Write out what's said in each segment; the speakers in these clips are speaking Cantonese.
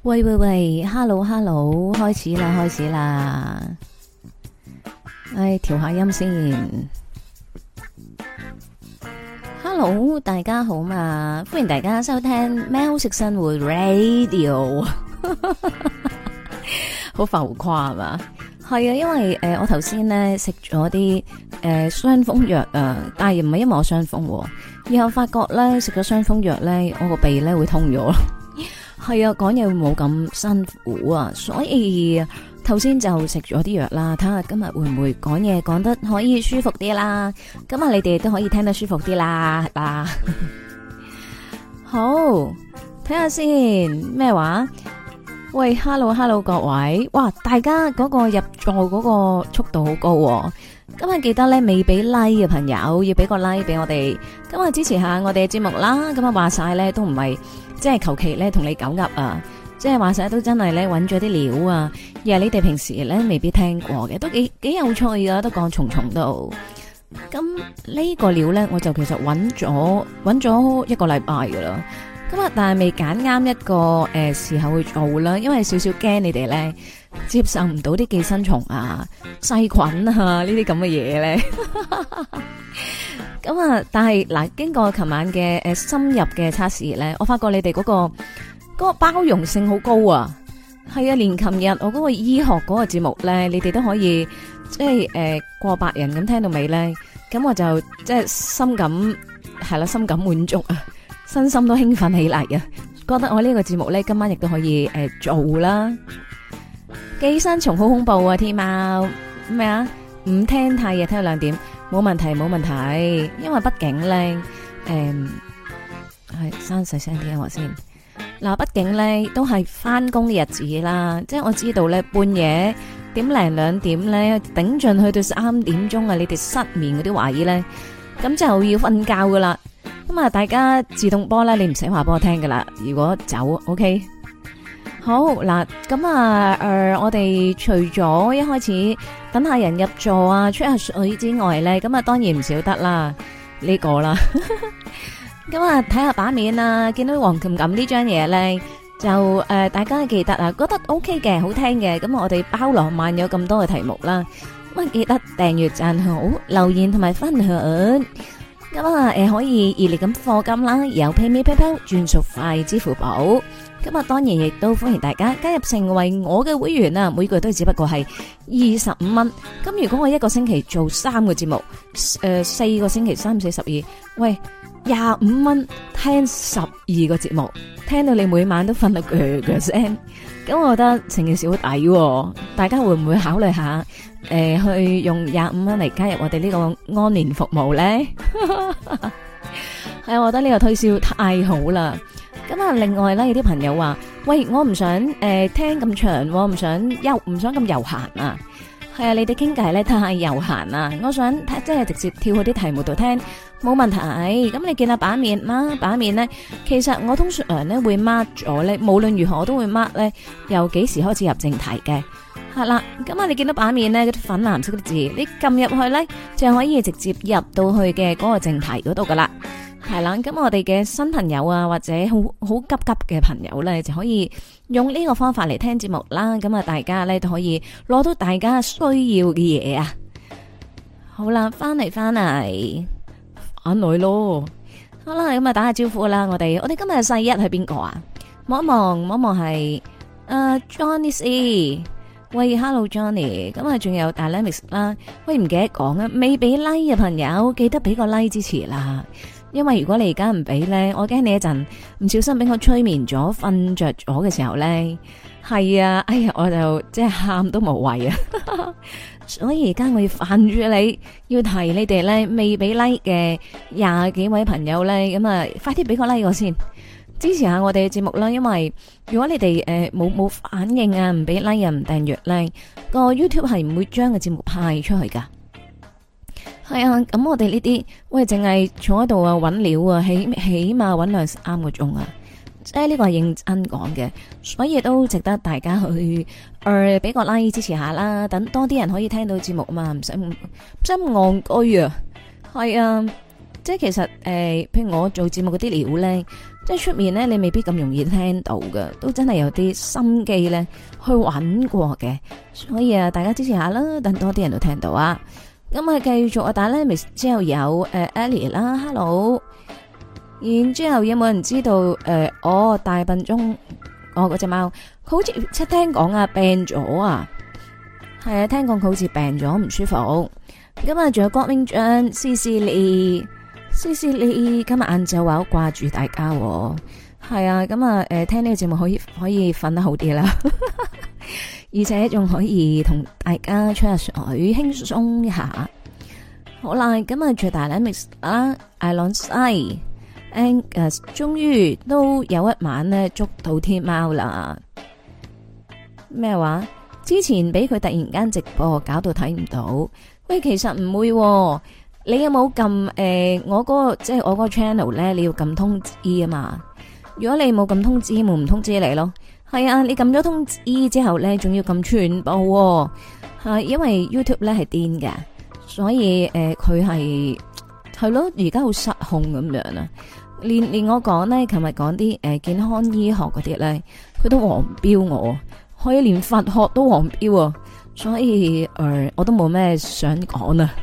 喂喂喂，hello hello，開始啦開始啦，調下音先。Hello， 大家好嘛，歡迎大家收聽喵式生活 Radio， 好浮誇係嘛？係啊，因為我頭先咧食咗啲傷風藥啊，但係唔係因為我傷風，然後發覺咧食咗傷風藥咧，我個鼻咧會通咗。係啊，講嘢會冇咁辛苦啊，所以頭先就食咗啲藥啦，睇下今日會唔會講嘢講得可以舒服啲啦。咁啊，你哋都可以聽得舒服啲啦，好，睇下先咩話？喂 ，hello 各位，哇，大家嗰個入座嗰個速度好高喎。今日記得咧未俾 like 嘅朋友要俾個 like 俾我哋，今日支持下我哋嘅節目啦。咁啊話晒咧都唔係即係求其咧同你狗噏啊，即係話晒都真係咧揾咗啲料啊，而係你哋平時咧未必聽過嘅，都幾有趣噶，都講重到。咁呢個料咧我就其實揾咗一個禮拜噶啦。咁啊，但係未揀啱一個時候去做啦，因為少少驚你哋咧接受唔到啲寄生蟲啊、細菌啊呢啲咁嘅嘢咧。咁啊，但係嗱，經過琴晚嘅深入嘅測試咧，我發覺你哋嗰個包容性好高啊。係啊，連琴日我嗰個醫學嗰個節目咧，你哋都可以即係過百人咁聽到尾咧，咁我就即係深感滿足啊。身心都興奮起嚟啊！覺得我呢個節目咧，今晚亦都可以做啦。寄生蟲好恐怖啊！天喵咩啊？唔聽太夜，聽到2點冇問題，因為畢竟咧係刪細聲啲我先。嗱，畢竟咧都係翻工嘅日子啦，即係我知道咧半夜1點2點咧頂盡去到3點鐘啊！你哋失眠嗰啲懷疑咧，咁就要瞓覺噶啦。咁啊，大家自動波咧，你唔使話俾我聽噶啦。如果走 ，OK， 好嗱。咁啊，我哋除咗一開始等下人入座啊，吹下水之外咧，咁啊，當然唔少得啦呢個啦。咁啊，睇下版面啊，見到黃琴琴呢張嘢咧，就大家記得啊，覺得 OK 嘅，好聽嘅，咁我哋包羅萬有咁多嘅題目啦。咁啊，記得訂閱、讚好、留言同埋分享。咁啊，可以熱烈咁課金啦，由 PayMe PayPal 轉數快支付寶。咁啊，當然亦都歡迎大家加入成為我嘅會員啊！每個月都只不過係25蚊。咁如果我一個星期做3個節目，4個星期3、4、12，喂，25蚊聽12個節目，聽到你每晚都瞓到腳聲。咁我覺得成件事好抵，大家會唔會考慮下？去用25蚊嚟加入我哋呢個安年服務咧，係我覺得呢個推銷太好啦。咁啊，另外咧有啲朋友話，喂，我唔想聽咁長，我唔想咁悠閒啊。係啊，你哋傾偈咧太悠閒啊，我想即係直接跳去啲題目度聽，冇問題。咁你見下版面啦，版面咧，其實我通常咧會 mark 咗咧，無論如何我都會 mark 咧，由幾時開始入正題嘅。係啦，咁啊，你見到版面咧嗰啲粉藍色嘅字，你撳入去咧就可以直接入到去嘅嗰個正題嗰度噶啦。係啦，咁我哋嘅新朋友啊，或者好急嘅朋友咧，就可以用呢個方法嚟聽節目啦。咁啊，大家咧都可以攞到大家需要嘅嘢啊。好啦，翻嚟咯。好啦，咁啊打下招呼啦。我哋今日世一係邊個啊？望一望係Johnny C。喂 ，Hello Johnny，咁啊仲有 Dynamics 啦。喂，唔記得講啊，未俾 like 嘅朋友記得俾個 like 支持啦。因為如果你而家唔俾咧，我驚你一陣唔小心俾我催眠咗、瞓着咗嘅時候咧，係啊，哎呀，我就即係喊都無謂啊。所以而家我要煩住你，要提你哋咧未俾 like 嘅20幾位朋友咧，咁啊快啲俾個 like 我先。支持下我哋嘅節目啦，因為如果你哋冇反應啊，唔俾 like 又唔訂閱咧，個 YouTube 係唔會將個節目派出去噶。係啊，咁我哋呢啲喂淨係坐喺度啊搵料啊，起碼搵2-3個鐘啊，即係呢個係認真講嘅，所以都值得大家去俾個 like 支持下啦，等多啲人可以聽到節目啊嘛，唔使咁戇居啊。係啊，即係其實譬如我做節目嗰啲料咧。 即係出面咧，你未必咁容易聽到嘅，都真係有啲心機咧去揾過嘅。所以啊，大家支持下啦，等多啲人都聽到啊。咁啊，繼續啊，打咧 miss 之後有Ellie 啦 ，hello。然之後有冇人知道大笨鐘嗰隻貓，佢好似即係聽講啊病咗啊，係啊，聽講佢好似病咗唔舒服。咁啊，仲有郭明章、Cici 今日晏晝話好掛住大家，係啊，咁啊聽呢個節目可以瞓得好啲啦，而且仲可以同大家吹下水，輕鬆一下。好啦，咁啊最大 mix 啦，艾朗西。Angus 終於都有一晚咧捉到天貓啦！咩話？之前俾佢突然間直播搞到睇唔到。喂，其實唔會喎，你有冇撳我嗰個即係我嗰個 channel 咧？你要撳通知啊嘛。如果你冇撳通知，冇唔通知你咯。係啊，你撳咗通知之後咧，仲要撳全部喎。係因為 YouTube 咧係癲嘅，所以佢係咯，而家好失控咁樣啊！連我講咧，琴日講啲健康醫學嗰啲咧，佢都黃標我，可以連佛學都黃標啊！所以我都冇咩想講啊。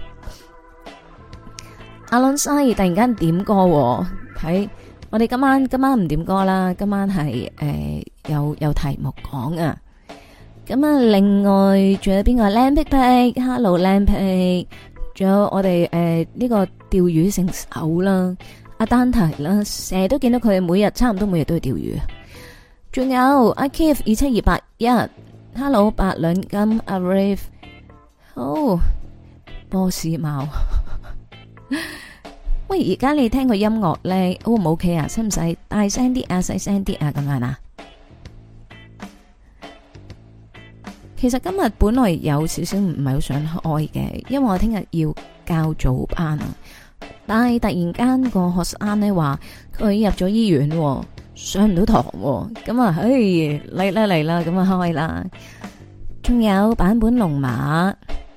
阿倫西突然間點歌，睇我哋今晚唔點歌啦，今晚係有題目講啊。咁啊，另外仲有邊個靚皮皮 ，Hello 靚皮，仲有我哋呢個釣魚聖手啦。阿丹提啦，成日都見到佢差唔多每日都去釣魚。仲有阿 Keith 27281，Hello 8兩金阿 Rave， 好波斯貓。喂，而家你聽個音樂咧 O 唔 OK 啊？使唔使大聲啲啊？細聲啲啊？咁樣啊？其實今日本來有少少唔係好想開嘅，因為我聽日要教早班啊。但係突然間個學生咧話佢入咗醫院，上唔到堂，咁啊，嚟啦，咁啊開啦。仲有版本龍馬，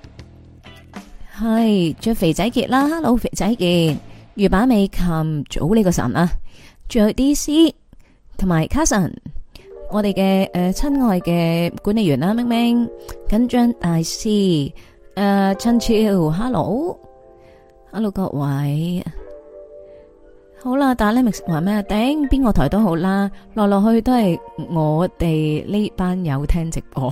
係着肥仔傑啦 ，Hello 肥仔傑，魚板美琴早呢個神啊，仲有 DC 同埋 Carson， 我哋嘅親愛嘅管理員啦，明明緊張大師陳超 ，Hello 各位，好啦，但係 Lemix 話咩？頂邊個台都好啦，落去都係我哋呢班友聽直播。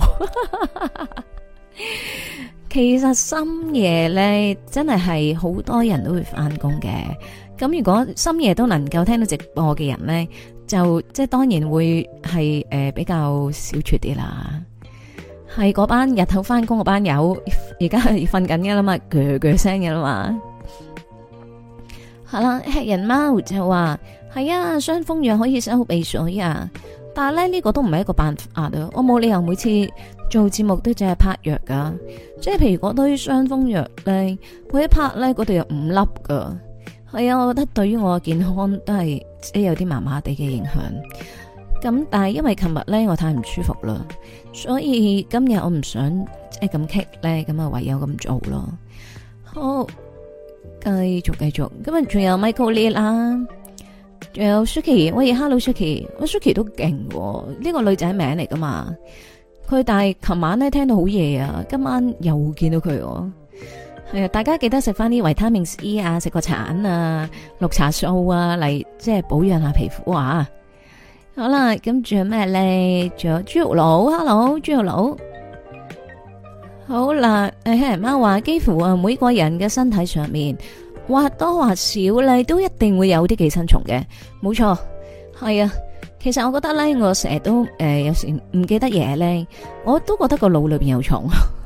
其實深夜咧，真係好多人都會翻工嘅。咁如果深夜都能夠聽到直播嘅人咧，就即係當然會係比較少撮啲啦。係嗰班日頭翻工嗰班友，而家係瞓緊嘅啦嘛，鋸聲嘅啦嘛。係啦，吃人貓就話係啊，傷風藥可以收鼻水啊，但係咧呢個都唔係一個辦法啊，我冇理由每次做節目都淨係拍藥噶，即係譬如嗰堆傷風藥咧，我一拍咧嗰度有5粒噶，係啊，我覺得對於我嘅健康都係即係有啲麻麻地嘅影響。咁但係因為琴日咧我太唔舒服啦，所以今日我唔想即係咁棘咧，咁啊唯有咁做咯。好。繼續，今日仲有 Michael Lee 啦，仲有 Suki， 喂 ，Hello Suki， 喂 Suki 都勁，呢個女仔名嚟噶嘛？佢但係琴晚咧聽到好夜啊，今晚又見到佢，係啊，大家記得食翻啲維他命 C 啊，食個橙啊，綠茶素啊，嚟即係保養下皮膚啊。好啦，咁仲有咩咧？仲有豬肉佬 ，Hello 豬肉佬。好啦，黑人貓話幾乎啊每個人嘅身體上面或多或少咧都一定會有啲寄生蟲嘅，冇錯，係啊。其實我覺得咧，我成日都有時唔記得嘢咧，我都覺得個腦裏邊有蟲，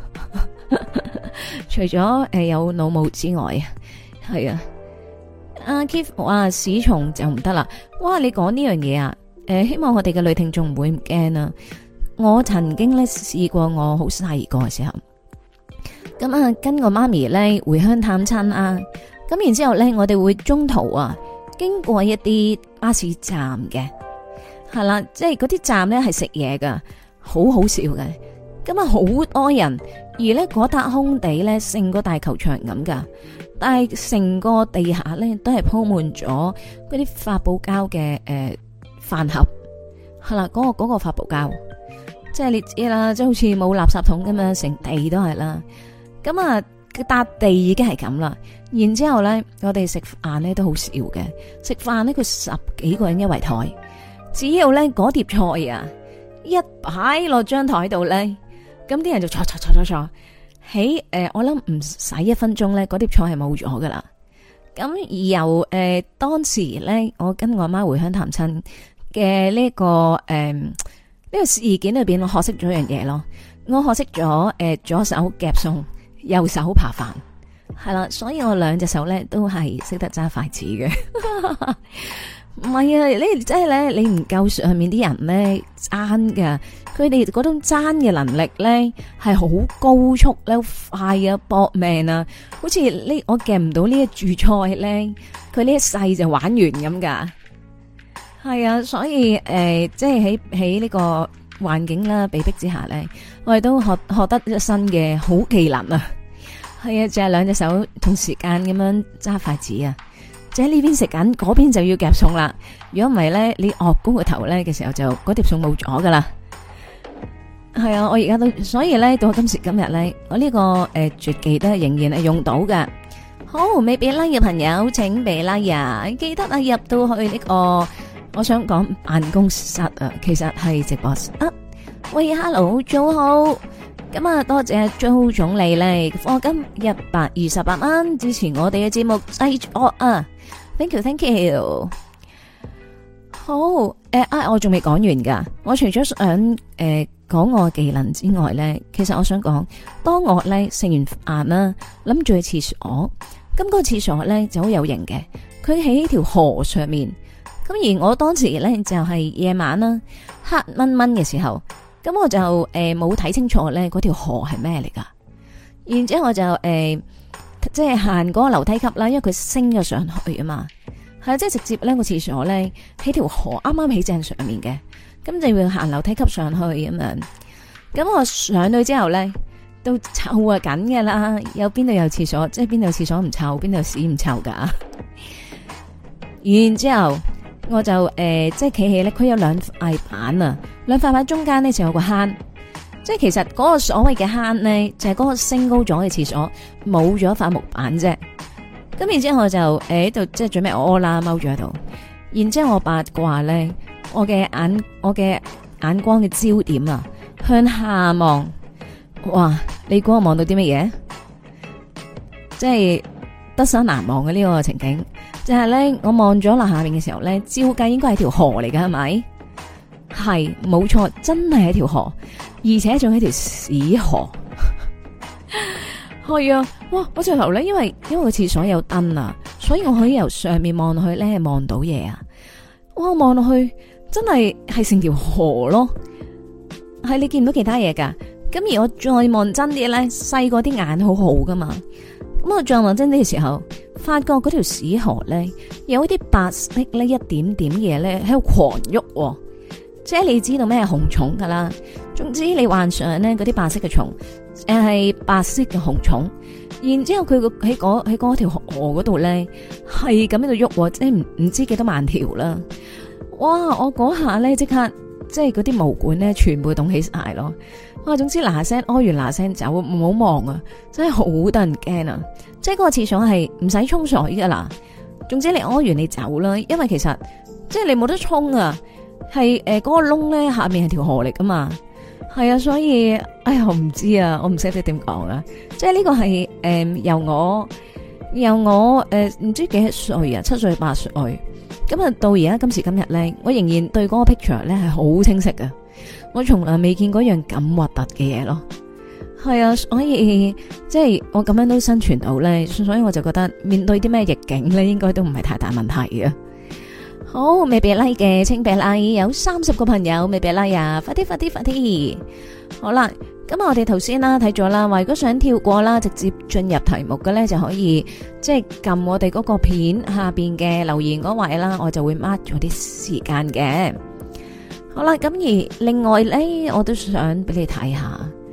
除咗有腦霧之外啊，係啊。阿 Keith 話屎蟲就唔得啦，哇！你講呢樣嘢啊，希望我哋嘅女聽眾唔會唔驚啊。我曾經咧試過，我好細個嘅時候。咁啊，跟我媽咪咧回鄉探親啊，咁然之後咧，我哋會中途啊經過一啲巴士站嘅，係啦，即係嗰啲站咧係食嘢噶，好好笑嘅。咁咁啊好多人，而咧嗰笪空地咧成個大球場咁噶，但係成個地下咧都係鋪滿咗嗰啲發泡膠嘅飯盒，係啦，嗰個發泡膠，即係你知啦，即係好似冇垃圾桶咁樣，成地都係啦。咁啊，笪地已經係咁啦。然之後咧，我哋食飯咧都好少嘅，食飯咧佢10幾個人一圍台，只要咧嗰碟菜啊一擺落張台度咧。咁啲人就坐，喺我諗唔使1分鐘咧，嗰碟菜係冇咗噶啦。咁而由當時咧，我跟我媽回鄉探親嘅呢個呢個事件裏邊，我學識咗一樣嘢咯。我學識咗左手夾餸，右手扒飯，係啦，所以我2隻手咧都係識得揸筷子嘅。唔係啊，你真係咧，你唔夠上面啲人咧爭噶，佢哋嗰種爭嘅能力咧係好高速咧，快啊，搏命啊，好似呢我夾唔到呢一柱菜咧，佢呢一世就玩完咁噶。係啊，所以即係喺呢個環境啦，被逼之下咧，我哋都學得一身嘅好技能啊。係啊，就係2隻手同時間咁樣揸筷子啊。即喺呢邊食緊，嗰邊就要夾餸啦。如果唔係咧，你惡高個頭咧嘅時候就嗰碟餸冇咗噶啦。係啊，我而家都所以咧到今時今日咧，我呢個絕技都係仍然係用到嘅。好，未俾 like 嘅朋友請俾 like 啊！記得啊，入到去呢個我想講辦公室啊，其實係直播室。喂，hello，早好。咁啊，多謝周總理咧，課金128蚊支持我哋嘅節目製作啊 ！Thank you。好，我仲未講完噶。我除咗想講我技能之外咧，其實我想講，當我咧食完飯啦，諗住去廁所，咁個廁所咧就好有型嘅，佢喺條河上面。咁而我當時咧就係夜晚啦，黑蚊蚊嘅時候。咁我就冇睇清楚咧，嗰條河係咩嚟噶？然之後我就即係行嗰個樓梯級啦，因為佢升咗上去啊嘛，係即係直接咧個廁所咧喺條河啱啱喺正上面嘅，咁就要行樓梯級上去咁樣。咁我上去之後咧，都臭啊緊嘅啦，有邊度有廁所，即係邊度有廁所唔臭，邊度有屎唔臭噶。然之後我就即係企起咧，佢有2塊板啊。2塊板中間呢就有個坑，即係其實嗰個所謂嘅坑呢，就係嗰個升高咗嘅廁所冇咗塊木板啫。咁然之後我就喺度即係準備屙啦，踎住喺度。然之後我八卦咧，我嘅眼光嘅焦點啊，向下望，哇！你估我望到啲乜嘢？即係畢生難忘嘅呢個情景，就係咧我望咗落下面嘅時候咧，照計應該係條河嚟噶，係咪？係冇錯，真係一條河，而且仲係一條屎河。係啊，哇！我直頭咧，因為個廁所有燈啊，所以我可以由上面望落去咧，望到嘢啊！哇，望落去真係成條河咯，係你見唔到其他嘢噶。咁而我再望真啲咧，細個啲眼好好噶嘛。咁我再望真啲嘅時候，發覺嗰條屎河咧有啲白色呢一點點嘢咧喺度狂喐。即係你知道咩係紅蟲噶啦，總之你幻想咧嗰啲白色嘅蟲，係白色嘅紅蟲，然之後佢喺嗰條河嗰度咧係咁喺度喐，即係唔知幾多萬條啦。哇！我嗰下咧即刻即係嗰啲毛管咧全部凍起晒咯。哇！總之嗱聲屙完嗱聲走，唔好望啊，真係好得人驚啊！即係嗰個廁所係唔使沖水噶啦，總之你屙完你走啦，因為其實即係你冇得沖啊。係嗰個窿咧下面係條河嚟噶嘛，係啊，所以哎呀我唔知啊，我唔識得點講啊，即係呢個係由我唔知幾多歲啊，7歲8歲，咁啊到而家今時今日咧，我仍然對嗰個 picture 咧係好清晰嘅，我從來未見過一樣咁核突嘅嘢咯，係啊，所以即係我咁樣都生存到咧，所以我就覺得面對啲咩逆境咧，應該都唔係太大問題嘅。好，未俾 like 嘅請俾 like，有30個朋友未俾 like 啊，快啲！好啦，咁我哋頭先啦睇咗啦，話如果想跳過啦，直接進入題目嘅咧，就可以即係撳我哋嗰個片下邊嘅留言嗰位啦，我就會 mark 咗啲時間嘅。好啦，咁而另外咧，我都想俾你睇下，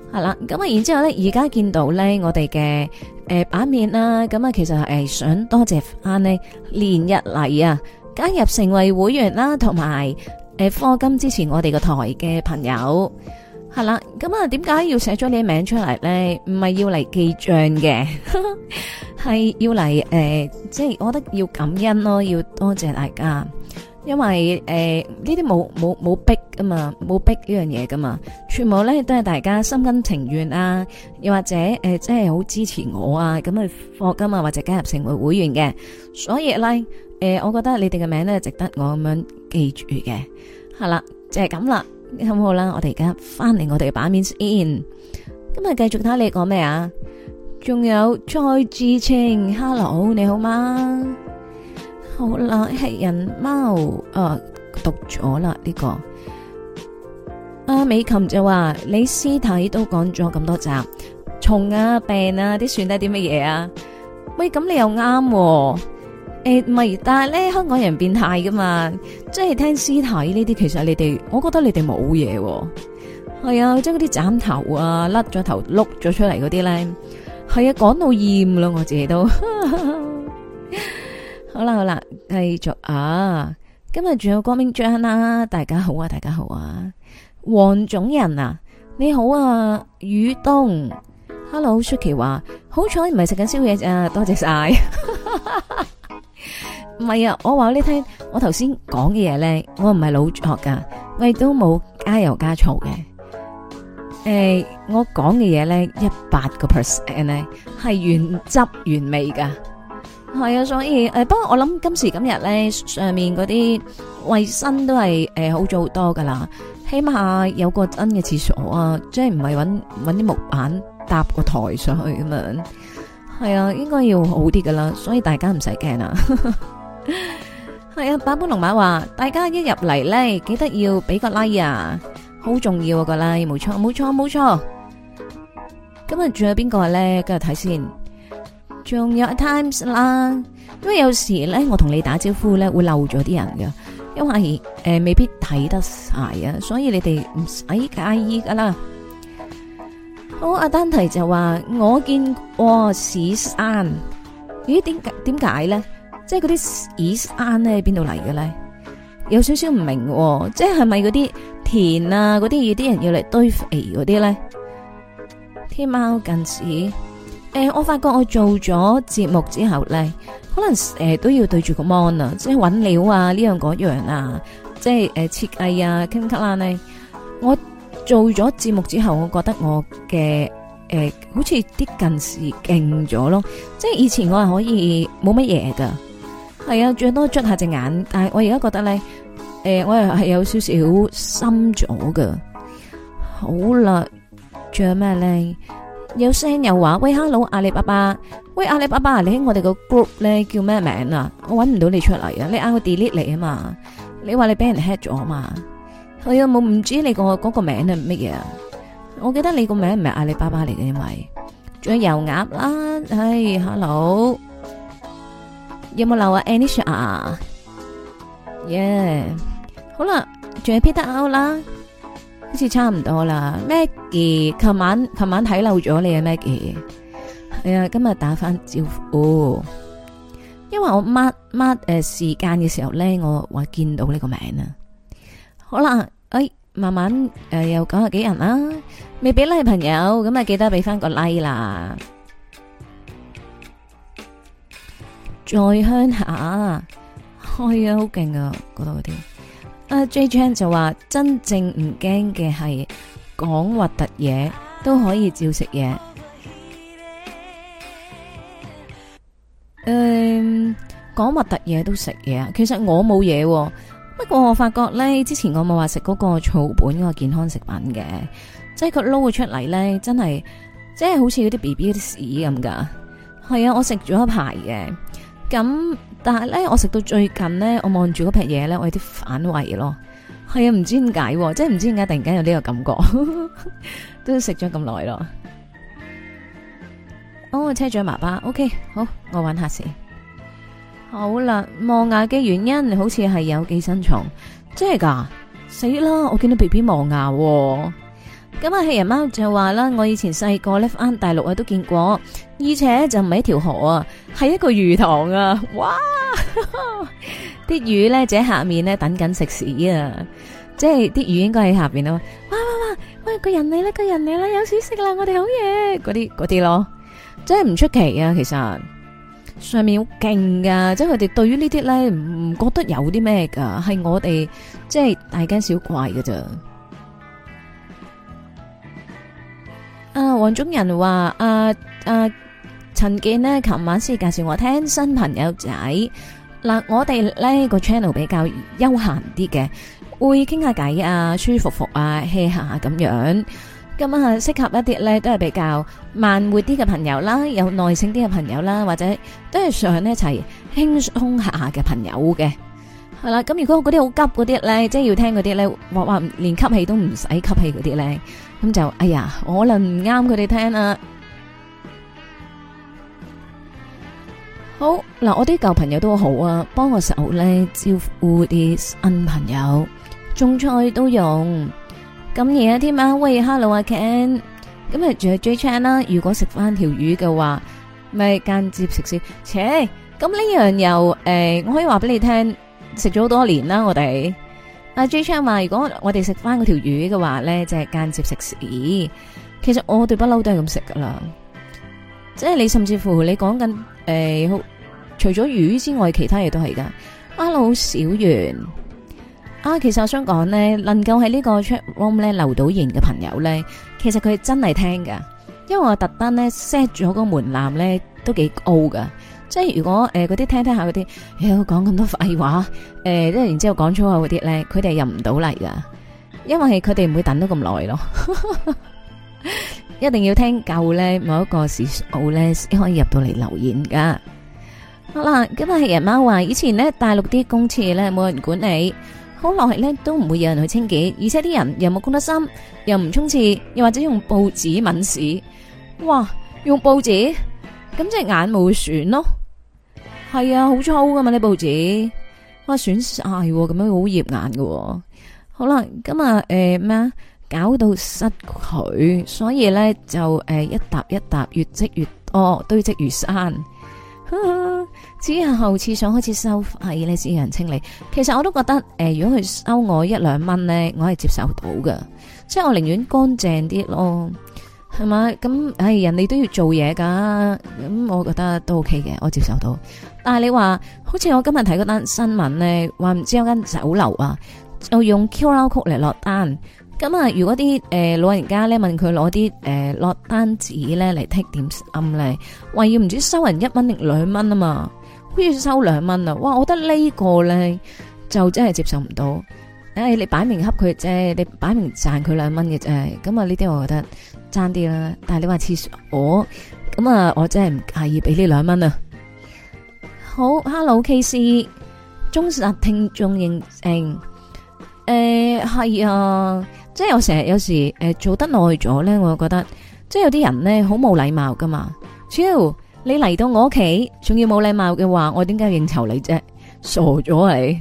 係啦，咁啊，然之後咧，而家見到咧，我哋嘅版面啦，咁啊，其實係想多謝翻呢連日嚟啊加入成為會員啦，同埋課金支持我哋個台嘅朋友，係啦，咁啊，點解要寫咗你名出嚟咧？唔係要嚟記賬嘅，係要嚟即係我覺得要感恩咯，要多謝大家。因為呢啲冇逼噶嘛，冇逼呢樣嘢噶嘛，全部咧都係大家心甘情願啊，又或者即係好支持我啊，咁去課金啊，或者加入成為會員嘅，所以咧我覺得你哋嘅名咧值得我咁樣記住嘅，係啦，就係咁啦，咁好啦，我哋而家翻嚟我哋嘅版面先，今日繼續睇你講咩啊？仲有蔡志清 ，Hello， 你好嗎？好啦，係人貓讀咗啦呢個。阿美琴就話你屍體都講咗咁多集，蟲啊病啊啲算得啲乜嘢啊？喂，咁你又啱唔係，但係咧香港人變態噶嘛，即係聽屍體呢啲，其實你哋，我覺得你哋冇嘢，係啊，即係嗰啲斬頭啊，甩咗頭碌咗出嚟嗰啲咧，係啊，講到厭啦，我自己都。好啦好啦，繼續啊！今日仲有光明章啦，大家好啊，大家好啊！黃種人啊，你好啊，宇東 ，Hello Suki 話好彩唔係食緊宵夜咋，多謝晒。唔係啊，我話你聽，我頭先講嘅嘢咧，我唔係老作噶，我亦都冇加油加醋嘅。我講嘅嘢咧，100%咧係原汁原味噶。係啊，所以不過我諗今時今日咧，上面嗰啲衛生都係好咗好多噶啦，起碼有個真嘅廁所啊，即係唔係搵啲木板搭個台上去咁樣，係啊，應該要好啲噶啦，所以大家唔使驚啊。係啊，版本龍馬話大家一入嚟咧，記得要俾個 like 啊，好重要啊個 like，冇錯冇錯冇錯。今日仲有邊個咧？今日睇先。仲有 Times 啦，因為有時咧我同你打招呼咧會漏咗啲人㗎，因為未必睇得晒啊，所以你哋唔使介意噶啦。好，阿丹提就話我見過屎山，咦？點解咧？即係嗰啲屎山咧喺邊度嚟嘅咧？有少少唔明，即係咪嗰啲田啊嗰啲啲人要嚟堆肥嗰啲咧？天貓近視。我發覺我做咗節目之後咧，可能都要對住個 mon 啊，即係搵料啊，呢樣嗰樣啊，即係設計啊，傾偈啦咧。我做咗節目之後，我覺得我嘅好似啲近視勁咗咯。即係以前我係可以冇乜嘢噶，係啊，最多捽下隻眼，但係我而家覺得咧，我又係有少少深咗噶。好啦，仲有咩咧？有聲又話喂 ，hello 阿里巴巴，喂阿里巴巴，你喺我哋個 group 咧叫咩名啊？我搵唔到你出嚟啊！你嗌我 delete 你啊嘛？你話你俾人 hack 咗啊嘛？係啊，冇唔知你個嗰個名係乜嘢啊？我記得你個名唔係阿里巴巴嚟嘅，因為仲有油鴨啦，唉 ，hello， 有冇漏啊 Anisha？ 耶，好啦，仲有 Peter out 啦。好似差唔多啦 ，Maggie， 琴晚睇漏咗你啊 Maggie， 係啊，今日打翻招呼，因為我 mark 時間嘅時候咧，我話見到呢個名啊，好啦，慢慢又90幾人啦，未俾 like 朋友，咁啊記得俾翻個 like 啦，再鄉下，係啊，好勁啊，嗰度嗰啲。J Chan 就話真正唔驚嘅係講核突嘢都可以照食嘢。講核突嘢都食嘢啊？其實我冇嘢，不過我發覺咧，之前我冇話食嗰個草本嗰個健康食品嘅，即係佢撈出嚟咧，真係即係好似嗰啲 BB 啲屎咁噶。係啊，我食咗一排嘅，咁。但係咧，我食到最近咧，我望住嗰劈嘢咧，我有啲反胃咯。係啊，唔知點解，即係唔知點解突然間有呢個感覺，都食咗咁耐咯。哦，車長爸爸 ，OK， 好，我玩下先。好啦，磨牙嘅原因好似係有寄生蟲，真係噶，死啦！我見到 BB 磨牙， 咁啊，棄人貓就話啦，我以前細個咧翻大陸啊都見過，而且就唔係一條河啊，係一個魚塘啊！哇，啲魚咧就喺下面咧等緊食屎啊！即係啲魚應該喺下邊咯。哇哇哇，喂，個人嚟啦，個人嚟啦，有屎食啦，我哋好嘢！嗰啲咯，真係唔出奇啊！其實上面好勁噶，即係佢哋對於呢啲咧唔覺得有啲咩噶，係我哋即係大驚小怪噶咋。黃種人話陳健呢琴晚先介紹我聽新朋友仔嗱，我哋呢個 channel 比較悠閒啲嘅，會傾下偈啊，舒服服啊，hea 下咁樣，咁啊適合一啲呢都係比較慢活啲嘅朋友啦，有耐性啲嘅朋友啦，或者都係想一齊輕鬆下嘅朋友嘅，係啦。咁如果嗰啲好急嗰啲呢，即係要聽嗰啲呢，話連吸氣都唔使吸氣嗰啲呢。咁就哎呀，可能唔啱佢哋聽啦。好嗱，我啲舊朋友都好啊，幫我手咧招呼啲新朋友，種菜都用。咁而家添啊，喂 ，hello 阿 Ken，咁啊仲有 J Chan 啦。如果食翻條魚嘅話，咪間接食先。切，咁呢樣又我可以話俾你聽，食咗好多年啦，我哋。阿 J Chan 話，如果我哋食翻嗰條魚嘅話咧，就係間接食屎。其實我哋不嬲都係咁食噶啦，即係你甚至乎你講緊除咗魚之外，其他嘢都係噶。Hello 小圓啊，其實我想講咧，能夠喺呢個 chat room 咧留到言嘅朋友咧，其實佢真係聽噶，因為我特登咧 set 咗個門檻咧都幾高噶。即係如果嗰啲聽下嗰啲，講咁多廢話，即係然之後講粗口嗰啲咧，佢哋入唔到嚟噶，因為佢哋唔會等到咁耐咯，一定要聽夠咧某一個時數咧先可以入到嚟留言噶。好啦，今日係人貓話，以前咧大陸啲公廁咧冇人管理，好耐咧都唔會有人去清潔，而且啲人又冇公德心，又唔沖廁，又或者用報紙抿屎，哇，用報紙。咁即係眼冇損咯，係啊，好粗噶嘛呢報紙，哇損晒，咁樣好驗眼噶。好啦，咁啊咩啊，搞到失佢，所以咧就一沓一沓越積越多，堆積如山。之後廁所開始收費咧，先有人清理。其實我都覺得如果佢收我1-2蚊咧，我係接受到噶，即係我寧願乾淨啲咯。係嘛？咁人哋都要做嘢噶，咁我覺得都 OK 嘅，我接受到。但係你話，好似我今日睇嗰單新聞咧，話唔知有間酒樓啊，就用 QR code 嚟落單。咁啊，如果啲老人家咧問佢攞啲落單紙咧嚟剔點心咧，話要唔知收人1蚊定2蚊啊嘛，好似收2蚊啊！哇，我覺得呢個咧就真係接受唔到。你擺明恰佢啫，你擺明賺佢2蚊嘅啫，咁啊呢啲我覺得爭啲啦。但係你話廁所咁啊，我真係唔介意俾呢2蚊啊。好 ，Hello KC，忠實聽眾認證。係啊，即係我成日有時做得耐咗咧，我覺得即係有啲人咧好冇禮貌噶嘛。只要你嚟到我屋企，仲要冇禮貌嘅話，我點解要應酬你啫？傻咗你！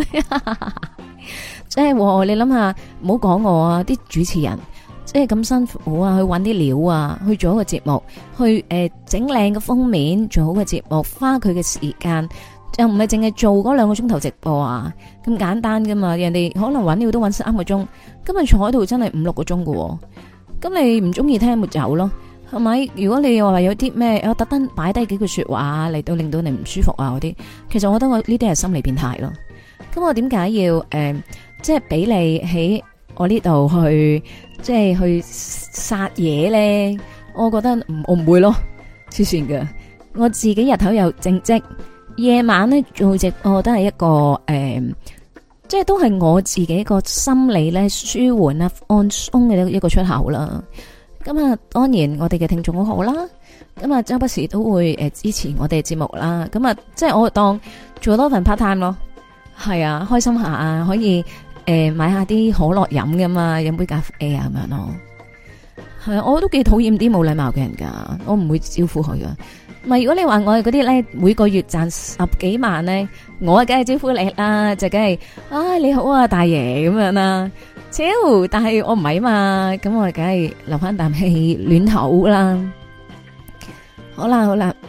即係你諗下，唔好講我啊！啲主持人即係咁辛苦啊，去搵啲料啊，去做一個節目，去整靚個封面，做好個節目，花佢嘅時間，就唔係淨係做嗰2個鐘頭直播啊，咁簡單噶嘛。人哋可能搵料都搵3個鐘，今日坐喺度真係5-6個鐘噶。咁你唔中意聽咪走咯，係咪？如果你話有啲咩，我特登擺低幾句說話嚟到令到你唔舒服啊嗰啲，其實我覺得我呢啲係心理變態咯。咁我點解要即係俾你喺我呢度去，即係去殺嘢咧？我覺得我唔會咯，黐線㗎。我自己日頭又正職，夜晚咧做直播都係一個即係都係我自己個心理咧舒緩啊、放鬆嘅一個出口啦。咁啊，當然我哋嘅聽眾好好啦。咁啊，周不時都會支持我哋嘅節目啦。咁啊，即係我當做多份 part time 咯。係啊，開心下啊，可以買下啲可樂飲噶嘛，飲杯咖啡啊咁樣咯。係啊，我都幾討厭啲冇禮貌嘅人噶，我唔會招呼佢噶。唔係，如果你話我係嗰啲咧，每個月賺10幾萬咧，我梗係招呼你啦，就梗係，你好啊，大爺咁樣啦。 超，但係我唔係嘛，咁我梗係留翻啖氣暖口啦。好啦好啦，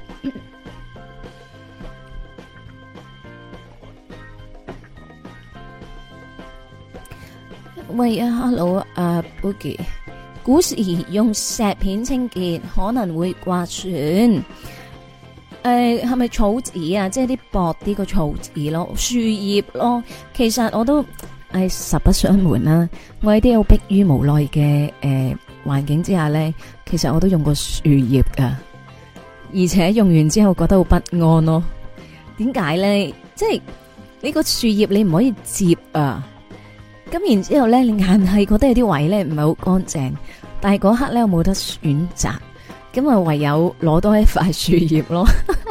喂啊 ，hello 啊 ，Boogie， 古時用石片清潔可能會刮損。係咪草紙啊？即係啲薄啲個草紙咯，樹葉咯。其實我都實不相瞞啦，我喺啲好迫於無奈嘅環境之下咧，其實我都用過樹葉噶，而且用完之後覺得好不安咯。點解咧？即係呢個樹葉你唔可以摺啊，咁然之後咧，你硬係覺得有啲位咧唔係好乾淨，但係嗰刻咧我冇得選擇。咁啊，唯有攞多一塊樹葉咯，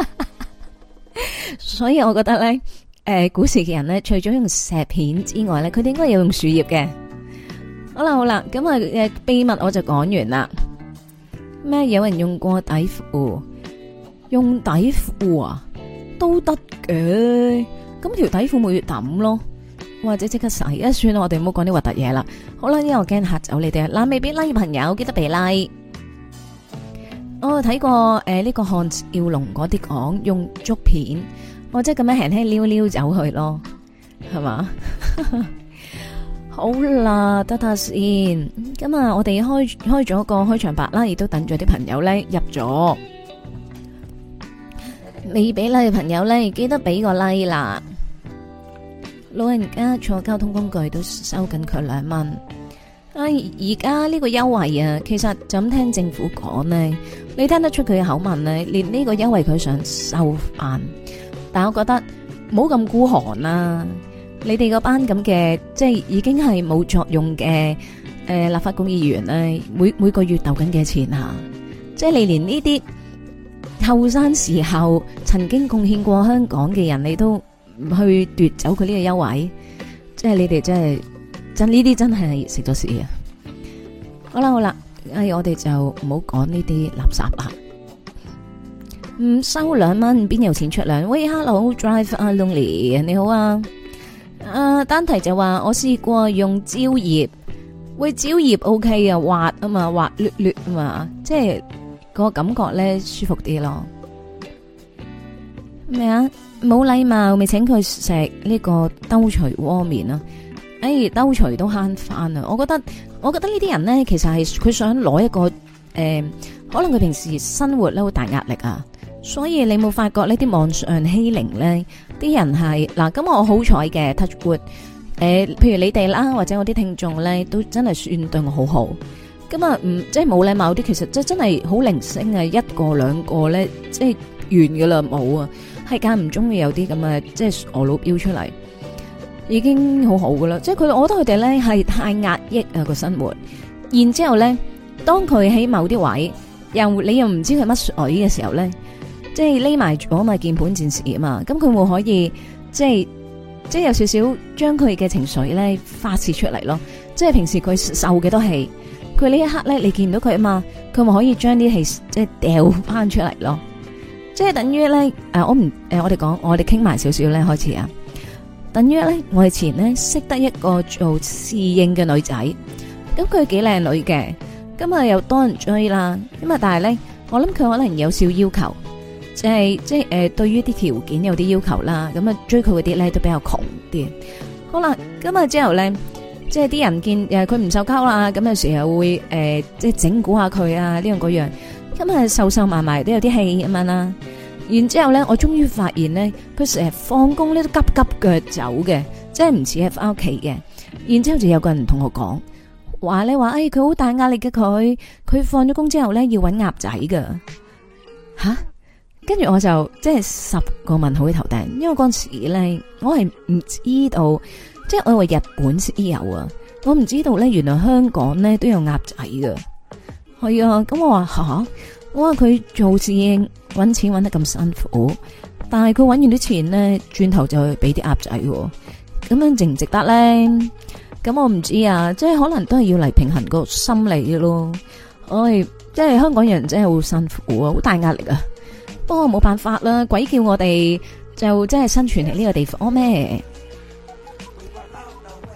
所以我覺得咧，古時嘅人咧，除咗用石片之外咧，佢哋應該有用樹葉嘅。好啦好啦，咁啊，秘密我就講完啦。咩？有人用過底褲？用底褲啊，都得嘅。咁條底褲咪要抌咯，或者即刻洗啊！算啦，我哋唔好講啲核突嘢啦。好啦，因為我驚嚇走你哋。嗱，未俾 like 嘅朋友記得俾 like。我睇過呢個漢少龍嗰啲講用竹片，我即係咁樣輕輕撩撩走去咯，係嘛？好啦，得先。咁啊，我哋開咗個開場白啦，亦都等咗啲朋友咧入咗。未俾 like 嘅朋友咧，記得俾個 like 啦。老人家坐交通工具都收緊佢2蚊。而家呢個優惠啊，其實就咁聽政府講呢，你聽得出佢嘅口吻呢，連呢個優惠佢想收翻，但我覺得唔好咁孤寒啦。你哋嗰班咁嘅，即係已經係冇作用嘅立法會議員呢，每個月鬥緊幾錢啊？即係你連呢啲後生時候曾經貢獻過香港嘅人，你都唔去奪走佢呢個優惠，即係你哋真呢啲真係食咗屎啊！好啦好啦，我哋就唔好講呢啲垃圾啦。唔收2蚊，邊有錢出糧？喂 ，Hello Drive Lonely， 你好啊。單題就話我試過用蕉葉，喂，蕉葉 OK 啊，滑啊嘛，滑捋捋啊嘛，即係個感覺咧舒服啲咯。咩啊？冇禮貌，未請佢食呢個兜鎚鍋麵啊！兜鎚都慳翻啊！我覺得呢啲人咧，其實係佢想攞一個可能佢平時生活咧好大壓力啊，所以你冇發覺呢啲網上欺凌咧，啲人係嗱，咁我好彩嘅 touch wood，譬如你哋啦，或者我啲聽眾咧，都真係算對我好好。咁啊，即係冇禮貌啲，其實真係好零星啊，一個兩個咧，即係完噶啦，冇啊，係間唔中會有啲咁嘅，即係傻佬飆出嚟。已經好好噶啦，即係佢，我覺得佢哋咧係太壓抑啊個生活，然之後咧，當佢喺某啲位，你又唔知佢乜水嘅時候咧，即係匿埋咗嘛鍵盤戰士啊嘛，咁佢會可以即係有少少將佢嘅情緒咧發洩出嚟咯，即係平時佢受幾多氣，佢呢一刻咧你見到佢啊嘛，佢咪可以將啲氣即係掉翻出嚟咯，即係等於咧我哋傾埋少少咧開始啊。等於咧，我以前咧識得一個做侍應嘅女仔，咁佢幾靚女嘅，咁啊又多人追啦，咁啊但係咧，我諗佢可能有少要求，即係對於啲條件有啲要求啦，咁啊追佢嗰啲咧都比較窮啲。好啦，咁啊之後咧，即係啲人見佢唔受溝啦，咁有時候會即係整蠱下佢啊呢樣嗰樣，咁啊瘦埋埋都有啲氣咁樣啦。然之後咧，我終於發現咧，佢成日放工咧都急急腳走嘅，即係唔似係翻屋企嘅。然之後就有個人同我講，話咧話，佢好大壓力嘅佢放咗工之後咧要搵鴨仔噶吓。跟住我就即係10個問號喺頭頂，因為嗰陣時咧我係唔知道，即係我以為日本先有啊，我唔知道咧原來香港咧都有鴨仔噶。係啊，咁我話吓。我話佢做侍應搵錢搵得咁辛苦，但係佢搵完啲錢咧，轉頭就俾啲鴨仔，咁樣值唔值得咧？咁我唔知啊，即係可能都係要嚟平衡個心理咯。即係香港人真係好辛苦啊，好大壓力啊。不過冇辦法啦，鬼叫我哋就真係生存喺呢個地方咩？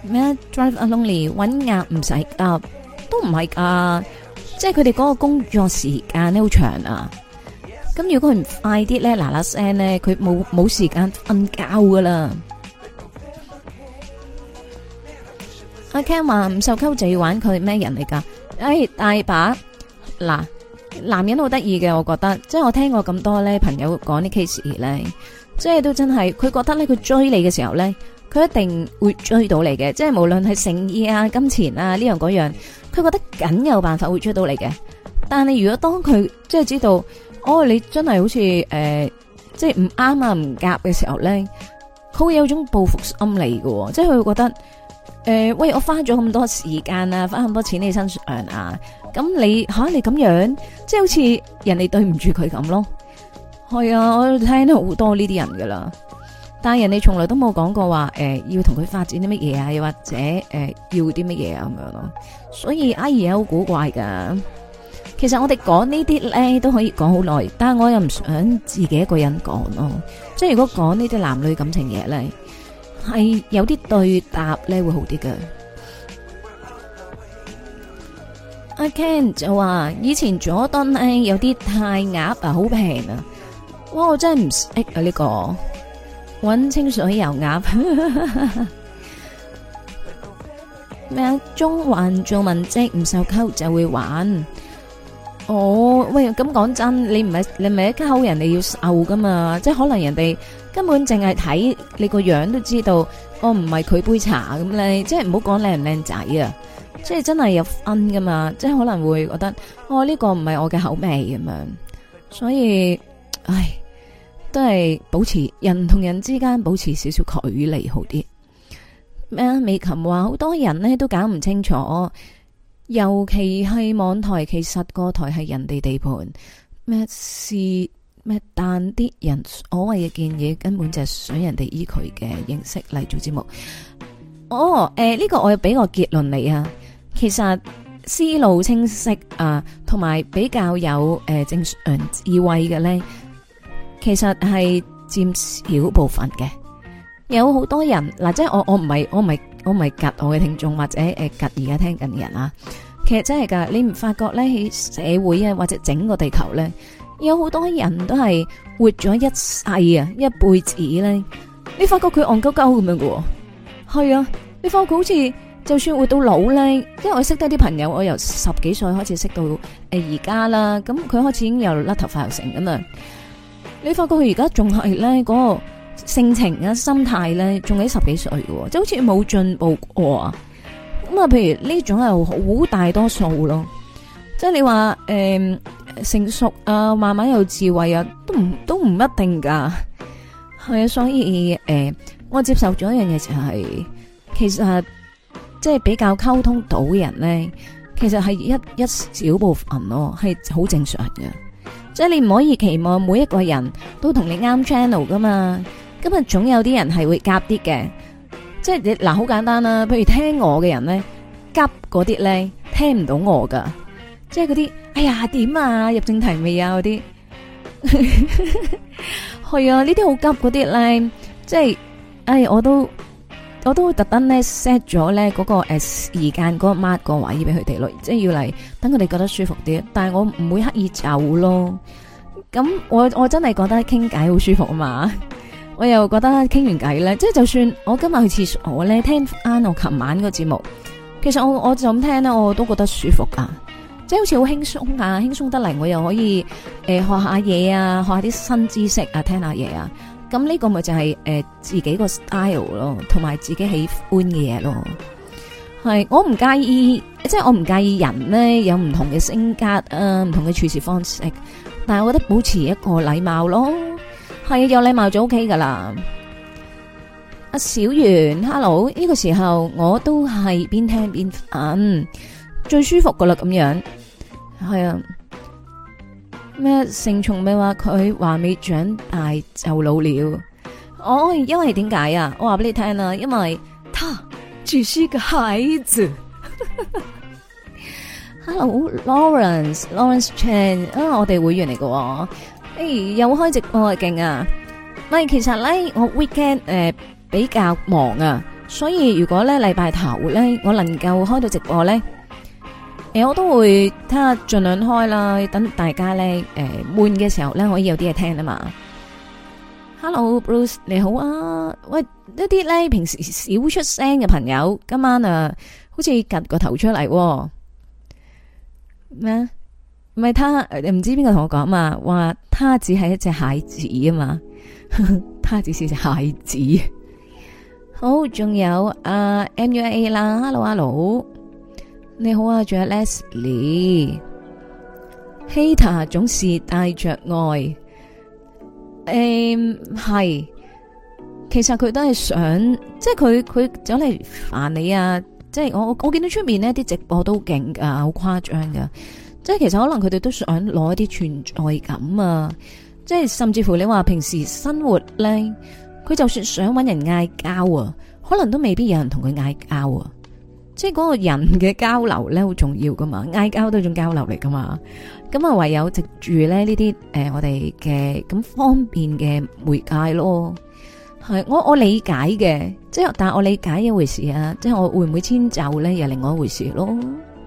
咩 drive alone 搵鴨唔使夾，都唔係噶，即係佢哋嗰個工作時間咧好長啊。咁如果佢唔快啲咧，嗱嗱聲咧，佢冇時間瞓覺噶啦。阿 Ken 話唔受溝就要玩佢，咩人嚟噶？大把嗱，男人好得意嘅，我覺得，即係我聽過咁多咧朋友講啲 case 咧，即係都真係，佢覺得咧佢追你嘅時候咧，佢一定會追到你嘅，即係無論係誠意啊、金錢啊呢樣嗰樣，佢覺得梗有辦法會追到你嘅。但係如果當佢即係知道，你真係好似即係唔啱啊、唔夾嘅時候咧，佢會有種報復心理嘅，即係佢會覺得。喂，我花咗咁多時間啊，花咁多錢喺你身上啊，咁你咁樣，即係好似人哋對唔住佢咁咯。係啊，我聽到好多呢啲人噶啦，但係人哋從來都冇講過話，要同佢發展啲乜嘢啊，又或者要啲乜嘢啊咁樣咯。所以阿爺好古怪噶。其實我哋講呢啲咧都可以講好耐，但係我又唔想自己一個人講咯。即係如果講呢啲男女感情嘢咧。係有啲對答咧會好啲嘅。阿 Ken 就話以前佐敦咧有啲泰鴨啊，好平啊！哇，我真係唔識啊呢個，搵清水油鴨咩啊？中環做文職唔受溝就會玩。喂，咁講真，你唔係一溝人哋要受噶嘛？即係可能人哋根本淨係睇你個樣都知道，唔係佢杯茶咁咧。即係唔好講靚唔靚仔啊！即係真係有分噶嘛？即係可能會覺得，呢個唔係我嘅口味咁樣。所以，都係保持人同人之間保持少少距離好啲。咩啊？美琴話好多人呢都搞唔清楚。尤其係網台，其實個台係人哋地盤，但啲人所謂嘅建議根本就係想人哋依佢嘅形式嚟做節目。呢個我要俾個結論你啊，其實思路清晰啊，同埋比較有正常智慧嘅咧，其實係佔少部分嘅。有好多人嗱，即係我唔係夾我嘅聽眾或者夾而家聽緊嘅人啊，其實真係噶，你唔發覺咧喺社會啊或者整個地球咧，有好多人都係活咗一世啊一輩子咧，你發覺佢戇鳩鳩咁樣嘅，係啊，你發覺好似就算活到老咧，因為我識得啲朋友，我由10幾歲開始識到而家啦，咁佢開始已經有甩頭髮又成咁啊，你發覺佢而家仲係咧嗰個性情啊、心態咧，仲喺10幾歲嘅，即係好似冇進步過啊。咁啊，譬如呢種係好大多數咯。即係你話成熟啊，慢慢有智慧啊，都唔一定噶。係啊，所以我接受咗一樣嘢就係，其實即係比較溝通到嘅人咧，其實係一小部分咯，係好正常嘅。即係你唔可以期望每一個人都同你啱 channel 噶嘛。咁啊，總有啲人係會夾啲嘅，即係你嗱，好簡單啦。譬如聽我嘅人咧，夾嗰啲咧聽唔到我噶，即係嗰啲哎呀點啊入正題未啊嗰啲，係啊呢啲好急嗰啲咧，即係我都會特登咧 set 咗咧嗰個時間嗰個 mark 個位俾佢哋咯，即係要嚟等佢哋覺得舒服啲。但係我唔會刻意走咯。咁我真係覺得傾偈好舒服啊嘛。我又覺得傾完偈咧，即係就算我今日去廁所咧，聽翻我琴晚個節目，其實我就咁聽咧，我都覺得舒服噶，即係好似好輕鬆啊，輕鬆得嚟，我又可以學下嘢啊，學下啲新知識啊，聽下嘢啊，咁呢個咪就係自己個 style 咯，同埋自己喜歡嘅嘢咯。係我唔介意，即係我唔介意人咧有唔同嘅性格啊，唔同嘅處事方式，但係我覺得保持一個禮貌咯。係有禮貌就 OK 噶啦。阿小圓 ，hello， 呢個時候我都係邊聽邊瞓，最舒服噶啦咁樣。係啊，咩成蟲咪話佢話未長大就老了。因為點解啊？我話俾你聽啦，因為他只是個孩子。Hello，Lawrence Chan，我哋會員嚟嘅。又開直播勁啊！其實咧我 weekend 比較忙啊， 所以如果咧禮拜頭咧我能夠開到直播咧，我都會睇下盡量開啦，等大家咧悶嘅時候咧可以有啲嘢聽啊嘛。Hello Bruce 你好啊，喂，一啲咧平時少出聲嘅朋友，今晚啊好似趌個頭出嚟咩？唔係他，唔知邊個同我講嘛，話他只係一隻蟹子啊嘛，他只是隻蟹子。好，仲有MUA 啦 ，Hello， 你好啊，仲有 Leslie，Hater 總是帶着愛。係，其實佢都係想，即係佢走嚟煩你啊！即係我見到出面呢啲直播都勁噶，好誇張噶。即係其實可能佢哋都想攞一啲存在感啊！即係甚至乎你話平時生活咧，佢就算想搵人嗌交啊，可能都未必有人同佢嗌交啊！即係嗰個人嘅交流咧，好重要噶嘛，嗌交都係一種交流嚟噶嘛。咁啊，唯有藉住咧呢啲我哋嘅咁方便嘅媒介咯。係我理解嘅，即係但係我理解一回事啊，即係我會唔會遷就咧，又另外一回事咯。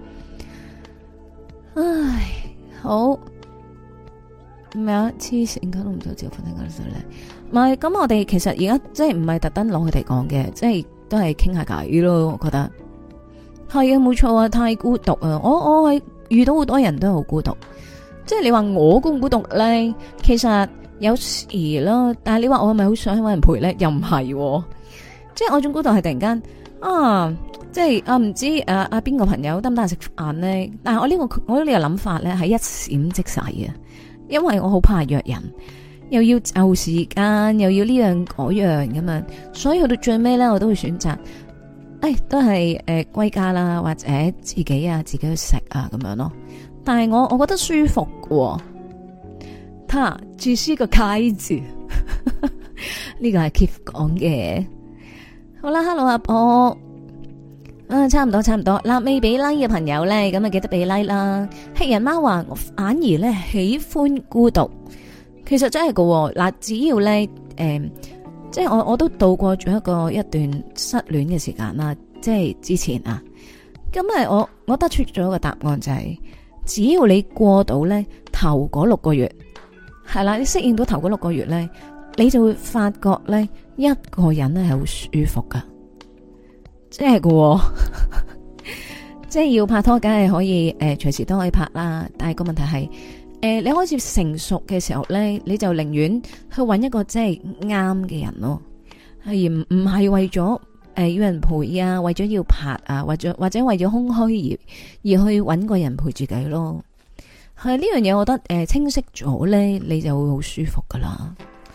唉，好咩啊？黐線，都唔做自由分享嗰陣咧。唔係，咁我哋其實而家即係唔係特登攞佢哋講嘅，即係都係傾下偈咯。我覺得係啊，冇錯啊，太孤獨啊！我係遇到好多人都好孤獨。即係你話我孤唔孤獨咧，其實有時咯，但係你話我係咪好想搵人陪咧？又唔係，即係我種孤獨係突然間即係唔知邊個朋友得唔得閒食飯咧？但係我呢個諗法咧係一閃即逝啊，因為我好怕約人，又要就時間，又要呢樣嗰樣咁樣，所以去到最尾咧，我都會選擇，都係歸家啦，或者自己去食啊咁樣咯。但係我覺得舒服嘅，他只是個楷字，呢個係 Keith 講嘅。好啦 ，Hello 阿波，差唔多嗱，未俾 like 嘅朋友咧，咁啊記得俾 like 啦。黑人貓話我反而咧喜歡孤獨，其實真係嘅嗱，只要咧即係我都度過咗一段失戀嘅時間啦，即係之前啊，咁我得出咗一個答案就係。只要你過到咧頭嗰6個月，係啦，你適應到頭嗰6個月咧，你就會發覺咧一個人咧係好舒服噶，即係嘅，即係要拍拖，梗係可以隨時都可以拍啦。但係個問題係你開始成熟嘅時候咧，你就寧願去搵一個即係啱嘅人咯，而唔係為咗。要人陪啊，為咗要拍啊，或者為咗空虛而去搵個人陪住佢咯。係呢樣嘢，我覺得清晰咗咧，你就會好舒服噶啦。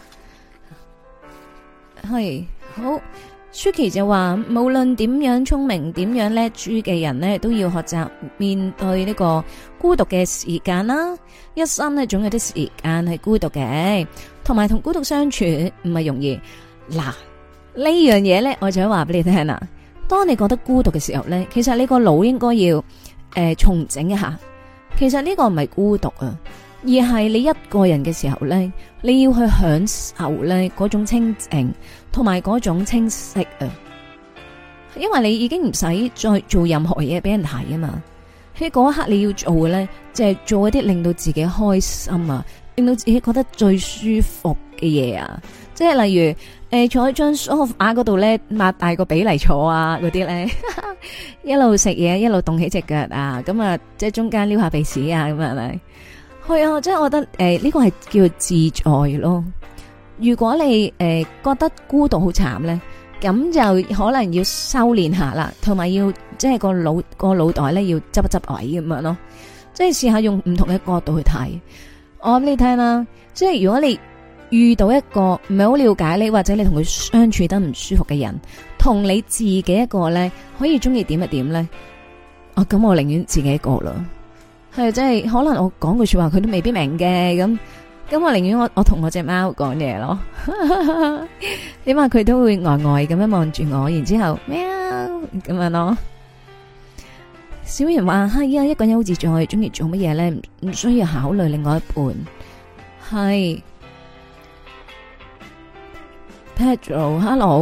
係好 Suki 就話，無論點樣聰明、點樣叻豬嘅人呢，都要學習面對呢個孤獨嘅時間啦。一生呢，總有啲時間係孤獨嘅，同埋同孤獨相處唔係容易嗱。呢樣嘢咧，我就想話俾你聽啦。當你覺得孤獨嘅時候咧，其實你個腦應該要重整一下。其實呢個唔係孤獨啊，而係你一個人嘅時候咧，你要去享受咧嗰種清靜同埋嗰種清晰啊。因為你已經唔使再做任何嘢俾人睇啊嘛。喺嗰一刻你要做嘅咧，就係做一啲令到自己開心啊，令到自己覺得最舒服嘅嘢啊。即係例如。坐喺張梳化嗰度咧，擘大個髀嚟坐啊，嗰啲咧，一路食嘢一路動起隻腳啊，咁啊，即係中間撩下鼻屎啊，咁係咪？係啊，即係我覺得呢個係叫做自在咯。如果你覺得孤獨好慘咧，咁就可能要修煉下啦，同埋要即係個腦袋咧要執一執位咁樣咯。即係試下用唔同嘅角度去睇。我話俾你聽啦，即係如果你遇到一個唔係好了解你，或者你同佢相處得唔舒服嘅人，同你自己一個咧可以中意點一點咧，咁我寧願自己一個啦。係即係可能我講句說話佢都未必明嘅，咁我寧願我同我隻貓講嘢咯。起碼佢都會呆呆咁樣望住我，然之後喵咁樣咯。小圓話係啊，一個人好自在，中意做乜嘢咧？唔需要考慮另外一半。係。Pedro，Hello，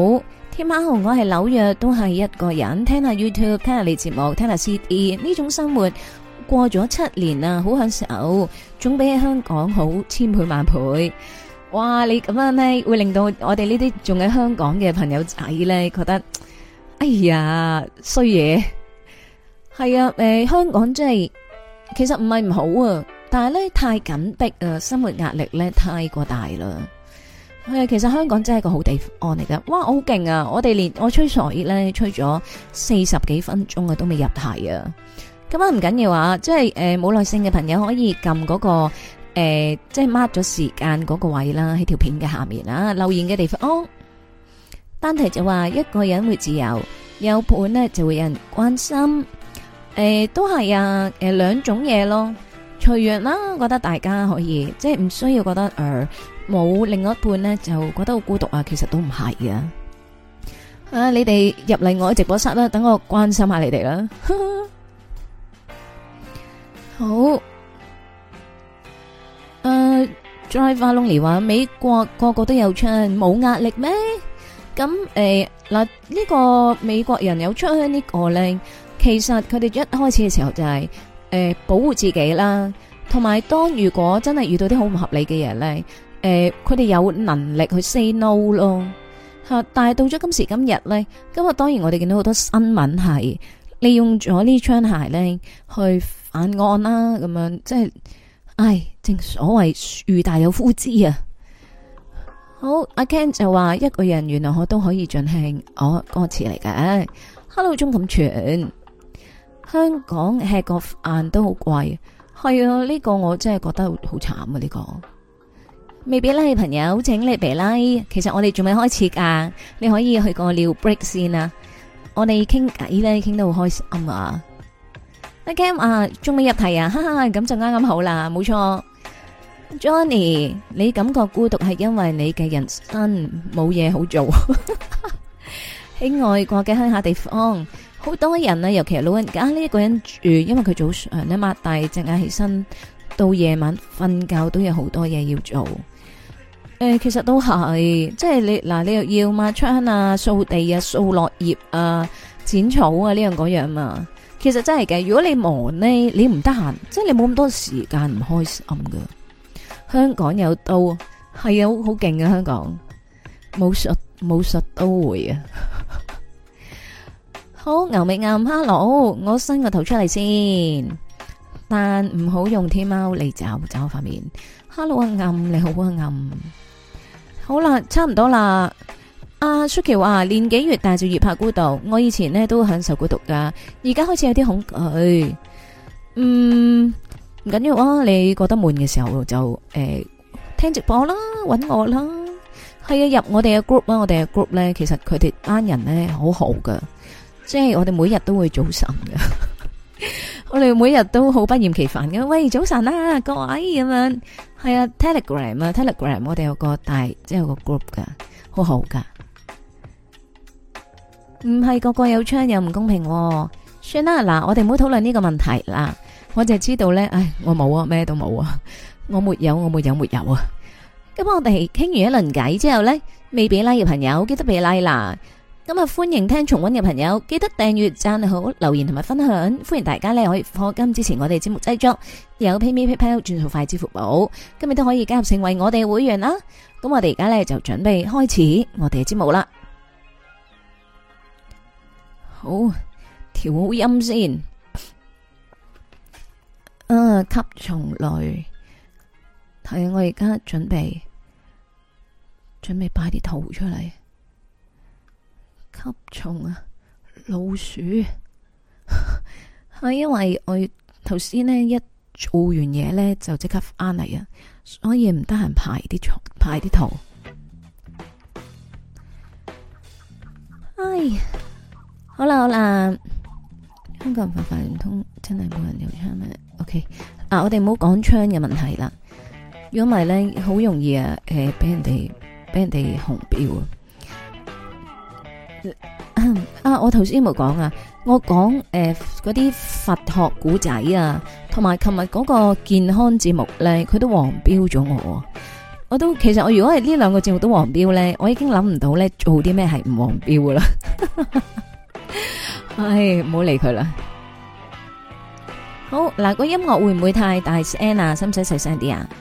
天喵，我喺紐約都係一個人，聽下 YouTube，聽下你節目，聽下 CD，呢種生活過咗7年啊，好享受，總比喺香港好千倍萬倍。哇！你咁樣咧，會令到我哋呢啲仲喺香港嘅朋友仔咧，覺得哎呀衰嘢。係啊，香港真係其實唔係唔好啊，但係咧太緊迫啊，生活壓力咧太過大啦。其實香港真係個好地方嚟噶。哇，我好勁啊！我吹水咧吹咗40幾分鐘啊，都未入題啊。咁啊唔緊要啊，即係冇耐性嘅朋友可以撳嗰個。即係 mark 咗時間嗰個位啦，喺條片嘅下面啊，留言嘅地方。單題就話一個人會自由，有伴呢就會有人關心。都係啊，兩種嘢咯，隨緣啦。覺得大家可以即係唔需要覺得冇另外一半呢就覺得好孤獨啊，其實都唔係啊。你哋入嚟我嘅直播室啦，等我關心下你哋啦。好。Drive Lonely 話美國個個都有槍，冇壓力咩？咁嗱呢個美國人有槍呢個咧，其實佢哋一開始嘅時候就係保護自己啦，同埋當如果真係遇到啲好唔合理嘅嘢咧，佢哋有能力去 say no 咯吓。但係到咗今時今日咧，今日當然我哋見到好多新聞係利用咗呢槍械咧去犯案啦，咁樣即係。唉，正所謂樹大有枯枝啊！好，阿 Ken 就話一個人原來我都可以盡興，歌詞嚟嘅。Hello， 鍾錦全，香港吃個飯都好貴，係啊，呢個我真係覺得好慘啊！呢個未俾 like 嘅朋友，請你俾 like。其實我哋仲未開始噶，你可以去個尿 break 先啊！我哋傾偈咧，傾得好開心啊！阿 Cam 啊，仲未入題啊，哈哈，咁就啱啱好啦，冇錯。Johnny，你感覺孤獨係因為你嘅人生冇嘢好做。喺外國嘅鄉下地方，好多人啊，尤其係老人家呢一個人住，因為佢早上咧擘大隻眼起身，到夜晚瞓覺都有好多嘢要做。其實都係，即係你又要抹窗啊、掃地啊、掃落葉啊、剪草啊呢樣嗰樣嘛。其實真係嘅，如果你忙呢，你唔得閒，即係你冇咁多時間唔開心噶。香港有都係啊，好勁啊！香港武術都會啊。好，牛尾暗 ，hello， 我伸個頭出嚟先，但唔好用天貓嚟找我塊面。hello 啊暗，你好啊暗。好啦，差唔多啦。阿 Suki 話年紀越大就越怕孤獨，我以前呢都享受孤獨噶，而家開始有啲恐懼。唔緊要啊，你覺得悶嘅時候就聽直播啦，搵我啦。係啊，入我哋嘅 group 啦，我哋嘅 group 咧，其實佢哋班人咧好好噶，即係我哋每日都會早晨噶，我哋每日都好不厭其煩嘅。喂，早晨啊，各位咁樣。係啊，Telegram 我哋有個大，即係有個 group 噶，好好噶。唔係個個有槍又唔公平喎。算啦，嗱，我哋唔好討論呢個問題啦。我就知道咧，唉，我冇啊，咩都冇啊，我沒有啊。咁我哋傾完一輪偈之後咧，未俾 like 嘅朋友記得俾 like 啦。咁啊，歡迎聽重溫嘅朋友記得訂閱、讚好、留言同埋分享。歡迎大家咧可以課金支持我哋節目製作，有 PayMe PayPal 轉數快支付寶，今日都可以加入成為我哋會員啦。咁我哋而家咧就準備開始我哋嘅節目啦。好，調好音先。吸蟲類，係我而家準備擺啲圖出嚟。吸蟲啊，老鼠，係因為我頭先呢一做完嘢呢，就即刻翻嚟啊，所以唔得閒排啲圖。唉，好啦，香港人發唔通真係冇人有槍咩 ？OK， 我哋唔好講槍嘅問題啦。如果唔係咧，好容易啊，俾人哋紅標啊！我頭先冇講啊，我講嗰啲佛學古仔啊，同埋琴日嗰個健康節目咧，佢都黃標咗我。 我都其實我如果係呢兩個節目都黃標咧，我已經諗唔到咧做啲咩係唔黃標噶啦。唉，唔好理佢啦。好嗱，個音樂會唔會太大聲啊？使唔使細聲啲啊？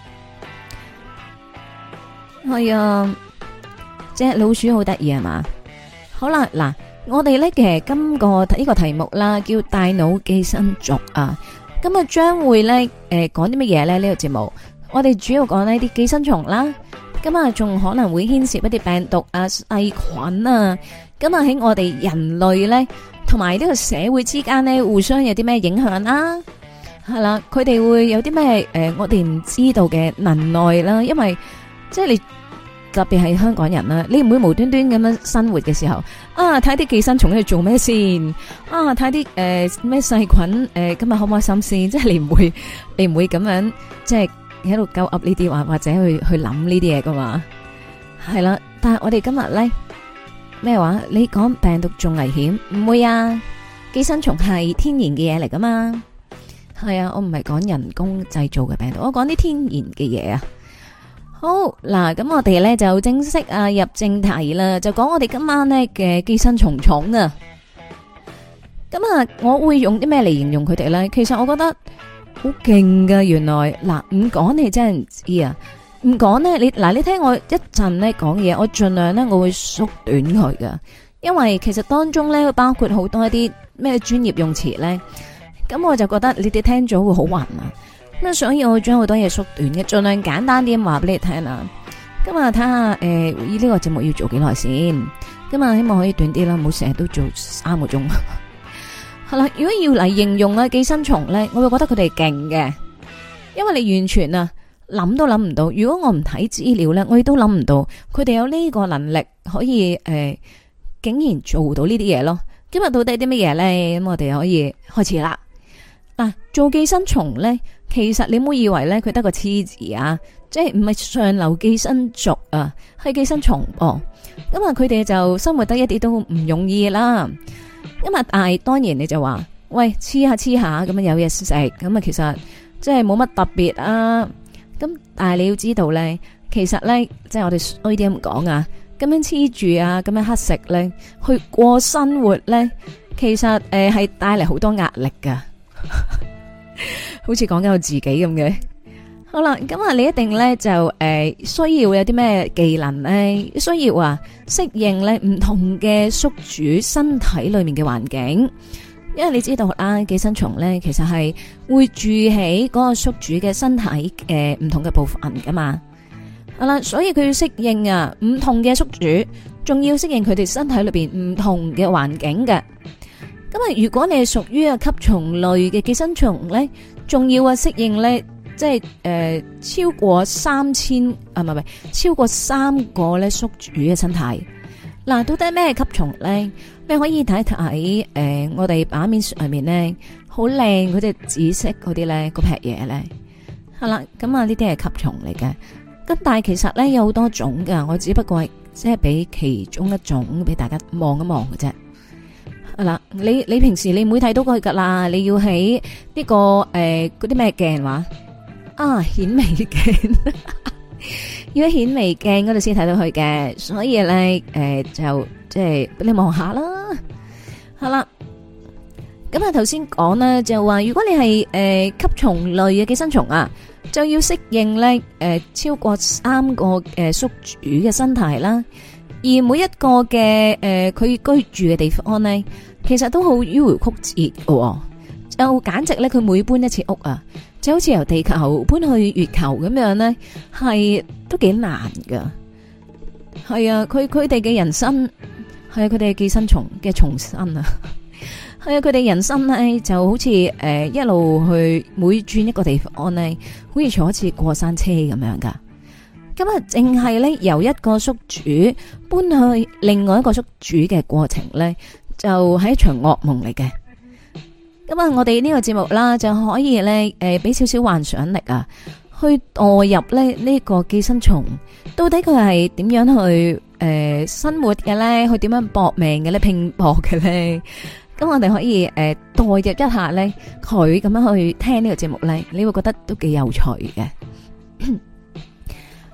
係啊，隻老鼠好得意係嘛？好啦，嗱，我哋咧其實今個呢個題目啦，叫大腦寄生族啊。咁啊，將會咧講啲乜嘢咧？呢個節目我哋主要講呢啲寄生蟲啦。咁啊，仲可能會牽涉一啲病毒啊、細菌啊。咁啊，喺我哋人類咧同埋呢個社會之間咧，互相有啲咩影響啦？係啦，佢哋會有啲咩我哋唔知道嘅能耐啦。因為即係你特別係香港人啦，你唔會無端端咁樣生活嘅時候啊，睇啲寄生蟲喺度做咩先啊？睇啲咩細菌今日開唔開心先？即係你唔會咁樣即係喺度鳩噏呢啲話，或者去諗呢啲嘢噶嘛？係啦，但係我哋今日咧咩話？你講病毒仲危險？唔會啊！寄生蟲係天然嘅嘢嚟噶嘛？係啊，我唔係講人工製造嘅病毒，我講啲天然嘅嘢啊！好嗱，咁我哋咧就正式入正題啦，就講我哋今晚咧嘅寄生蟲啊。咁啊，我會用啲咩嚟形容佢哋咧？其實我覺得好勁噶，原來嗱唔講你真係唔知啊，唔講咧你聽我一陣咧講嘢，我盡量咧我會縮短佢噶，因為其實當中咧包括好多一啲咩專業用詞咧，咁我就覺得你哋聽咗會好暈啊。咁所以我會將好多嘢縮短嘅，盡量簡單啲咁話俾你聽啊。今日睇下呢個節目要做幾耐先。今日希望可以短啲啦，唔好成日都做3個鐘。係啦，如果要嚟形容寄生蟲咧，我會覺得佢哋勁嘅，因為你完全諗都諗唔到。如果我唔睇資料咧，我亦都諗唔到佢哋有呢個能力可以竟然做到呢啲嘢咯。今日到底啲乜嘢咧？咁我哋可以開始啦。嗱，做寄生蟲咧。其實你唔好以為咧佢得個黐字啊，即係唔係上流寄生族啊，係寄生蟲哦。咁啊，佢哋就生活得一啲都唔容易啦。咁啊，但係當然你就話，喂，黐下咁樣有嘢食，咁啊其實即係冇乜特別啊。咁但係你要知道咧，其實咧即係我哋衰啲咁講啊，咁樣黐住啊，咁樣乞食咧，去過生活咧，其實係帶嚟好多壓力噶。好似講緊我自己咁嘅。好啦，咁啊，你一定咧就需要有啲咩技能咧？需要適應咧唔同嘅宿主身體裏面嘅環境，因為你知道啦，寄生蟲咧其實係會住喺嗰個宿主嘅身體唔同嘅部分噶嘛。好啦，所以佢要適應唔同嘅宿主，仲要適應佢哋身體裏邊唔同嘅環境嘅。咁啊，如果你係屬於吸蟲類嘅寄生蟲咧，仲要適應咧，即係超過3000唔係超過3個咧宿主嘅身體。嗱，到底咩吸蟲咧？你可以睇睇我哋版面上面咧，好靚嗰隻紫色嗰啲咧，嗰劈嘢咧，係啦。咁啊，呢啲係吸蟲嚟嘅。咁但係其實咧有好多種噶，我只不過係即係俾其中一種俾大家望一望嘅啫。嗱，你平時你唔會睇到佢噶啦，你要喺呢個嗰啲咩鏡話顯微鏡，要喺顯微鏡嗰度先睇到佢嘅，所以咧就即係俾你望下啦。好啦，咁啊頭先講咧就話，如果你係吸蟲類嘅寄生蟲啊，就要適應咧超過3個宿主嘅身體啦。而每一個嘅佢居住嘅地方咧，其實都好迂迴曲折嘅，就簡直咧佢每搬一次屋啊，就好似由地球搬去月球咁樣咧，係都幾難噶。係啊，佢哋嘅人生係佢哋寄生蟲嘅重生啊。係啊，佢哋人生咧就好似一路去每轉一個地方咧，好似坐一次過山車咁樣噶。咁啊，淨係咧由一個宿主搬去另外一個宿主嘅過程咧，就係一場噩夢嚟嘅。咁啊，我哋呢個節目啦，就可以咧俾少少幻想力啊，去墮入咧呢個寄生蟲，到底佢係點樣去生活嘅咧？去點樣搏命嘅咧？拼搏嘅咧？咁我哋可以代入一下咧，佢咁樣去聽呢個節目咧，你會覺得都幾有趣嘅。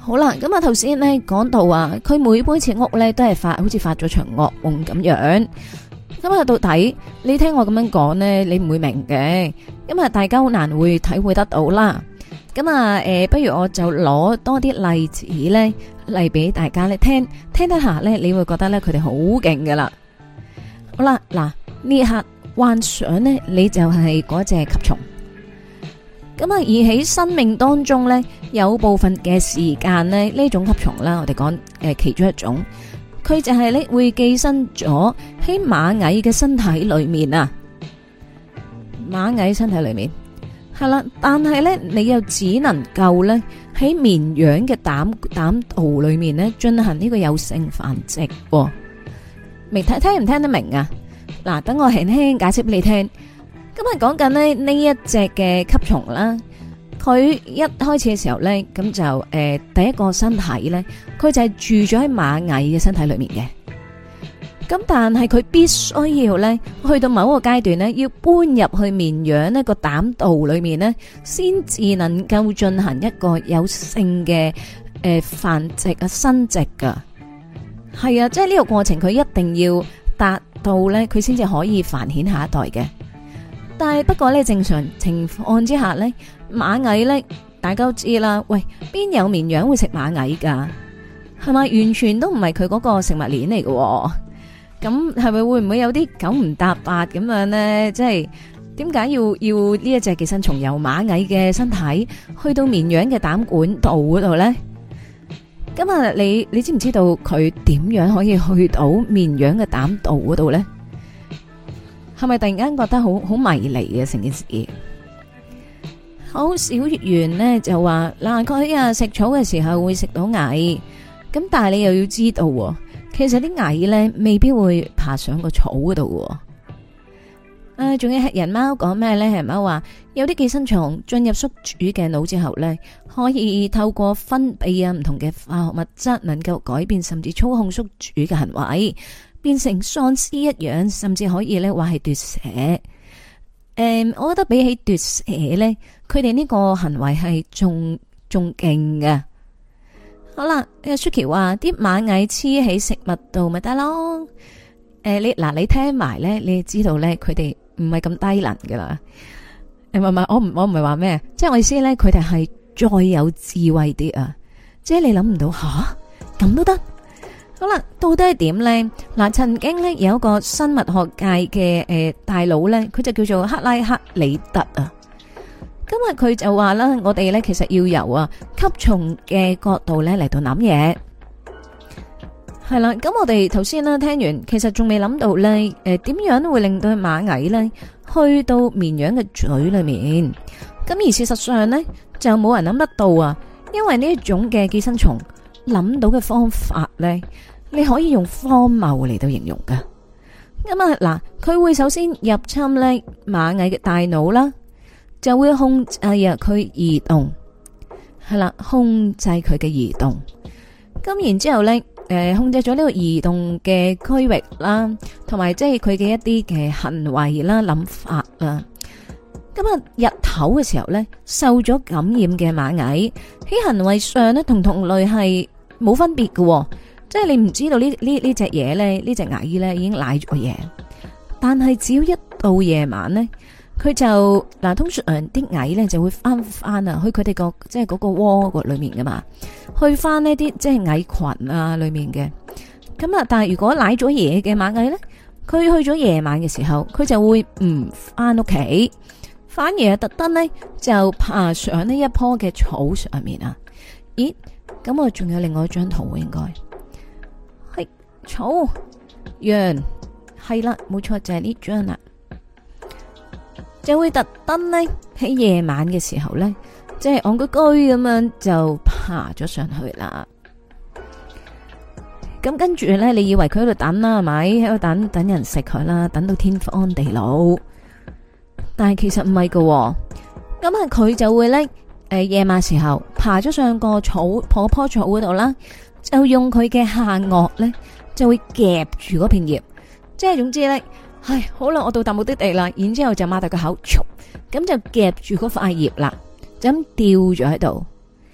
好啦，咁啊頭先咧講到啊，佢每次屋咧都係好似發咗場噩夢咁樣。咁啊到底你聽我咁樣講咧，你唔會明嘅，因為大家好難會體會得到啦。咁啊不如我就攞多啲例子咧嚟俾大家咧聽得下咧，你會覺得咧佢哋好勁噶啦。好啦，嗱呢一刻幻想咧，你就係嗰隻吸蟲。咁啊，而喺生命當中咧，有部分嘅時間咧，呢種吸蟲啦，我哋講其中一種，佢就係咧會寄生咗喺螞蟻嘅身體裏面啊。螞蟻身體裏面係啦，但係咧你又只能夠咧喺綿羊嘅膽道裏面咧進行呢個有性繁殖。明聽唔聽得明啊？嗱，等我輕輕解釋俾你聽。咁啊，講緊咧呢一隻嘅吸蟲啦，佢一開始嘅時候咧，咁就第一個身體咧，佢就係住咗喺螞蟻嘅身體裏面嘅。咁但係佢必須要咧，去到某一個階段咧，要搬入去綿羊呢個膽道裏面咧，先至能夠進行一個有性嘅繁殖啊、生殖噶。係啊，即係呢個過程，佢一定要達到咧，佢先至可以繁衍下一代嘅。但係不過咧，正常情況之下咧，螞蟻咧，大家都知啦。喂，邊有綿羊會食螞蟻噶？係咪完全都唔係佢嗰個食物鏈嚟嘅？咁係咪會唔會有啲九唔搭八咁樣咧？即係點解要呢一隻寄生蟲由螞蟻嘅身體去到綿羊嘅膽管道嗰度咧？咁啊，你知唔知道佢點樣可以去到綿羊嘅膽道嗰度咧？係咪突然間覺得好迷離嘅成件事？好，小月圓呢就話嗱，佢啊食草嘅時候會食到蟻，咁但係你又要知道，其實啲蟻呢未必會爬上個草嗰度。仲有黑人貓講咩呢？黑人貓話有啲寄生蟲進入宿主嘅腦之後呢，可以透過分泌啊唔同嘅化學物質，能夠改變甚至操控宿主嘅行為。變成喪屍一樣，甚至可以咧話係奪舍。我覺得比起奪舍咧，佢哋呢個行為係仲勁嘅。好啦，Suki 話啲螞蟻黐喺食物度咪得咯。你聽埋咧，你就知道咧，佢哋唔係咁低能噶啦。唔係，我唔係話咩，即係我意思咧，佢哋係再有智慧啲啊。即係你諗唔到吓，咁都得。好啦，到底係點咧？嗱，曾經咧有一個生物學界嘅大佬咧，佢就叫做克拉克里特啊。今日佢就話啦，我哋咧其實要由吸蟲嘅角度咧嚟到諗嘢。係啦，咁我哋頭先啦聽完，其實仲未諗到咧，點樣會令到螞蟻咧去到綿羊嘅嘴裏面？咁而事實上咧，就冇人諗得到啊，因為呢一種嘅寄生蟲諗到嘅方法咧，你可以用荒謬嚟到形容噶。咁嗱，佢會首先入侵咧螞蟻嘅大腦啦，就會控制佢移動，係啦，控制佢嘅移動。咁然之後咧，控制咗呢個移動嘅區域啦，同埋即係佢嘅一啲嘅行為啦、諗法啦。咁日頭嘅時候咧，受咗感染嘅螞蟻喺行為上咧，同同類係冇分別嘅，即係你唔知道呢隻嘢咧，呢隻蟻咧已經舐咗嘢，但係只要一到夜晚咧，佢就嗱，通常啲蟻咧就會翻去佢哋個即係嗰個窩個裏面噶嘛，去翻呢啲即係蟻群啊裏面嘅。咁但係如果舐咗嘢嘅螞蟻咧，佢去咗夜晚嘅時候，佢就會唔翻屋企，反而特登咧就爬上呢一棵嘅草上面啊。咦？咁我仲有另外一張圖，應該係草羊，係啦，冇錯，就係呢張啦，就會特登咧喺夜晚嘅時候咧，即係戇居居咁樣就爬咗上去啦。咁跟住咧，你以為佢喺度等啦，係咪喺度等人食佢啦，等到天荒地老？但係其實唔係噶，咁佢就會咧。夜晚時候爬咗上個棵草嗰度啦，就用佢嘅下顎咧，就會夾住嗰片葉，即係總之咧，好啦，我到達目的地啦，然之後就擘大個口，咁就夾住嗰塊葉啦，就咁吊咗喺度。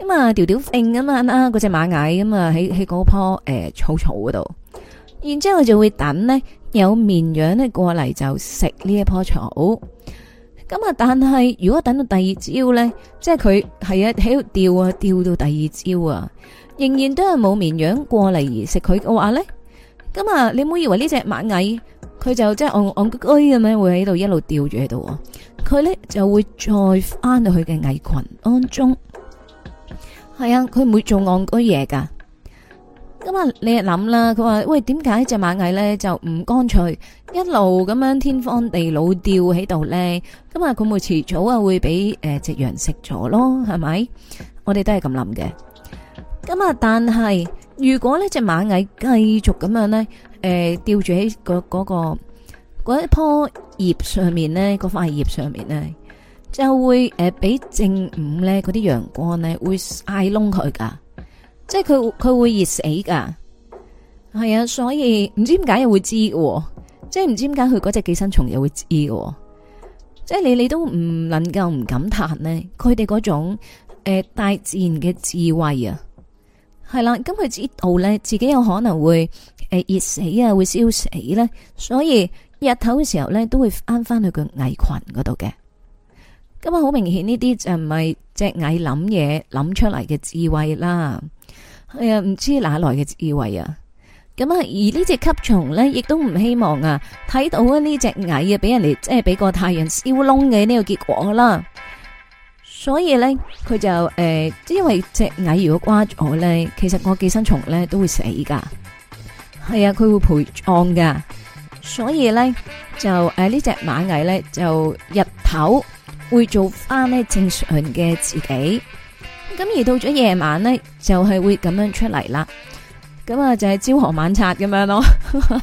咁啊吊吊揈咁啊啦，嗰隻螞蟻咁啊喺嗰棵草草嗰度，然之後就會等呢有綿羊咧過嚟就食呢一棵草。咁啊，但係如果等到第二朝咧，即係佢係啊喺度吊到第二朝啊，仍然都係冇綿羊過嚟而食佢嘅話咧，咁啊你唔好以為呢隻螞蟻佢就即係戇居居咁樣會喺度一路吊住喺度啊，佢咧就會再翻到去嘅蟻群當中。係啊，佢唔會做戇居嘢噶。咁啊，你就諗啦，佢話喂，點解隻螞蟻咧就唔乾脆一路咁樣天荒地老吊喺度咧？咁啊，佢會遲早啊會俾隻羊食咗咯，係咪？我哋都係咁諗嘅。咁啊，但係如果呢隻螞蟻繼續咁樣咧，吊住喺嗰一棵葉上面咧，嗰塊葉上面咧，就會俾正午咧嗰啲陽光咧會曬燶佢噶。即係佢會熱死噶，係啊，所以唔知點解又會知嘅，即係唔知點解佢嗰隻寄生蟲又會知嘅，即係你都唔能夠唔感嘆呢，佢哋嗰種大自然嘅智慧啊，係啦，咁佢知道咧自己有可能會熱死啊，會燒死咧，所以日頭嘅時候咧都會翻去個蟻群嗰度嘅。咁啊，好明顯呢啲就唔係隻蟻諗嘢諗出嚟嘅智慧啦。係啊，唔知哪來嘅智慧啊！咁啊，而呢隻吸蟲咧，亦都唔希望啊睇到啊呢隻蟻啊俾人哋即係俾個太陽燒燶嘅呢個結果啦。所以咧，佢就因為隻蟻如果瓜咗咧，其實個寄生蟲咧都會死噶。係啊，佢會陪葬噶。所以咧就呢隻螞蟻咧就日頭會做翻呢正常嘅自己。咁而到咗夜晚咧，就係會咁樣出嚟啦。咁啊，就係朝河晚拆咁樣咯。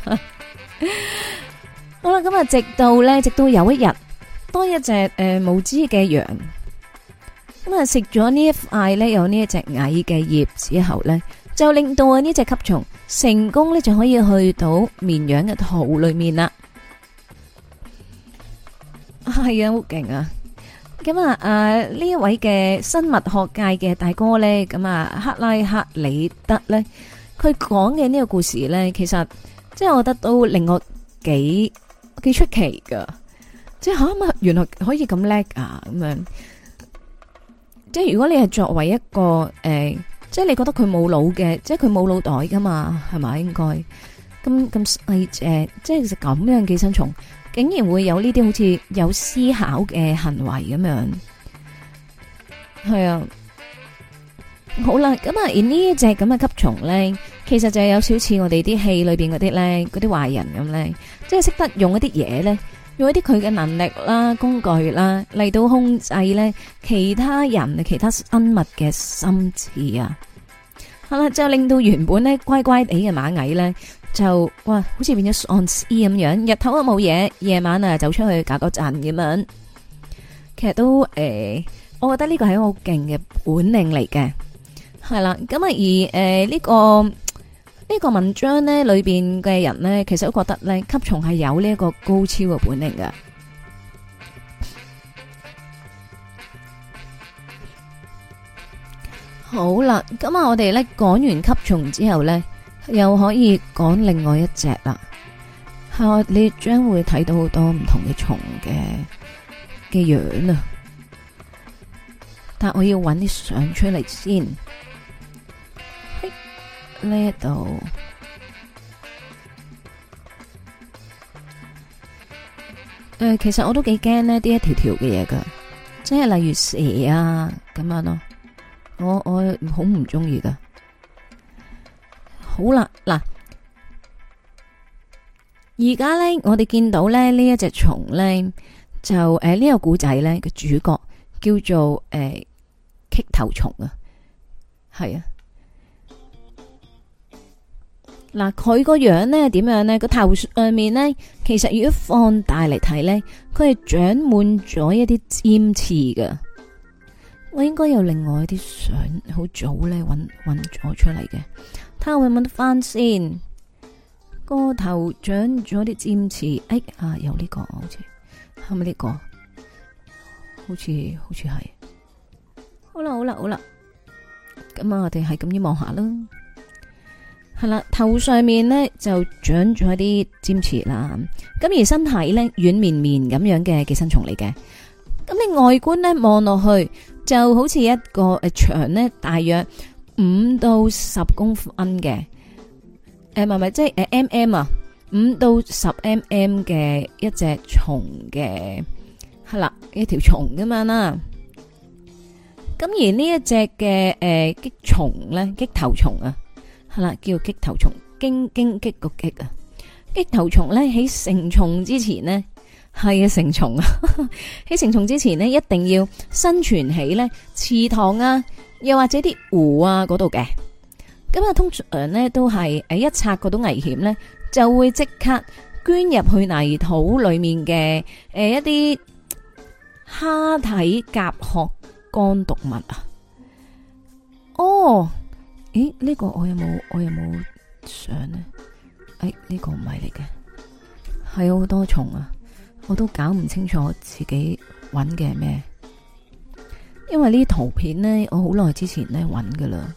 好啦，咁啊，直到有一日，當一隻無知嘅羊咁啊食咗呢一塊咧有呢一隻蟻嘅葉之後咧，就令到啊呢隻吸蟲成功咧就可以去到綿羊嘅肚裏面啦。係啊，好勁啊！咁啊，呢一位嘅生物學界嘅大哥咧，咁啊，克拉克里德咧，佢講嘅呢個故事咧，其實即係我覺得都令我幾出奇噶，即係吓原來可以咁叻啊咁樣。即係如果你係作為一個即係你覺得佢冇腦嘅，即係佢冇腦袋噶嘛，係咪應該咁細隻，即係其實咁樣寄生蟲。竟然會有呢啲好似有思考嘅行為咁樣，係啊，好啦，咁啊，而呢一隻咁嘅吸蟲咧，其實就係有少似我哋啲戲裏邊嗰啲咧，嗰啲壞人咁咧，即係識得用一啲嘢咧，用一啲佢嘅能力啦、工具啦嚟到控制咧其他人、其他生物嘅心智啊，係啦，就令到原本咧乖乖地嘅螞蟻咧。就哇，好似變咗喪屍咁樣，日頭啊冇嘢，夜晚啊走出去搞個陣咁樣。其實都我覺得呢個係一個好勁嘅本領嚟嘅，係啦。咁啊而呢個文章咧裏邊嘅人咧，其實都覺得咧吸蟲係有呢一個高超嘅本領嘅。好啦，咁啊我哋咧講完吸蟲之後咧。又可以講另外一隻啦，係你將會睇到好多唔同嘅蟲嘅樣啊！但我要揾啲相出嚟先。呢一度，其實我都幾驚呢啲一條條嘅嘢噶，即係例如蛇啊咁樣咯，我好唔中意噶。好啦，嗱，而家咧，我哋見到咧呢一隻蟲咧，就呢個古仔咧嘅主角叫做棘頭蟲啊，係啊，嗱，佢個樣咧點樣咧？個頭上面咧，其實如果放大嚟睇咧，佢係長滿咗一啲尖刺噶。我應該有另外一啲相，好早咧搵咗出嚟嘅。睇下會唔會得翻先？個頭長咗啲尖刺，有呢個好似係咪呢個？好似係。好啦， 咁啊，我哋係咁樣望下啦。係啦，頭上面呢就長咗一啲尖刺啦，咁而身體呢軟綿綿咁樣嘅寄生蟲嚟嘅。咁你外觀呢望落去就好似一個長呢大約5到10公分嘅，唔係即係mm啊，5到10 mm 嘅一隻蟲嘅，係啦，一條蟲咁樣啦。咁而呢一隻嘅擊蟲咧，擊頭蟲啊，係啦，叫擊頭蟲，荊棘個棘啊。擊頭蟲咧喺成蟲之前呢，係啊，成蟲啊，喺成蟲之前呢，一定要生存喺咧池塘啊，又或者啲湖啊嗰度嘅。咁啊，通常咧都係一察覺到危險咧，就會即刻捐入去泥土裏面嘅一啲蝦體甲殼肝毒物啊。哦，咦？呢個我有冇相呢？呢個唔係嚟嘅，係好多蟲啊！我都搞唔清楚自己揾嘅係咩，因為呢啲圖片呢，我好耐之前呢揾噶啦，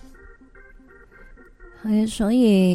係啊，所以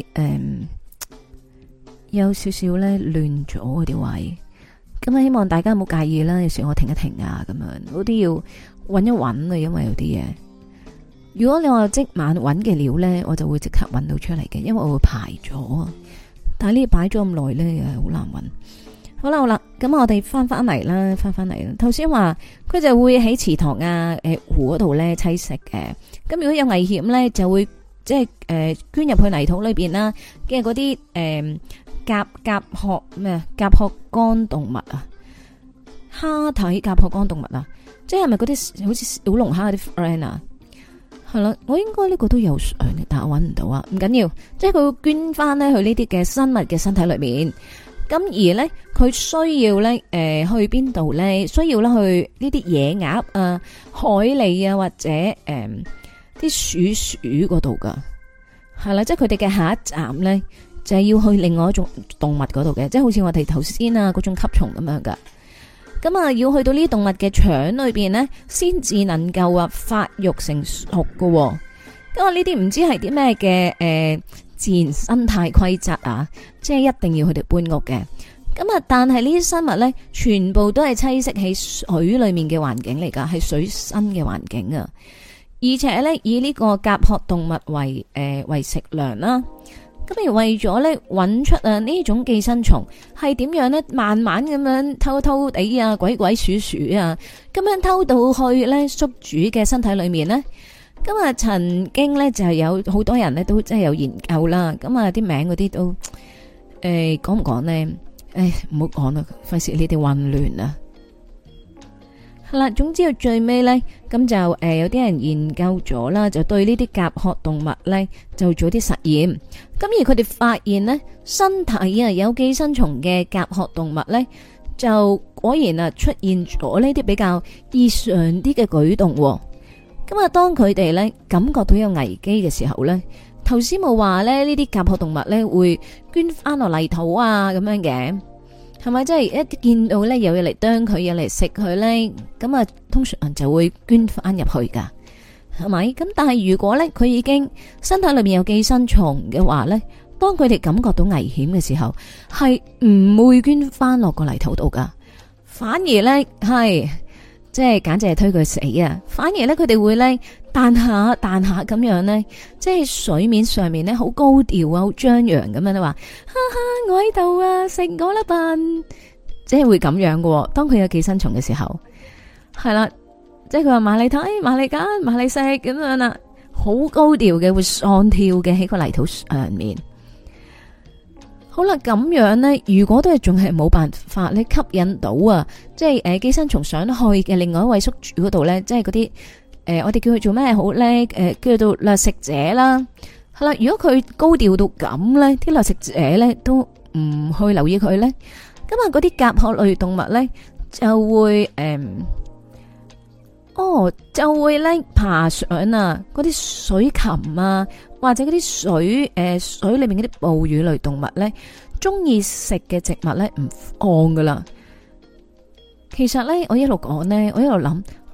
有少少呢亂咗嗰啲位，咁啊希望大家唔好介意啦。有時我停一停啊，咁樣嗰啲要揾一揾啊，因為有啲嘢，如果你話即晚揾嘅料呢，我就會即刻揾到出嚟嘅，因為我會排咗啊。但係呢擺咗咁耐呢，又好難揾。好啦，咁我哋翻嚟啦。頭先話佢就會喺池塘啊、湖嗰度咧棲息嘅。咁如果有危險咧，就會即係捐入去泥土裏邊啦。嘅嗰啲甲殼咩？甲殼肝動物啊，蝦體甲殼肝動物啊，即係咪嗰啲好似小龍蝦嗰啲 friend 啊？係啦，我應該呢個都有相嘅，但係我搵唔到啊。唔緊要，即係佢會捐翻咧去呢啲嘅生物嘅身體裏面。咁而咧，佢需要咧，去邊度咧？需要咧去呢啲野鴨啊、海狸啊，或者啲鼠嗰度噶，係啦，即係佢哋嘅下一站咧，就係要去另外一種動物嗰度嘅，即係好似我哋頭先啊嗰種吸蟲咁樣噶。咁啊，要去到呢啲動物嘅腸裏邊咧，先至能夠啊發育成熟噶。咁啊，呢啲唔知係啲咩嘅自然生態規則啊，即係一定要佢哋搬屋嘅。咁啊，但係呢啲生物呢，全部都係棲息喺水裏面嘅環境嚟噶，係水生嘅環境啊。而且呢，以呢個甲殼動物為食糧啦。咁而為咗呢，揾出啊呢種寄生蟲係點樣呢？慢慢咁樣偷偷地啊，鬼鼠鼠啊，咁樣偷到去呢宿主嘅身體裏面呢。咁啊，曾經咧就有好多人咧都真係有研究啦。咁啊，啲名嗰啲都講唔講呢？唔好講啦，費事你哋混亂啊。係啦，總之到最尾咧，咁就有啲人研究咗啦，就對呢啲甲殼動物咧就做啲實驗。咁而佢哋發現呢，身體啊有寄生蟲嘅甲殼動物咧，就果然啊出現咗呢啲比較異常啲嘅舉動。咁啊，當佢哋咧感覺到有危機嘅時候咧，頭先冇話咧呢啲甲殼動物咧會捐翻落泥土啊咁樣嘅，係咪？即係一見到咧有嘢嚟啄佢，有嚟食佢咧，咁啊通常就會捐翻入去噶，係咪？咁但係如果咧佢已經身體裏面有寄生蟲嘅話咧，當佢哋感覺到危險嘅時候，係唔會捐翻落個泥土度噶，反而咧係。即係簡直係推佢死啊！反而咧，佢哋會咧彈下咁樣咧，即係水面上面咧好高調啊，好張揚咁樣都話，哈哈，我喺度啊，食我啦笨！即係會咁樣喎。當佢有寄生蟲嘅時候，係啦，即係佢話埋嚟睇，埋嚟揀，埋嚟食咁樣啦，好高調嘅，會喪跳嘅喺個泥土上面。好啦，咁樣呢，如果都係仲係冇辦法咧吸引到啊，即係寄生蟲想去嘅另外一位宿主嗰度呢，即係嗰啲我哋叫佢做咩好呢？叫做掠食者啦。係啦，如果佢高調到咁呢，啲掠食者呢都唔去留意佢呢。咁啊嗰啲甲殼類動物呢，就會就會咧爬上啊嗰啲水禽啊，或者嗰啲水裏面嗰啲哺乳類動物咧，中意食嘅植物咧唔放噶啦。其實咧，我一路講咧，我一路諗，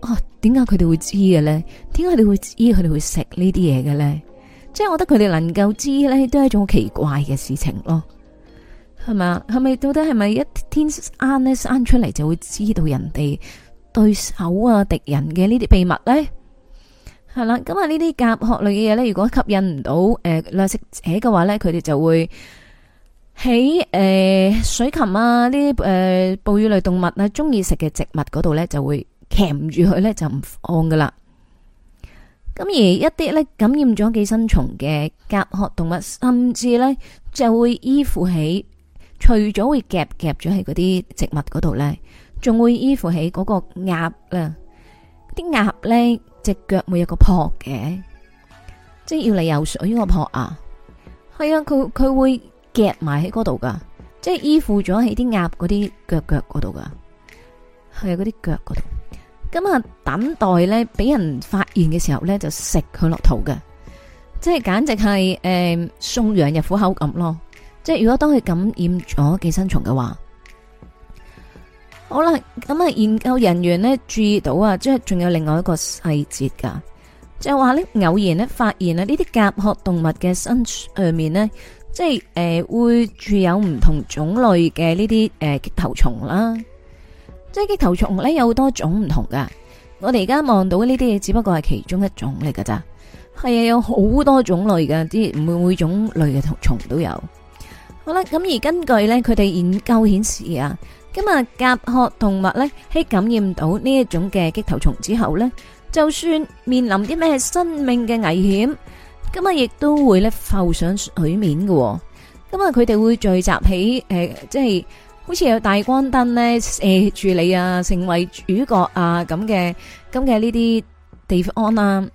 點解佢哋會知嘅咧？點解佢哋會知佢哋會食呢啲嘢嘅咧？即係我覺得佢哋能夠知咧，都係一種好奇怪嘅事情咯，係咪啊？係咪到底係咪一天生咧生出嚟就會知道人哋對手啊敵人嘅呢啲秘密咧？係啦，咁啊呢啲甲殼類嘅嘢咧，如果吸引唔到掠食者嘅話咧，佢哋就會喺水禽啊呢啲哺乳類動物啊中意食嘅植物嗰度咧，就會鉗住佢咧，就唔放噶啦。咁而一啲咧感染咗寄生蟲嘅甲殼動物，甚至咧就會依附喺，除咗會夾咗喺嗰啲植物嗰度咧，仲會依附喺嗰個鴨啦。啲鴨咧隻腳會有個蹼嘅，即係要嚟游水個蹼啊。係啊，佢會夾埋喺嗰度噶，即係依附咗喺啲鴨嗰啲腳嗰度噶，係啊，嗰啲腳嗰度。咁啊，等待咧俾人發現嘅時候咧，就食佢落肚嘅，即係簡直係送羊入虎口咁咯。即係如果當佢感染咗寄生蟲嘅話，好啦，咁啊，研究人員咧注意到啊，即係仲有另外一個細節噶，就係話咧偶然咧發現啊呢啲甲殼動物嘅身上面咧，即係會住有唔同種類嘅呢啲棘頭蟲啦。即係棘頭蟲咧有好多種唔同噶，我哋而家望到呢啲嘢只不過係其中一種嚟噶咋，係啊，有好多種類噶，啲每種類嘅蟲都有。好啦，咁而根據咧佢哋研究顯示啊，咁啊甲殼動物咧喺感染到呢一種嘅棘頭蟲之後咧，就算面臨啲咩生命嘅危險，咁啊亦都會咧浮上水面嘅。咁啊佢哋會聚集喺即係。好似有大光燈咧射住你啊，成為主角啊咁嘅呢啲地方啦。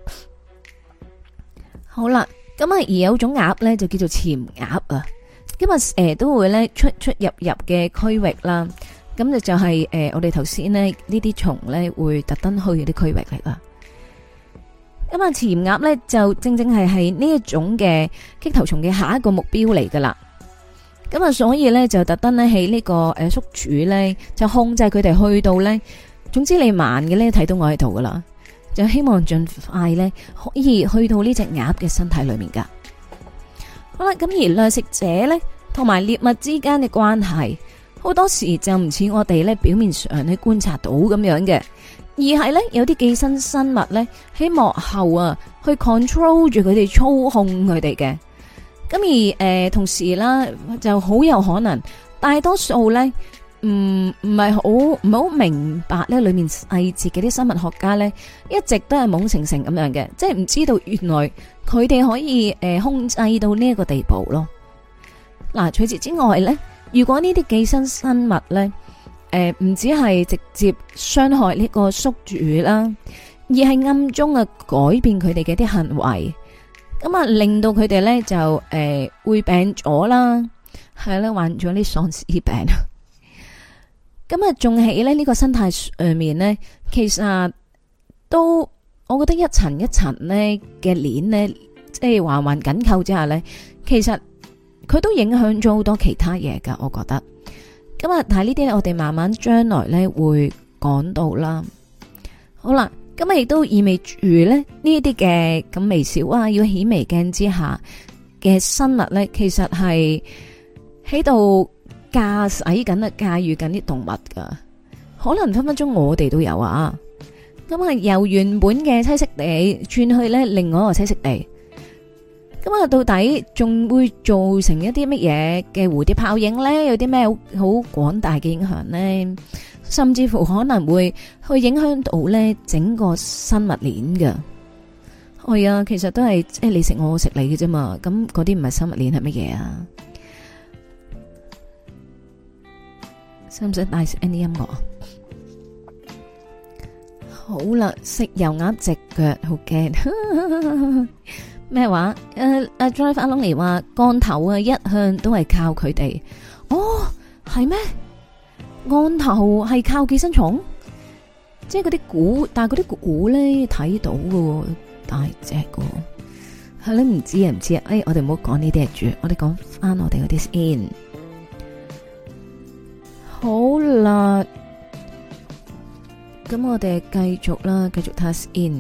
好啦，咁啊而有種鴨咧就叫做潛鴨啊，咁啊成日都會咧出入嘅區域啦。咁就係我哋頭先呢啲蟲咧會特登去嗰啲區域嚟啦。咁啊潛鴨咧就正係呢一種嘅棘頭蟲嘅下一個目標嚟噶啦。咁啊，所以咧就特登咧喺呢個宿主咧就控制佢哋去到咧，總之你慢嘅咧睇到我喺度噶啦，就希望盡快咧可以去到呢隻鴨嘅身體裏面噶。好啦，咁而掠食者咧同埋獵物之間嘅關係，好多時就唔似我哋咧表面上去觀察到咁樣嘅，而係咧有啲寄生生物咧喺幕後啊去 control 住佢哋，操控佢哋嘅。咁而同時啦，就好有可能，大多數咧唔係好明白咧裏面細節嘅啲生物學家咧，一直都係懵成咁樣嘅，即係唔知道原來佢哋可以控制到呢一個地步咯。嗱，除此之外咧，如果呢啲寄生生物咧，唔止係直接傷害呢個宿主啦，而係暗中啊改變佢哋嘅啲行為。咁啊，令到佢哋咧就會病咗啦，係啦，患咗啲喪屍病。咁啊，仲喺咧呢個生態上面咧，其實都我覺得一層一層咧嘅鏈咧，即係環環緊扣之下咧，其實佢都影響咗好多其他嘢噶。我覺得咁啊，但係呢啲我哋慢慢將來咧會講到啦。好啦。咁啊，亦都意味住咧呢啲嘅咁微小啊，要顯微鏡之下嘅生物咧，其實係喺度駕駛緊啊，駕馭緊啲動物噶，可能分分鐘我哋都有啊。咁啊，由原本嘅棲息地轉去咧另外一個棲息地，咁啊，到底仲會造成一啲乜嘢嘅蝴蝶效應咧？有啲咩好廣大嘅影響咧？甚至乎可能會去影響到咧整個生物鏈嘅。係啊，其實都係即係你食我食你嘅啫嘛。咁嗰啲唔係生物鏈係乜嘢啊？使唔使帶啲音樂啊？好啦，食油鴨隻腳好驚。咩話？阿 Drive 阿 Lonny 話降頭啊，一向都係靠佢哋。哦，係咩？案頭係靠寄生蟲，即係嗰啲鼓，但係嗰啲鼓咧睇到嘅，大隻嘅，係咧唔知啊，我哋唔好講呢啲住，我哋講翻我哋嗰啲先。好啦， 咁我哋繼續啦，繼續 task in。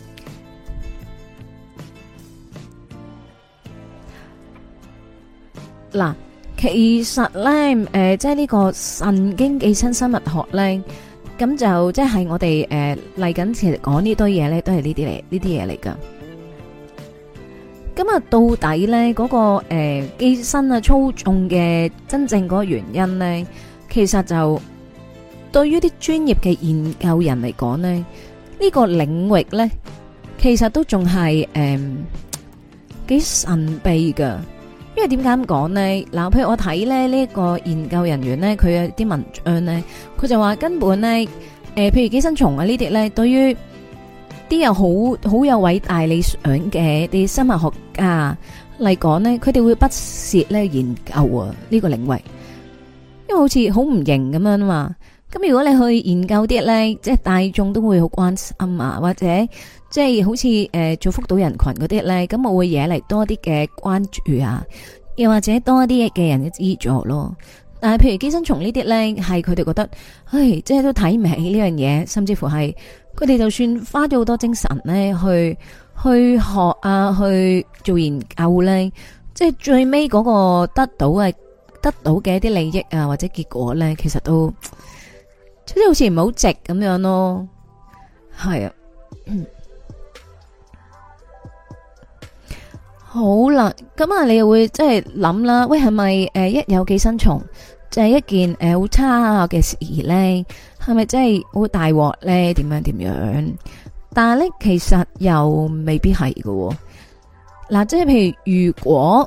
嗱，其實咧，即係呢個神經寄生生物學咧，咁就即係我哋嚟緊其實講呢堆嘢咧，都係呢啲嘢嚟噶。咁啊，到底咧嗰個寄生啊操縱嘅真正嗰個原因咧，其實就對於啲專業嘅研究人嚟講咧，呢個領域咧，其實都仲係幾神秘噶。因為點解咁講呢？嗱，譬如我睇咧呢個研究人員咧，佢有啲文章咧，佢就話根本咧，譬如寄生蟲啊呢啲咧，對於啲有好有偉大理想嘅啲生物學家嚟講咧，佢哋會不屑咧研究啊呢個領域，因為好似好唔型咁樣啊嘛。咁如果你去研究啲咧，即係大眾都會好關心啊，或者即係好似造福到人群嗰啲咧，咁我會惹嚟多啲嘅關注啊，又或者多啲嘅人嘅資助咯。但係譬如寄生蟲呢啲咧，係佢哋覺得，唉，即係都睇唔起呢樣嘢，甚至乎係佢哋就算花咗好多精神咧，去學啊，去做研究咧，即係最尾嗰個得到嘅一啲利益啊，或者結果咧，其實都即係好似唔好值咁樣咯。係啊。好啦，咁啊，你又會即係諗啦，喂，係咪一有寄生蟲就係一件好差嘅事咧？係咪真係好大鑊咧？點樣？但係咧，其實又未必係喎。嗱，即係譬如如果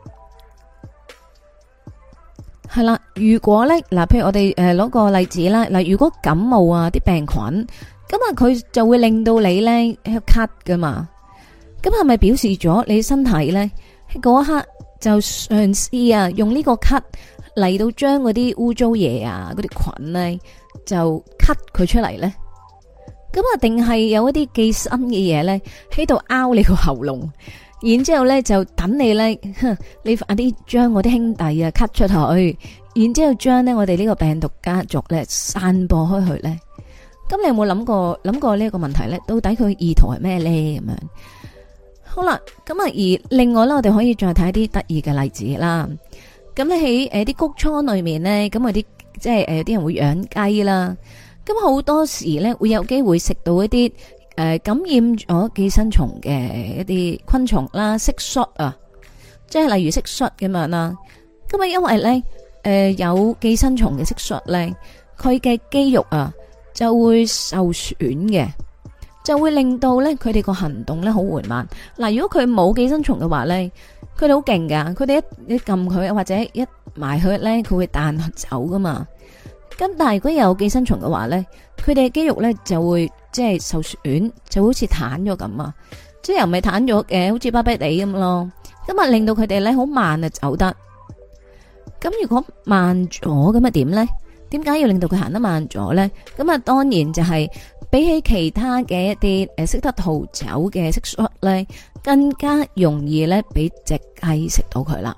係啦，如果咧嗱，譬如我哋攞個例子啦，嗱，如果感冒啊啲病菌，咁啊佢就會令到你咧喺度咳噶嘛。咁係咪表示咗你身體咧喺嗰一刻就嘗試啊用呢個咳嚟到將嗰啲污糟嘢啊嗰啲菌咧就咳佢出嚟咧？咁啊定係有一啲寄生嘅嘢咧喺度拗你個喉嚨，然之後咧就等你咧，你快啲將我啲兄弟啊咳出去，然之後將咧我哋呢個病毒家族咧散播開去咧？咁你有冇諗過呢個問題咧？到底佢意圖係咩咧？咁樣？好啦，咁啊，而另外咧，我哋可以再睇啲得意嘅例子啦。咁咧喺啲谷倉裏面咧，咁啲即係啲人會養雞啦。咁好多時咧會有機會食到一啲感染咗寄生蟲嘅一啲昆蟲啦，蟋蟀啊，即係例如蟋蟀咁樣啦。咁啊，因為咧有寄生蟲嘅蟋蟀咧，佢嘅肌肉啊就會受損嘅。就會令到咧佢哋個行動咧好緩慢。嗱，如果佢冇寄生蟲嘅話咧，佢哋好勁噶，佢哋一撳佢或者一埋佢咧，佢會彈走噶嘛。咁但係如果有寄生蟲嘅話咧，佢哋嘅肌肉咧就會即係受損，就好似癱咗咁啊，即係又唔係癱咗嘅，好似巴閉地咁咯。咁啊令到佢哋咧好慢啊走得。咁如果慢咗咁啊點咧？點解要令到佢行得慢咗咧？咁啊當然就係。比起其他嘅一啲識得逃走嘅蟋蟀咧，更加容易咧俾隻雞食到佢啦。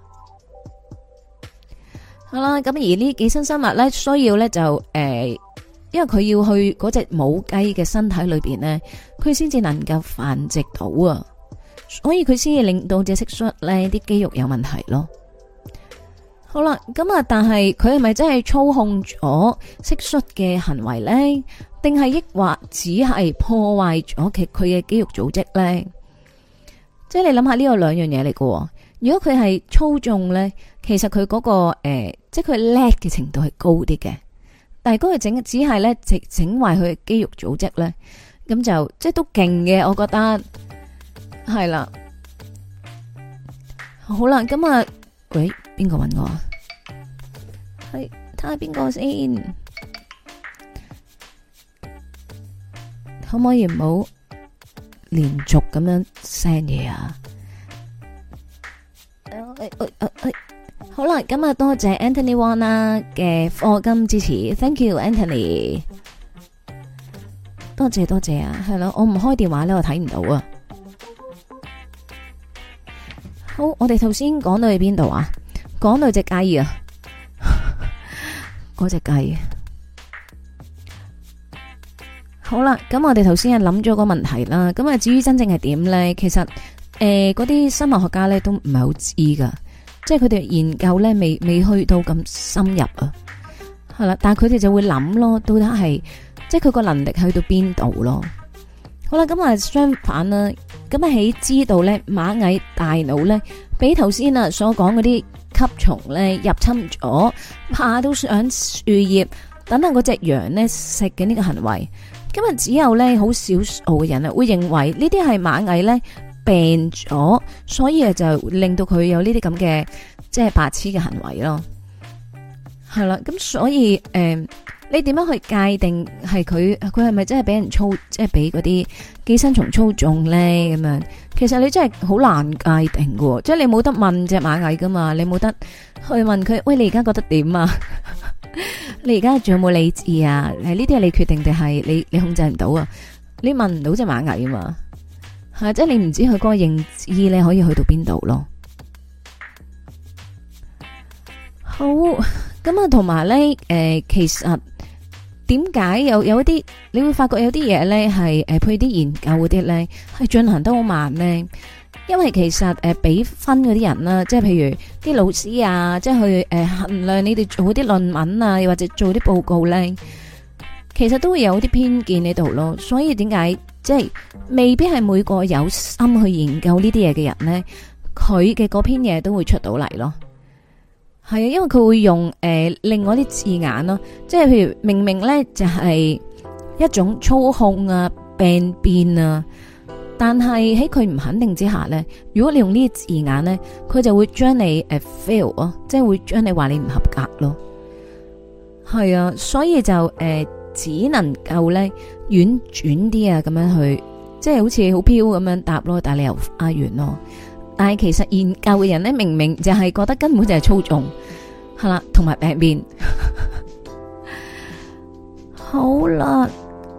好啦，咁而呢寄生生物咧，需要咧就因為佢要去嗰隻母雞嘅身體裏邊咧，佢先至能夠繁殖到啊，所以佢先至令到隻蟋蟀咧啲肌肉有問題咯。好啦，咁啊，但係佢係咪真係操控咗蟋蟀嘅行為咧？定係抑或只係破壞咗佢嘅肌肉組織咧？即係你諗下呢個兩樣嘢嚟嘅。如果佢係操縱咧，其實佢嗰個即係佢叻嘅程度係高啲嘅。但係嗰個只係咧整壞佢嘅肌肉組織咧，咁就即係都勁嘅，我覺得係啦。好啦，咁啊，喂，邊個搵我啊？係睇下邊個先。可唔可以唔好連續咁樣 send 嘢啊？好啦，今日多謝 Anthony Wong 啦嘅課金支持 ，thank you Anthony，多謝啊，係咯，我唔開電話咧，我睇唔到啊。好，我哋頭先講到去邊度啊？講到隻雞啊，嗰隻雞。 好啦，咁我哋頭先係諗咗個問題啦，咁啊至於真正係點咧，其實嗰啲生物學家咧都唔係好知噶，即係佢哋研究咧未去到咁深入啊，係啦，但係佢哋就會諗咯，到底係即係佢個能力去到邊度咯。好啦，咁啊相反啦，咁啊喺知道咧螞蟻大腦咧俾頭先啊所講嗰啲吸蟲咧入侵咗，爬到上樹葉，等等嗰隻羊咧食嘅呢個行為，咁啊只有咧好少數嘅人啊會認為呢啲係螞蟻咧病咗，所以啊就令到佢有呢啲咁嘅即係白痴嘅行為咯。係啦，咁所以你點樣去界定係佢係咪真係俾人即係俾嗰啲寄生蟲操縱咧？咁樣其實你真係好難界定喎，即係你冇得問隻螞蟻噶嘛，你冇得去問佢，喂，你而家覺得點啊？你而家仲有冇理智啊？呢啲係你決定定係你控制唔到啊？你問唔到隻螞蟻啊嘛？係即係你唔知佢嗰個認知你可以去到邊度咯。好，咁啊，同埋咧，其實點解有一啲你會發覺有啲嘢咧係譬如啲研究嗰啲咧係進行得好慢咧？因為其實俾分嗰啲人啦，即係譬如啲老師啊，即係去衡量你哋做啲論文啊，又或者做啲報告咧，其實都會有啲偏見喺度咯。所以點解即係未必係每個有心去研究呢啲嘢嘅人咧，佢嘅嗰篇嘢都會出到嚟咯。係啊，因為佢會用另外啲字眼咯，即係譬如明明咧就係一種操控啊、病變啊，但係喺佢唔肯定之下咧，如果你用呢啲字眼咧，佢就會將你fail 啊，即係會將你話你唔合格咯。係啊，所以就只能夠咧婉轉啲啊，咁樣去，即係好似好飄咁樣答咯，但係你又阿完咯。但係其實研究嘅人咧，明明就係覺得根本就係操縱，係啦，同埋病變。好啦，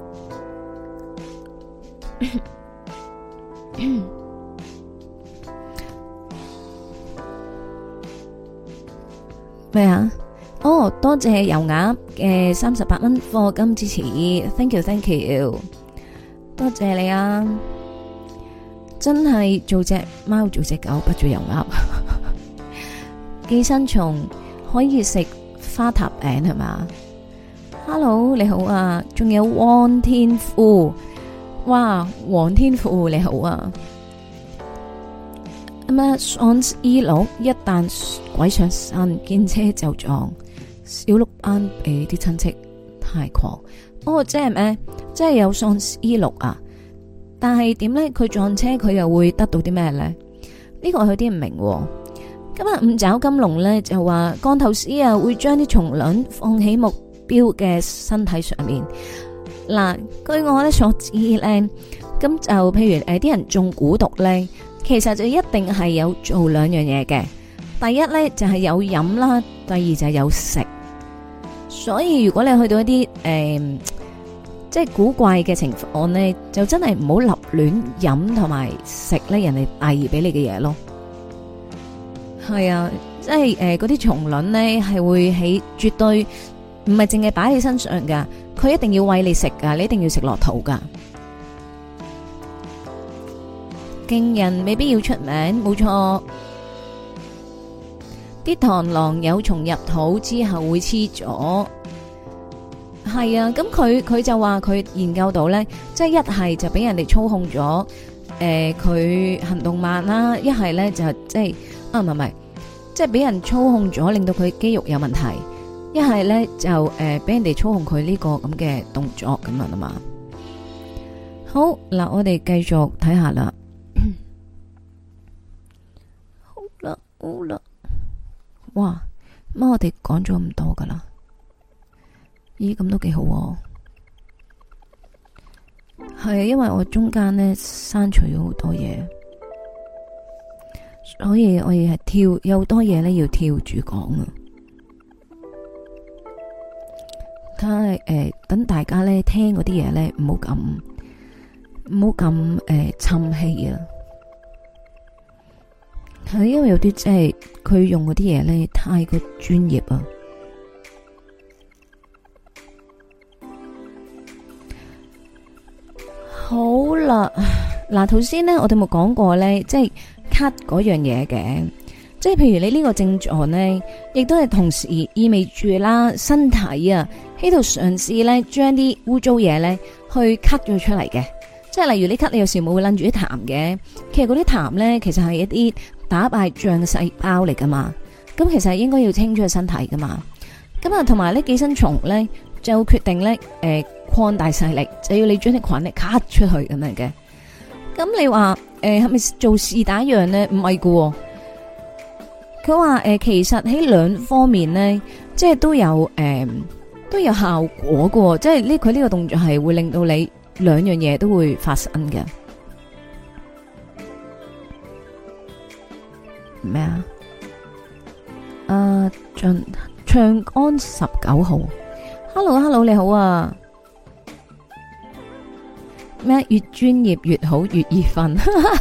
咩啊？哦，多謝油鴨嘅38蚊課金支持 ，thank you，thank you， 多謝你啊！真係做隻貓做隻狗不做油鴨。寄生蟲可以食花塔餅係嘛 ？Hello 你好啊，仲有汪天富，哇黃天富你好啊。咁啊，喪屍佬一旦鬼上身，見車就撞，小鹿斑俾啲親戚太狂。哦，即係咩？即係有喪屍佬啊？但係點咧？佢撞車佢又會得到啲咩咧？呢個我有啲唔明。今日五爪金龍咧就話降頭師啊會將啲蟲卵放喺目標嘅身體上面。嗱，據我咧所知咧，咁就譬如啲人中蠱毒咧，其實就一定係有做兩樣嘢嘅。第一咧就係有飲啦，第二就係有食。所以如果你去到一啲即係古怪嘅情況呢，就真係唔好立亂飲同埋食咧人哋遞俾你嘅嘢咯。係啊，即係嗰啲蟲卵呢係會喺絕對唔係淨係擺喺身上噶，佢一定要餵你食噶，你一定要食落肚噶。勁人未必要出名，冇錯。啲螳螂有蟲入肚之後會黐咗。係啊，咁佢就話佢研究到咧，即係一係就俾人哋操控咗，佢行動慢啦；一係咧就即係唔係，即係俾人操控咗，令到佢肌肉有問題；一係咧就俾人哋操控佢呢個咁嘅動作咁樣啊嘛。好嗱，我哋繼續睇下啦。好啦，好啦，哇，乜我哋講咗咁多噶啦？咦，咁都幾好喎。係啊，因為我中間呢刪除咗好多嘢，所以我亦係跳，有好多嘢呢要跳住講啊。睇下等大家呢聽嗰啲嘢呢，唔好咁沉氣啊。係因為有啲即係佢用嗰啲嘢呢太過專業啊。 好啦，嗱，頭先咧我哋冇講過咧，即係咳嗰樣嘢嘅，即係譬如你呢個症狀咧，亦都係同時意味住啦，身體啊喺度嘗試咧將啲污糟嘢咧去咳咗出嚟嘅，即係例如你咳，你有時冇會拎住啲痰嘅，其實嗰啲痰咧其實係一啲打敗仗嘅細胞嚟噶嘛，咁其實係應該要清出去身體噶嘛，咁啊同埋呢寄生蟲咧就決定咧擴大勢力，就要你將啲菌咧咳出去咁樣嘅。咁你話係咪做事打樣咧？唔係噶，佢話其實喺兩方面咧，即係都有效果噶，即係佢呢個動作係會令到你兩樣嘢都會發生嘅。咩啊？長安19號 ，Hello， 你好啊！咩？越專業越好，越易瞓。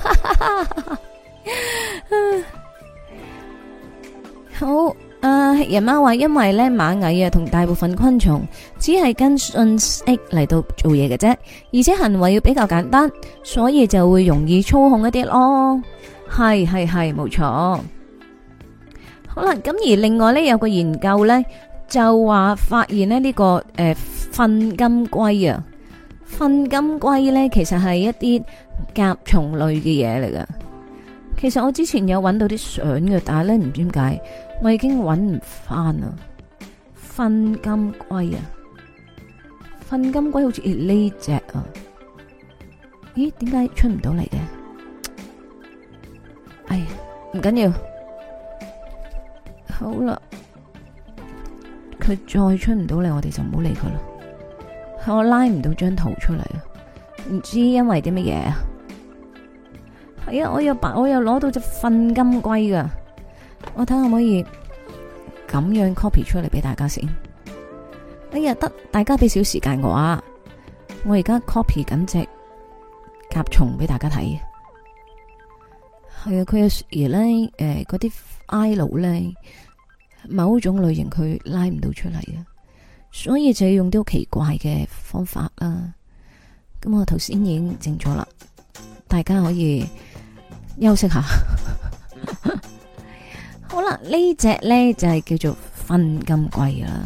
好，人媽話因為咧螞蟻啊同大部分昆蟲只係跟信息嚟到做嘢嘅啫，而且行為要比較簡單，所以就會容易操控一啲咯。係，冇錯。好啦，咁而另外咧有個研究咧就話發現咧呢個糞金龜啊。糞金龜咧，其實係一啲甲蟲類嘅嘢嚟噶。其實我之前有揾到啲相嘅，但係咧唔知點解，我已經揾唔翻啦。糞金龜啊，糞金龜好似呢隻啊，咦？點解出唔到嚟嘅？哎呀，唔緊要，好啦，佢再出唔到嚟，我哋就唔好理佢啦。我拉唔到張圖出嚟啊，唔知因為啲乜嘢啊？係啊，我又攞到隻糞金龜噶，我睇下可唔可以咁樣 copy 出嚟俾大家先。哎呀，得，大家俾少時間我啊，我而家 copy 緊隻甲蟲俾大家睇。係啊，佢有時咧，嗰啲 file 咧，某種類型佢拉唔到出嚟啊。所以就要用啲好奇怪嘅方法啦。咁我頭先已經整咗啦，大家可以休息下。好啦，呢隻呢就係叫做糞金龜啦。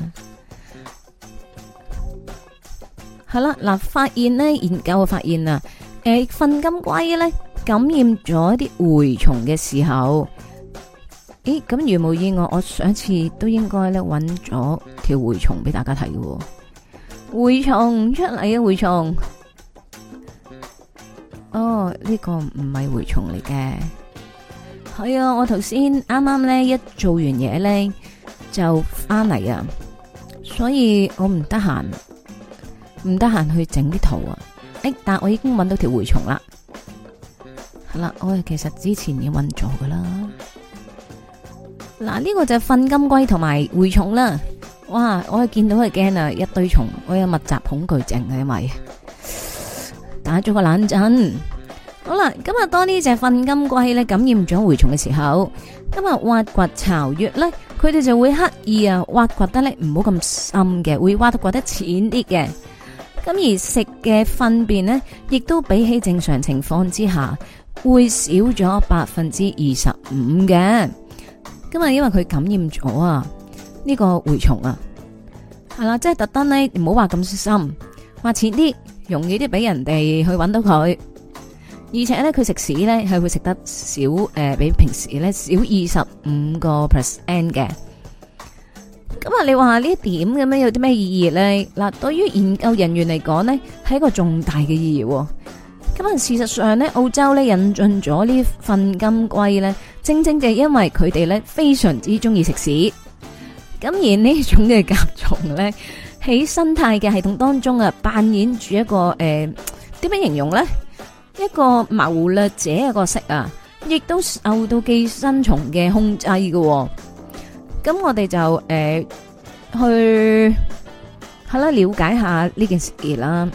係啦，嗱，發現呢研究發現啊，糞金龜呢感染咗啲蛔蟲嘅時候。咦，咁如無意外，我上一次都應該咧揾咗條蛔蟲俾大家睇嘅。蛔蟲出嚟嘅蛔蟲，哦，呢個唔係蛔蟲嚟嘅。係啊，我頭先啱啱咧一做完嘢咧就翻嚟啊，所以我唔得閒去整啲圖啊。但我已經揾到條蛔蟲啦。係啦，我其實之前已經揾咗噶啦。嗱，呢個就係糞金龜同埋蛔蟲啦。哇，我係見到佢驚啊，一堆蟲，我有密集恐懼症啊，因為打咗個冷震。好啦，今日當呢隻糞金龜咧感染咗蛔蟲嘅時候，今日挖掘巢穴咧，佢哋就會刻意啊挖掘得咧唔好咁深嘅，會挖得淺啲嘅。咁而食嘅糞便呢，亦都比起正常情況之下會少咗25%嘅。今日因為佢感染咗啊，呢個蛔蟲啊，係啦，即係特登咧唔好挖咁深，挖淺啲，容易啲俾人哋去搵到佢。而且咧，佢食屎咧係會食得少，比平時咧少25%嘅。咁啊，你話呢一點咁樣有啲咩意義咧？嗱，對於研究人員嚟講呢，係一個重大嘅意義。咁啊，事實上咧，澳洲咧引進咗呢糞金龜咧，正正就係因為佢哋咧非常之中意食屎。咁而呢種嘅甲蟲咧，喺生態嘅系統當中啊，扮演住一個點樣形容咧？一個謀略者嘅角色啊，亦都受到寄生蟲嘅控制嘅。咁我哋就去係啦，了解下呢件事啦。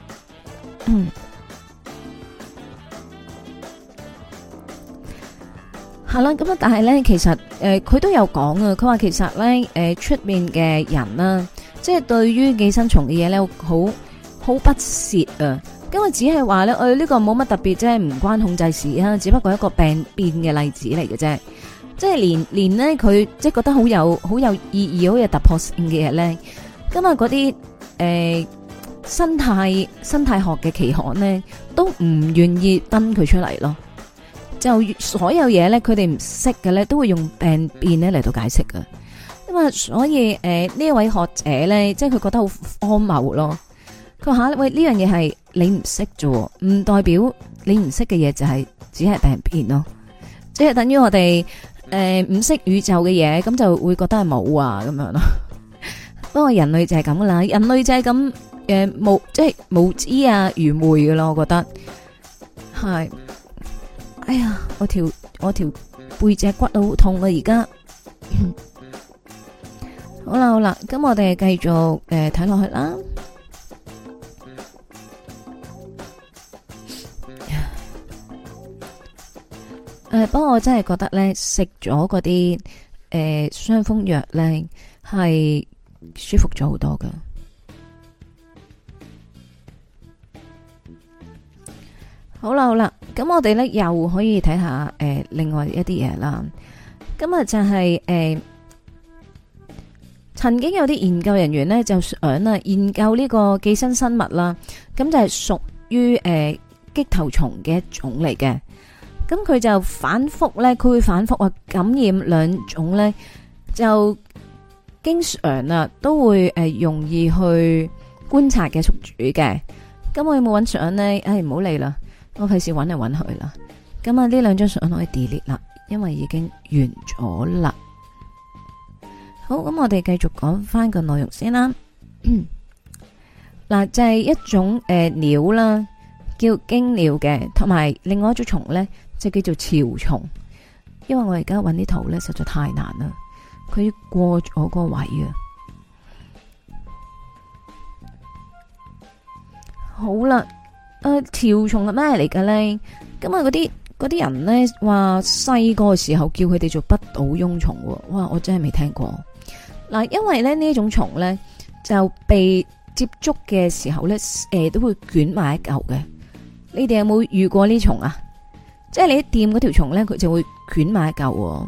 係啦，咁啊，但係咧，其實佢都有講啊，佢話其實咧，出面嘅人啦，即係對於寄生蟲嘅嘢咧，好不屑啊。 咁啊只係話咧，呢個冇乜特別啫，唔關控制事啊，只不過一個病變嘅例子嚟嘅啫。即係連咧佢即係覺得好有意義、好有突破性嘅嘢咧，咁啊嗰啲生態學嘅期刊咧都唔願意登佢出嚟咯。就所有嘢咧，佢哋唔識嘅咧，都會用病變咧嚟到解釋㗎。咁啊，所以呢一位學者咧，即係佢覺得好荒謬咯。佢話喂，呢樣嘢係你唔識啫，唔代表你唔識嘅嘢就係只係病變咯。即係等於我哋唔識宇宙嘅嘢，咁就會覺得係冇啊咁樣咯。不過人類就係咁啦，人類就係咁即係無知啊、愚昧嘅咯。我覺得係。哎呀，我條背脊骨好痛啊！而家好啦，咁我哋繼續睇落去啦。不過我真係覺得咧，食咗嗰啲傷風藥咧係舒服咗好多噶。好啦，咁我哋咧又可以睇下另外一啲嘢啦。咁啊就係曾經有啲研究人員咧就想研究呢個寄生生物啦，咁就係屬於棘頭蟲嘅一種嚟嘅。咁佢就反覆咧，佢會反覆感染兩種咧，就經常都會容易去觀察嘅宿主嘅。咁我有冇揾相咧？唔好理啦。我費事揾嚟揾去啦，咁啊呢兩張相可以 delete 啦，因為已經完咗啦。好，咁我哋繼續講翻個內容先啦。嗱，就係一種鳥啦，叫驚鳥嘅，同埋另外一種蟲咧就叫做潮蟲。因為我而家揾啲圖咧實在太難啦，佢過咗個位啊。好啦。潮蟲係咩嚟嘅咧？咁啊，嗰啲人咧話細個嘅時候叫佢哋做不倒翁蟲，哇！我真係未聽過。嗱，因為咧呢一種蟲咧就被接觸嘅時候咧，都會捲埋一嚿嘅。你哋有冇遇過呢蟲啊？即係你一掂嗰條蟲咧，佢就會捲埋一嚿。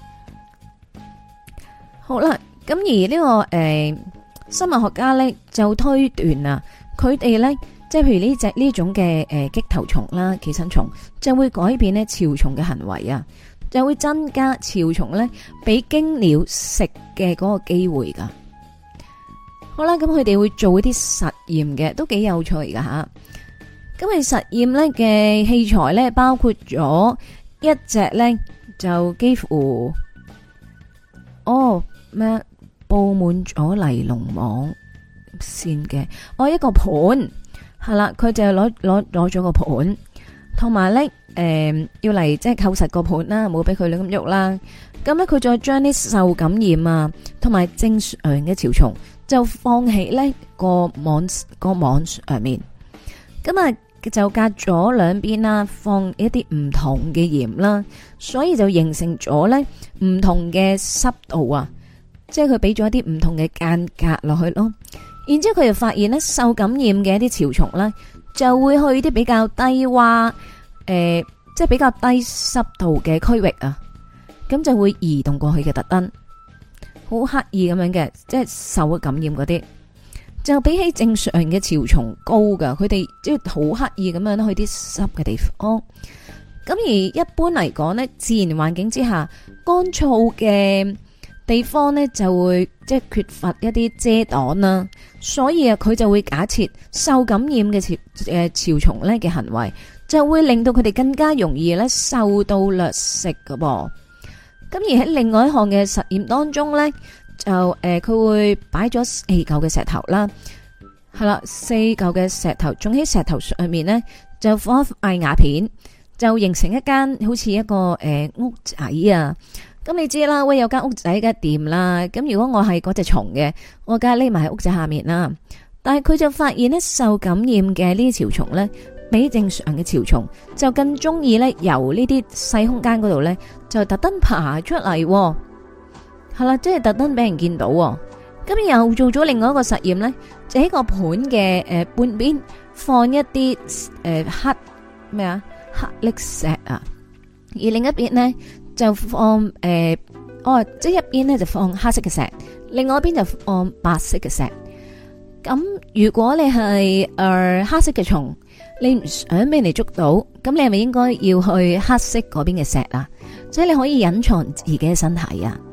好啦，咁而呢個生物學家咧就推斷啊，佢哋咧。即係譬如呢種嘅棘頭蟲啦，寄生蟲就會改變呢潮蟲嘅行為啊，就會增加潮蟲咧俾驚鳥食嘅嗰個機會噶。好啦，咁佢哋會做一啲實驗嘅，都幾有趣噶吓。咁佢實驗咧嘅器材咧包括咗一隻咧就幾乎布滿咗尼龍網線嘅一個盤。係啦，佢就攞咗個盤，同埋咧要嚟即係扣實個盤啦，冇俾佢亂咁喐啦。咁咧佢再將啲受感染啊，同埋正常嘅潮蟲就放喺呢個網上面。咁啊就隔咗兩邊啦，放一啲唔同嘅鹽啦，所以就形成咗咧唔同嘅濕度啊，即係佢俾咗一啲唔同嘅間隔落去咯。然之後佢就發現咧，受感染嘅一啲潮蟲咧，就會去啲比較低窪，即係比較低濕度嘅區域啊，咁就會移動過去嘅，特登好刻意咁樣嘅，即係受咗感染嗰啲，就比起正常嘅潮蟲高噶，佢哋即係好刻意咁樣去啲濕嘅地方。咁而一般嚟講呢，自然環境之下，乾燥嘅地方呢就會即係缺乏一啲遮擋啦，所以啊佢就會假設受感染嘅潮蟲咧嘅行為就會令到佢哋更加容易咧受到掠食噶噃。咁而喺另外一項嘅實驗當中咧，就佢會擺咗4嚿嘅石頭啦，係啦，4嚿嘅石頭種喺石頭上面咧，就放一塊瓦片，就形成一間好似一個屋仔啊。咁你知啦，喂，有間屋仔梗係掂啦。咁如果我係嗰隻蟲嘅，我梗係匿埋喺屋仔下面啦。但係佢就發現呢，受感染嘅呢啲潮蟲呢，比正常嘅潮蟲就更中意呢由呢啲細空間嗰度呢，就特登爬出嚟。係啦，即係特登俾人見到。咁又做咗另外一個實驗呢，就喺個盤嘅半邊放一啲黑咩啊黑礫石啊，而另一邊咧就放即係一邊咧就放黑色嘅石，另外一邊就放白色嘅石。咁如果你係黑色嘅蟲，你唔想俾人哋捉到，咁你係咪應該要去黑色嗰邊嘅石啊？即係你可以隱藏自己嘅身體啊，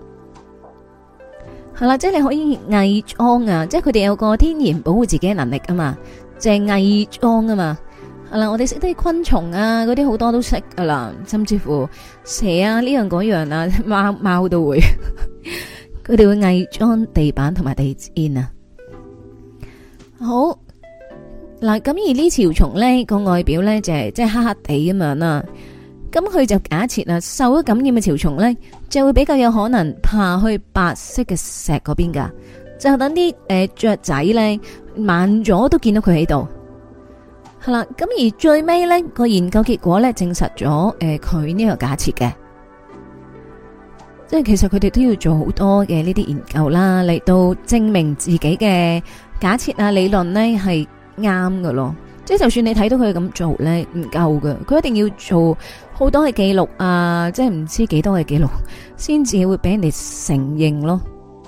係啦，即係你可以偽裝啊，即係佢哋有個天然保護自己嘅能力啊嘛，就係偽裝啊嘛。係啦，我哋識得昆蟲啊，嗰啲好多都識噶啦，甚至乎蛇啊呢樣嗰樣啊，貓都會，佢哋會偽裝地板同埋地氈啊。好嗱，咁而呢條蟲咧個外表咧就係即係黑黑地咁樣啦。咁佢就假設啊，受咗感染嘅條蟲咧就會比較有可能爬去白色嘅石嗰邊噶，就等啲雀仔咧慢咗都見到佢喺度。係啦，咁而最尾咧個研究結果咧證實咗佢呢個假設嘅，即係其實佢哋都要做好多嘅呢啲研究啦，嚟到證明自己嘅假設啊理論咧係啱㗎咯。即係就算你睇到佢咁做咧唔夠㗎，佢一定要做好多嘅記錄啊，即係唔知幾多嘅記錄先至會俾人哋承認咯。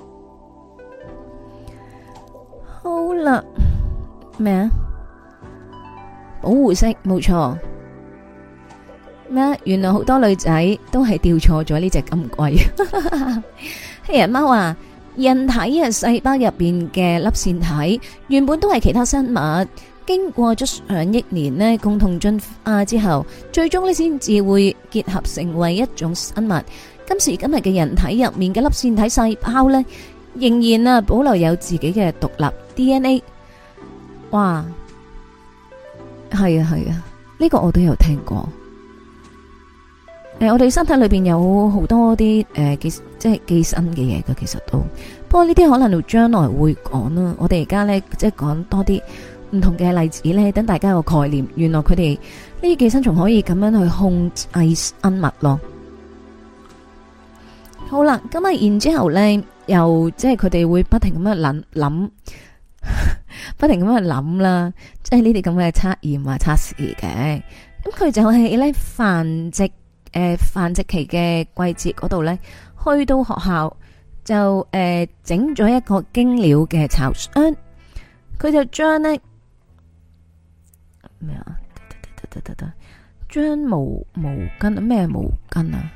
好啦，咩啊？保護色冇錯咩？原來好多女仔都係掉錯咗呢隻金龜。黑人貓話：人體嘅細胞入邊嘅粒線體原本都係其他生物，經過咗上億年呢共同進化之後，最終呢先至會結合成為一種生物。今時今日嘅人體入面嘅粒線體細胞呢，仍然啊保留有自己嘅獨立 DNA。哇！係啊係啊，呢個我都有聽過。我哋身體裏邊有好多啲即係寄生嘅嘢嘅，其實都。不過呢啲可能到將來會講啦。我哋而家呢，即係講多啲唔同嘅例子呢，等大家有個概念。原來佢哋呢啲寄生蟲可以咁樣去控制生物咯。好啦，咁啊，然之後呢，又即係佢哋會不停咁樣諗。不停咁去諗啦，即係呢啲咁嘅測驗啊測試嘅，咁佢就係咧繁殖期嘅季節嗰度咧，去到學校就整咗一個驚鳥嘅巢箱，佢就將咧咩啊？將毛巾咩毛巾啊？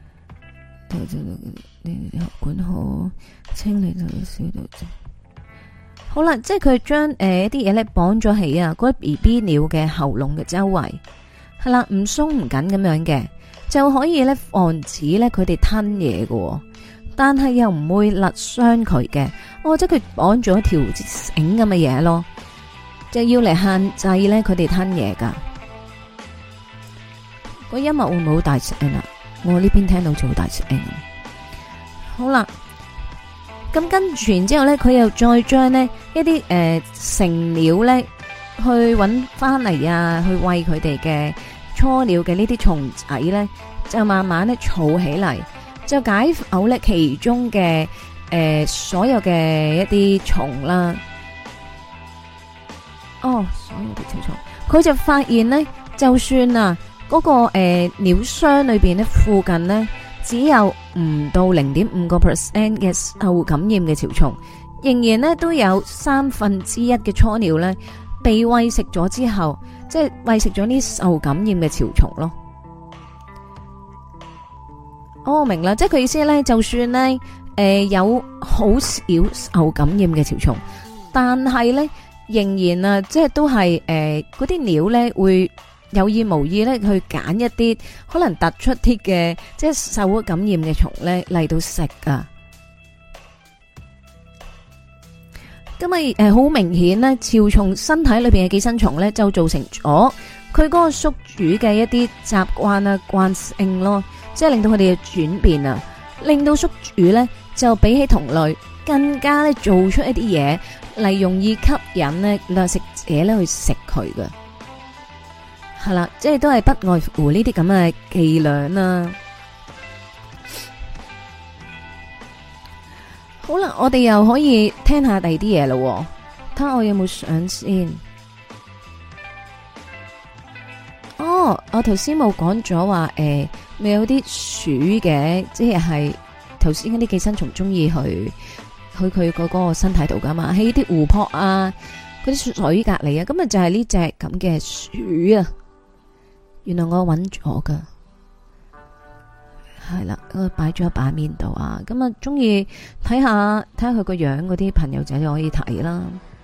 管好清理到少到啫。好啦，即係佢將一啲嘢咧綁咗喺啊嗰啲 BB 鳥嘅喉嚨嘅周圍，係啦，唔鬆唔緊咁樣嘅，就可以咧防止咧佢哋吞嘢嘅，但係又唔會勒傷佢嘅。即係佢綁咗條繩咁嘅嘢咯，就要嚟限制咧佢哋吞嘢噶。個音樂會唔會好大聲啊？我呢邊聽到就好大聲。好啦。咁跟住然之後咧，佢又再將呢一啲成鳥咧去搵翻嚟啊，去餵佢哋嘅初鳥嘅呢啲蟲仔咧，就慢慢咧儲起嚟，就解剖咧其中嘅所有嘅一啲蟲啦。所有嘅小蟲，佢就發現咧，就算啊嗰個鳥箱裏邊咧附近咧。只有唔到0.5% 嘅受感染嘅潮蟲，仍然咧都有1/3嘅初鳥咧被餵食咗之後，即係餵食咗呢受感染嘅潮蟲咯。我明啦，即係佢意思咧，就算咧有好少受感染嘅潮蟲，但係咧仍然啊，即係都係嗰啲鳥咧會。有意無意咧，去揀一啲可能突出啲嘅，即係受咗感染嘅蟲咧嚟到食噶。咁啊，好明顯咧，潮蟲身體裏邊嘅寄生蟲咧，就造成咗佢嗰個宿主嘅一啲習慣啊、慣性咯，即係令到佢哋嘅轉變啊，令到宿主咧就比起同類更加咧做出一啲嘢嚟，容易吸引咧掠食者咧去食佢嘅。係啦，即係都係不外乎呢啲咁嘅伎倆啦。好啦，我哋又可以聽下第二啲嘢咯。睇下我有冇相先。 我頭先冇講咗話咪有啲鼠嘅，即係頭先嗰啲寄生蟲中意去佢嗰個身體度噶嘛，喺啲湖泊啊，嗰啲水隔籬啊，咁啊就係呢隻咁嘅鼠啊。原來我揾咗噶，係啦，我擺咗喺版面度啊。咁啊，中意睇下佢個樣嗰啲朋友仔就可以睇啦。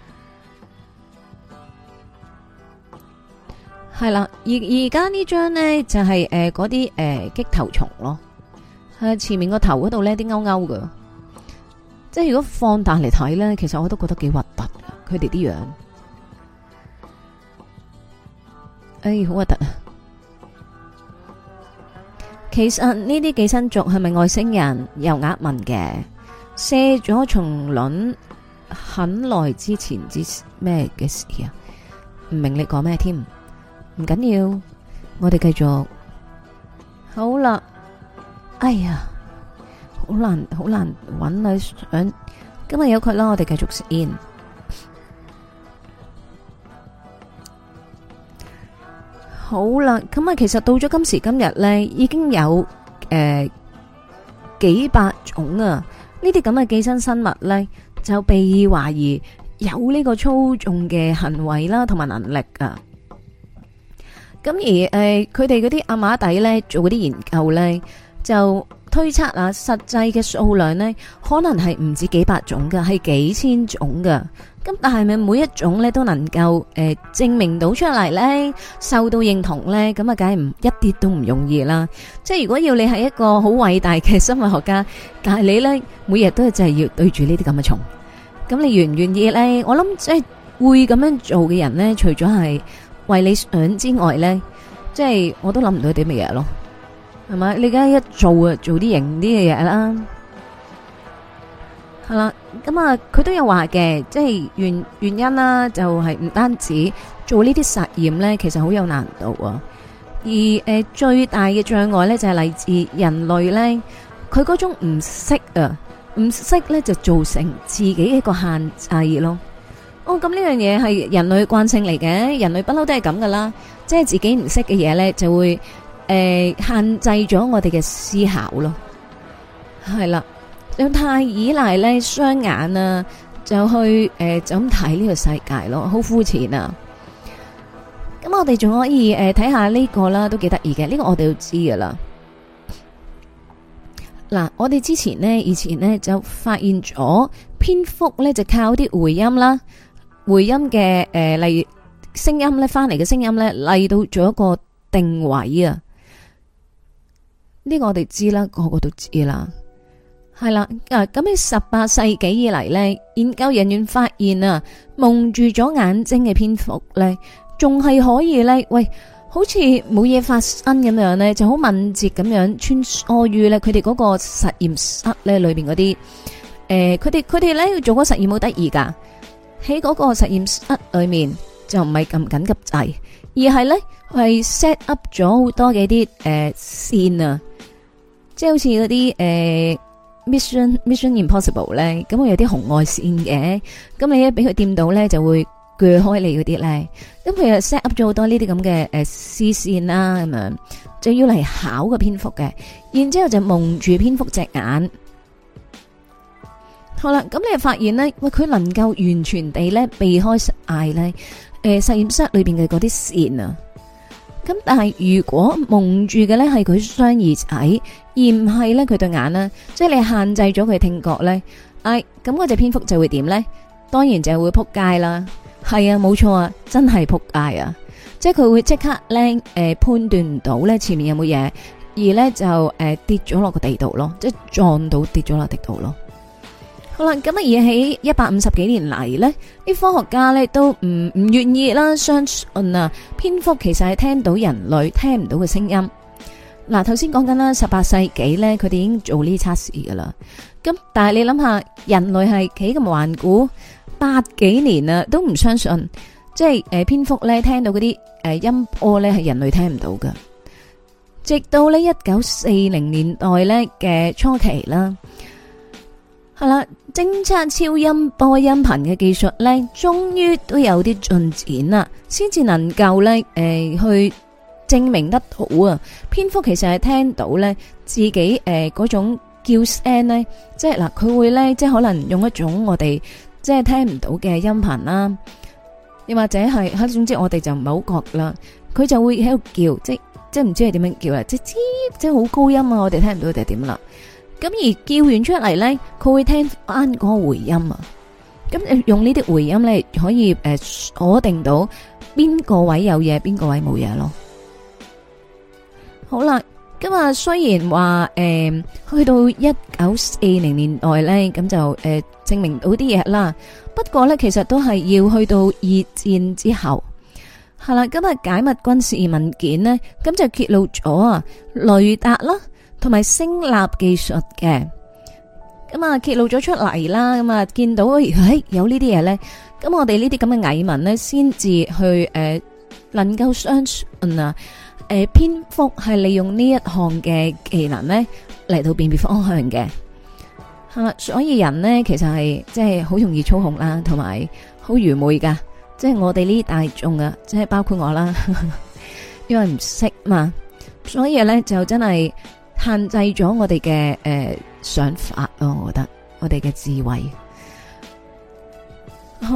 係啦，而家呢張呢，就係嗰啲棘頭蟲咯，係前面個頭嗰度呢啲勾勾噶，即係如果放大嚟睇呢，其實我都覺得幾核突，佢哋啲樣，好核突啊！其實呢啲寄生族係咪外星人？又呃問嘅，卸咗蟲卵很耐之前之咩嘅事啊？唔明你講咩添？唔緊要，我哋繼續。好啦，哎呀，好難揾啊！想今日有佢啦，我哋繼續先。好啦，咁啊，其實到咗今時今日呢，已經有幾百種啊！呢啲咁嘅寄生生物呢，就被懷疑有呢個操縱嘅行為啦，同埋能力啊。咁而佢哋嗰啲阿馬底呢，做嗰啲研究呢，就推測啊，實際嘅數量呢，可能係唔止幾百種噶，係幾千種噶。咁但係咪每一種咧都能夠證明到出嚟咧，受到認同咧？咁啊，梗係唔一啲都唔容易啦。即係如果要你係一個好偉大嘅生物學家，但係你咧每日都係就係要對住呢啲咁嘅蟲，咁你願唔願意咧？我諗即係會咁樣做嘅人咧，除咗係為你想之外咧，即係我都諗唔到啲乜嘢咯，係咪？你而家一做啊，做啲型啲嘅嘢啦。係啦，咁啊，佢都有話嘅，即係原因啦，就係唔單止做呢啲實驗呢，其實好有難度啊。而最大嘅障礙呢，就係嚟自人類呢，佢嗰種唔識啊，唔識呢就造成自己一個限制咯。哦，咁呢樣嘢係人類慣性嚟嘅，人類不嬲都係咁噶啦，即係自己唔識嘅嘢呢，就會限制咗我哋嘅思考咯。係啦。又太依賴咧雙眼啊，就去就咁睇呢個世界咯，好膚淺啊！咁我哋仲可以睇下呢個啦，都幾得意嘅。呢個我哋都知噶啦。嗱，我哋以前呢，就發現咗蝙蝠咧就靠啲回音啦，回音嘅例如聲音咧翻嚟嘅聲音咧嚟到做一個定位啊。呢個我哋知啦，個個都知啦。係啦，咁喺18世紀以嚟呢，研究人員發現啊，蒙住咗眼睛嘅蝙蝠呢，仲係可以呢，喂，好似冇嘢發生咁樣呢，就好敏捷咁樣穿梭於呢佢哋嗰個實驗室呢裏邊嗰啲，佢哋呢做嗰實驗好得意噶，喺嗰個實驗室裏面就唔係咁緊急掣，而係呢係 set up 咗好多嘅啲線啊，即係好似嗰啲Mission Impossible 咧，咁我有啲紅外線嘅，咁你一俾佢掂到咧，就會鋸開你嗰啲咧。咁佢又 set up 咗好多呢啲咁嘅絲線啦，咁樣就要嚟考個蝙蝠嘅，然之後就蒙住蝙蝠隻眼。好啦，咁你就發現咧，喂，佢能夠完全地咧避開晒咧，實驗室裏邊嘅嗰啲線啊。咁但係如果蒙住嘅咧係佢雙耳仔，而唔係咧佢對眼啦，即係你限制咗佢聽覺咧，咁嗰隻蝙蝠就會點咧？當然就會撲街啦。係啊，冇錯啊，真係撲街啊！即係佢會即刻咧判斷唔到咧前面有冇嘢，而咧就跌咗落個地度咯，即係撞到跌咗落地度咯。好啦，咁啊而喺150幾年嚟呢，啲科學家呢都唔願意啦，相信啊蝙蝠其實係聽到人類聽唔到嘅聲音。嗱，頭先講緊啦，18世紀呢，佢哋已經做呢啲測試噶啦。咁但係你諗下，人類係幾咁頑固，100幾年啊都唔相信，即係蝙蝠呢聽到嗰啲音波呢係人類聽唔到噶。直到呢1940年代呢嘅初期啦。係啦，偵測超音波音頻嘅技術咧，終於都有啲進展啦，先至能夠咧，去證明得到啊，蝙蝠其實係聽到咧自己嗰種叫聲咧，即係嗱佢會咧即係可能用一種我哋即係聽唔到嘅音頻啦，又或者係總之我哋就唔係好覺啦，佢就會喺度叫，即係唔知係點樣叫啦，即係好高音啊，我哋聽唔到定係點啦。咁而叫完出嚟咧，佢會聽翻嗰個回音啊。咁用呢啲回音咧，可以鎖定到邊個位有嘢，邊個位冇嘢咯。好啦，今日雖然話去到1940年代咧，咁就證明到啲嘢啦。不過咧，其實都係要去到二戰之後，係啦。今日解密軍事文件呢，咁就揭露咗啊雷達啦，同埋聲納技術嘅。咁啊揭露咗出嚟啦，咁啊見到有呢啲嘢咧，咁我哋呢啲咁嘅蟻民呢，先至去能夠相信啊。蝙蝠係利用呢一項嘅技能咧嚟到辨別方向嘅，係啦，所以人呢，其實係即係好容易操控啦，同埋好愚昧噶，即係我哋呢啲大眾啊，即係包括我啦，因為唔識嘛，所以咧就真係限制咗我哋嘅想法咯，我覺得我哋嘅智慧。好，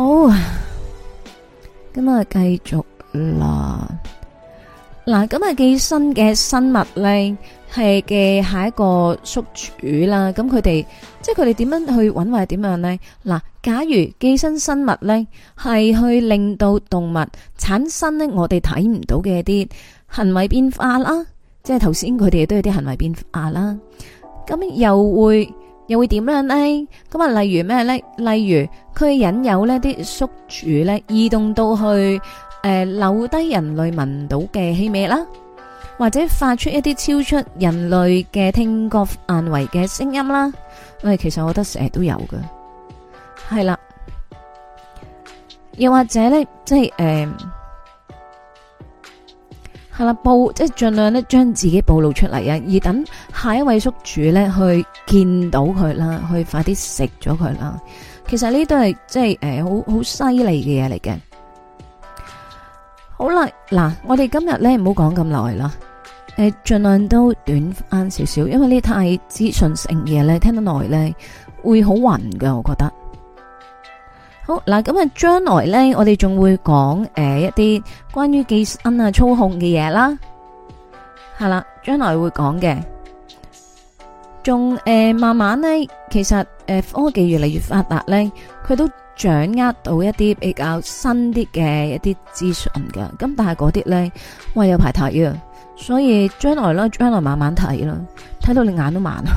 咁啊繼續啦。嗱，咁啊寄生嘅生物咧，係嘅下一個宿主啦。咁佢哋即係佢哋點樣去搵或者點樣咧？嗱，假如寄生生物咧係去令到動物產生咧我哋睇唔到嘅一啲行為變化啦，即係頭先佢哋都有啲行為變化啦。咁又會點樣咧？咁啊，例如咩咧？例如佢引誘呢啲宿主咧移動到去。留低人類聞到嘅氣味啦，或者發出一啲超出人類嘅聽覺範圍嘅聲音啦。其實我覺得成日都有嘅，係啦。又或者咧，即係係啦，即係盡量咧將自己暴露出嚟啊，而等下一位宿主咧去見到佢啦，去快啲食咗佢啦。其實呢都係即係好犀利嘅嘢嚟嘅。好啦，嗱，我哋今日咧唔好講咁耐啦，盡量都短翻少少，因為呢太資訊性嘢咧，聽得耐咧會好暈噶，我覺得。好嗱，咁啊，將來咧我哋仲會講一啲關於寄生啊操控嘅嘢啦，係啦，將來會講嘅，仲慢慢咧，其實科技越嚟越發達咧，佢都掌握到一啲比較新啲嘅一啲資訊噶，咁但係嗰啲咧，喂有排睇啊，所以將來慢慢睇啦，睇到你眼都盲啊。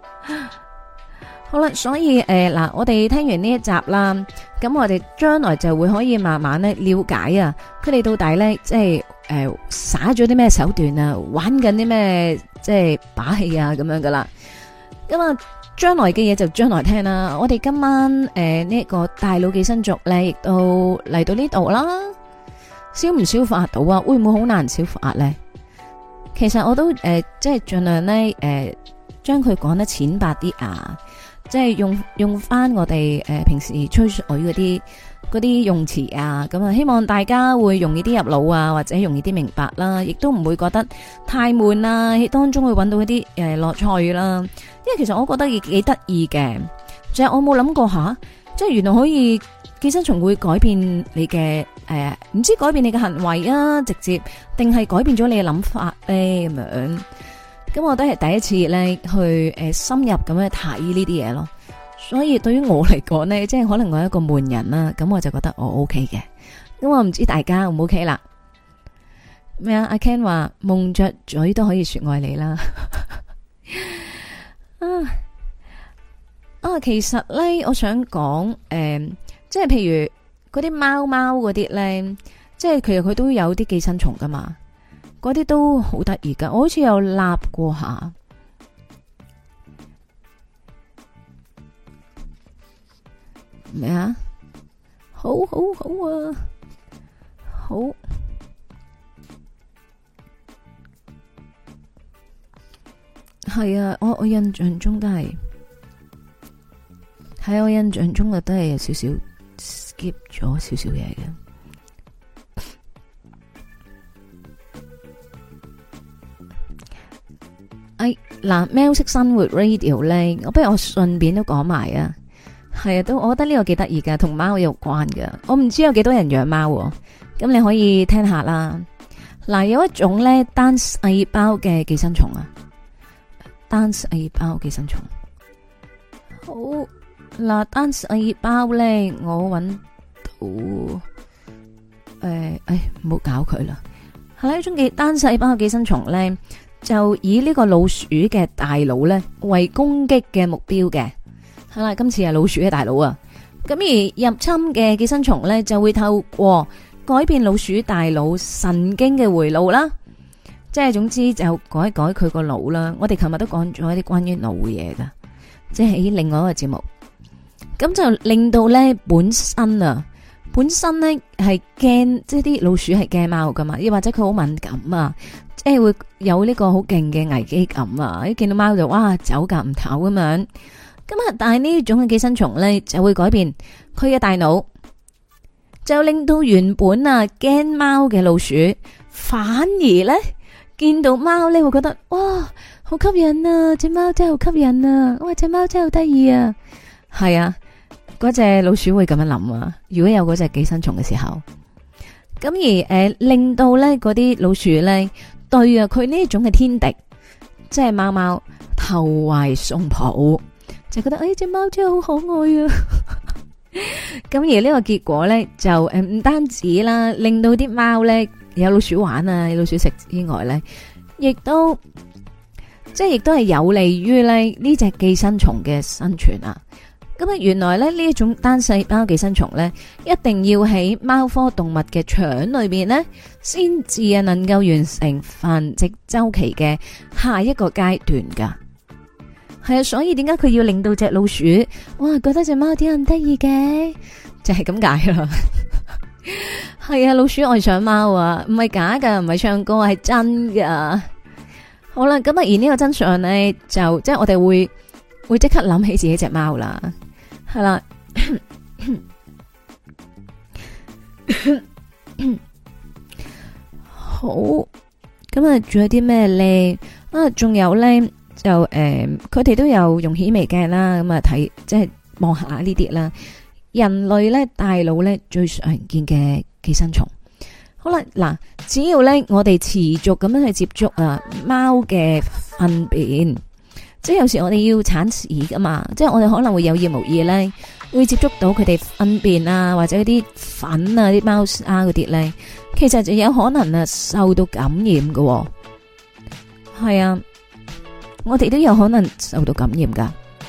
好啦，所以嗱，我哋聽完呢一集啦，咁我哋將來就會可以慢慢咧了解啊，佢哋到底咧即係耍咗啲咩手段啊，玩緊啲咩即係把戲啊咁樣噶啦，咁啊。將來嘅嘢就將來聽啦。我哋今晚呢個大腦寄生族咧，亦都嚟到呢度啦。消唔消化到啊？會唔會好難消化咧？其實我都即係盡量咧將佢講得淺白啲啊，即係用翻我哋平時吹水嗰啲用詞啊，咁啊希望大家會容易啲入腦啊，或者容易啲明白啦，亦都唔會覺得太悶啊，喺當中會揾到一啲樂趣啦。因為其實我覺得幾得意嘅，就係我冇諗過下，即係原來可以寄生蟲會改變你嘅唔知改變你嘅行為啊，直接定係改變咗你嘅諗法咧咁樣。咁我都係第一次咧去深入咁樣睇呢啲嘢咯。所以對於我嚟講呢，即係可能我係一個悶人啦，咁我就覺得我 OK 嘅。咁我唔知大家 O 唔 OK 啦？咩啊？阿 Ken 話蒙着嘴都可以說愛你啦。其實咧，我想講即係譬如嗰啲貓嗰啲咧，即係其實佢都有啲寄生蟲噶嘛，嗰啲都好得意噶。我好似有立過下。咩啊？好啊，好係啊！我印象中都係喺我印象中都係有少少 skip 咗少少嘢嘅。 嗱，喵式生活 radio 咧，我不如我順便都講埋啊。係啊，都我覺得呢個幾得意噶，同貓有關噶。我唔知有幾多人養貓，咁你可以聽下啦。嗱，有一種咧單細胞嘅寄生蟲啊，單細胞寄生蟲。好，嗱，單細胞咧，我搵到，唔好搞佢啦。係一種嘅單細胞寄生蟲咧，就以呢個老鼠嘅大腦咧為攻擊嘅目標嘅。係啦，今次係老鼠嘅大腦啊。咁而入侵嘅寄生蟲咧，就會透過改變老鼠大腦神經嘅回路啦，即係總之就改佢個腦啦。我哋琴日都講咗一啲關於腦嘅嘢噶，即係喺另外一個節目，咁就令到咧本身咧係驚，即係啲老鼠係驚貓噶嘛，又或者佢好敏感啊，即係會有呢個好勁嘅危機感啊，一見到貓就哇走夾唔唞咁樣。咁啊，但係呢種嘅寄生蟲咧就會改變佢嘅大腦，就令到原本啊驚貓嘅老鼠，反而咧見到貓咧會覺得哇好吸引啊，隻貓真係好吸引啊，哇隻貓真係好得意啊，係啊，嗰隻老鼠會咁樣諗啊。如果有嗰隻寄生蟲嘅時候，咁而令到咧嗰啲老鼠咧對啊佢呢種嘅天敵，即係貓貓投懷送抱。就覺得隻貓真係好可愛啊！咁而呢個結果咧，就唔單止啦，令到啲貓咧有老鼠玩啊，有老鼠食之外咧，亦都係有利於咧呢隻寄生蟲嘅生存啊！咁啊，原來咧呢一種單細胞寄生蟲咧，一定要喺貓科動物嘅腸裏邊咧，先至啊能夠完成繁殖周期嘅下一個階段噶。係啊，所以點解佢要令到隻老鼠哇覺得隻貓點咁得意嘅，就係咁解啦。係啊，老鼠愛上貓啊，唔係假噶，唔係唱歌，係真噶。好啦，咁啊，而呢個真相咧，就即係我哋會即刻諗起自己隻貓啦，係啦。好，咁啊，仲有啲咩咧？啊，仲有咧。就佢哋都有用顯微鏡啦，咁啊睇即係望下呢啲啦。人類咧大腦咧最常見嘅寄生蟲。好啦，嗱，只要咧我哋持續咁樣去接觸啊貓嘅糞便，即係有時我哋要鏟屎噶嘛，即係我哋可能會有意無意咧會接觸到佢哋糞便啊，或者啲粉啊、啲貓砂嗰啲咧，其實就有可能啊受到感染喎。係啊。我哋都有可能受到感染噶，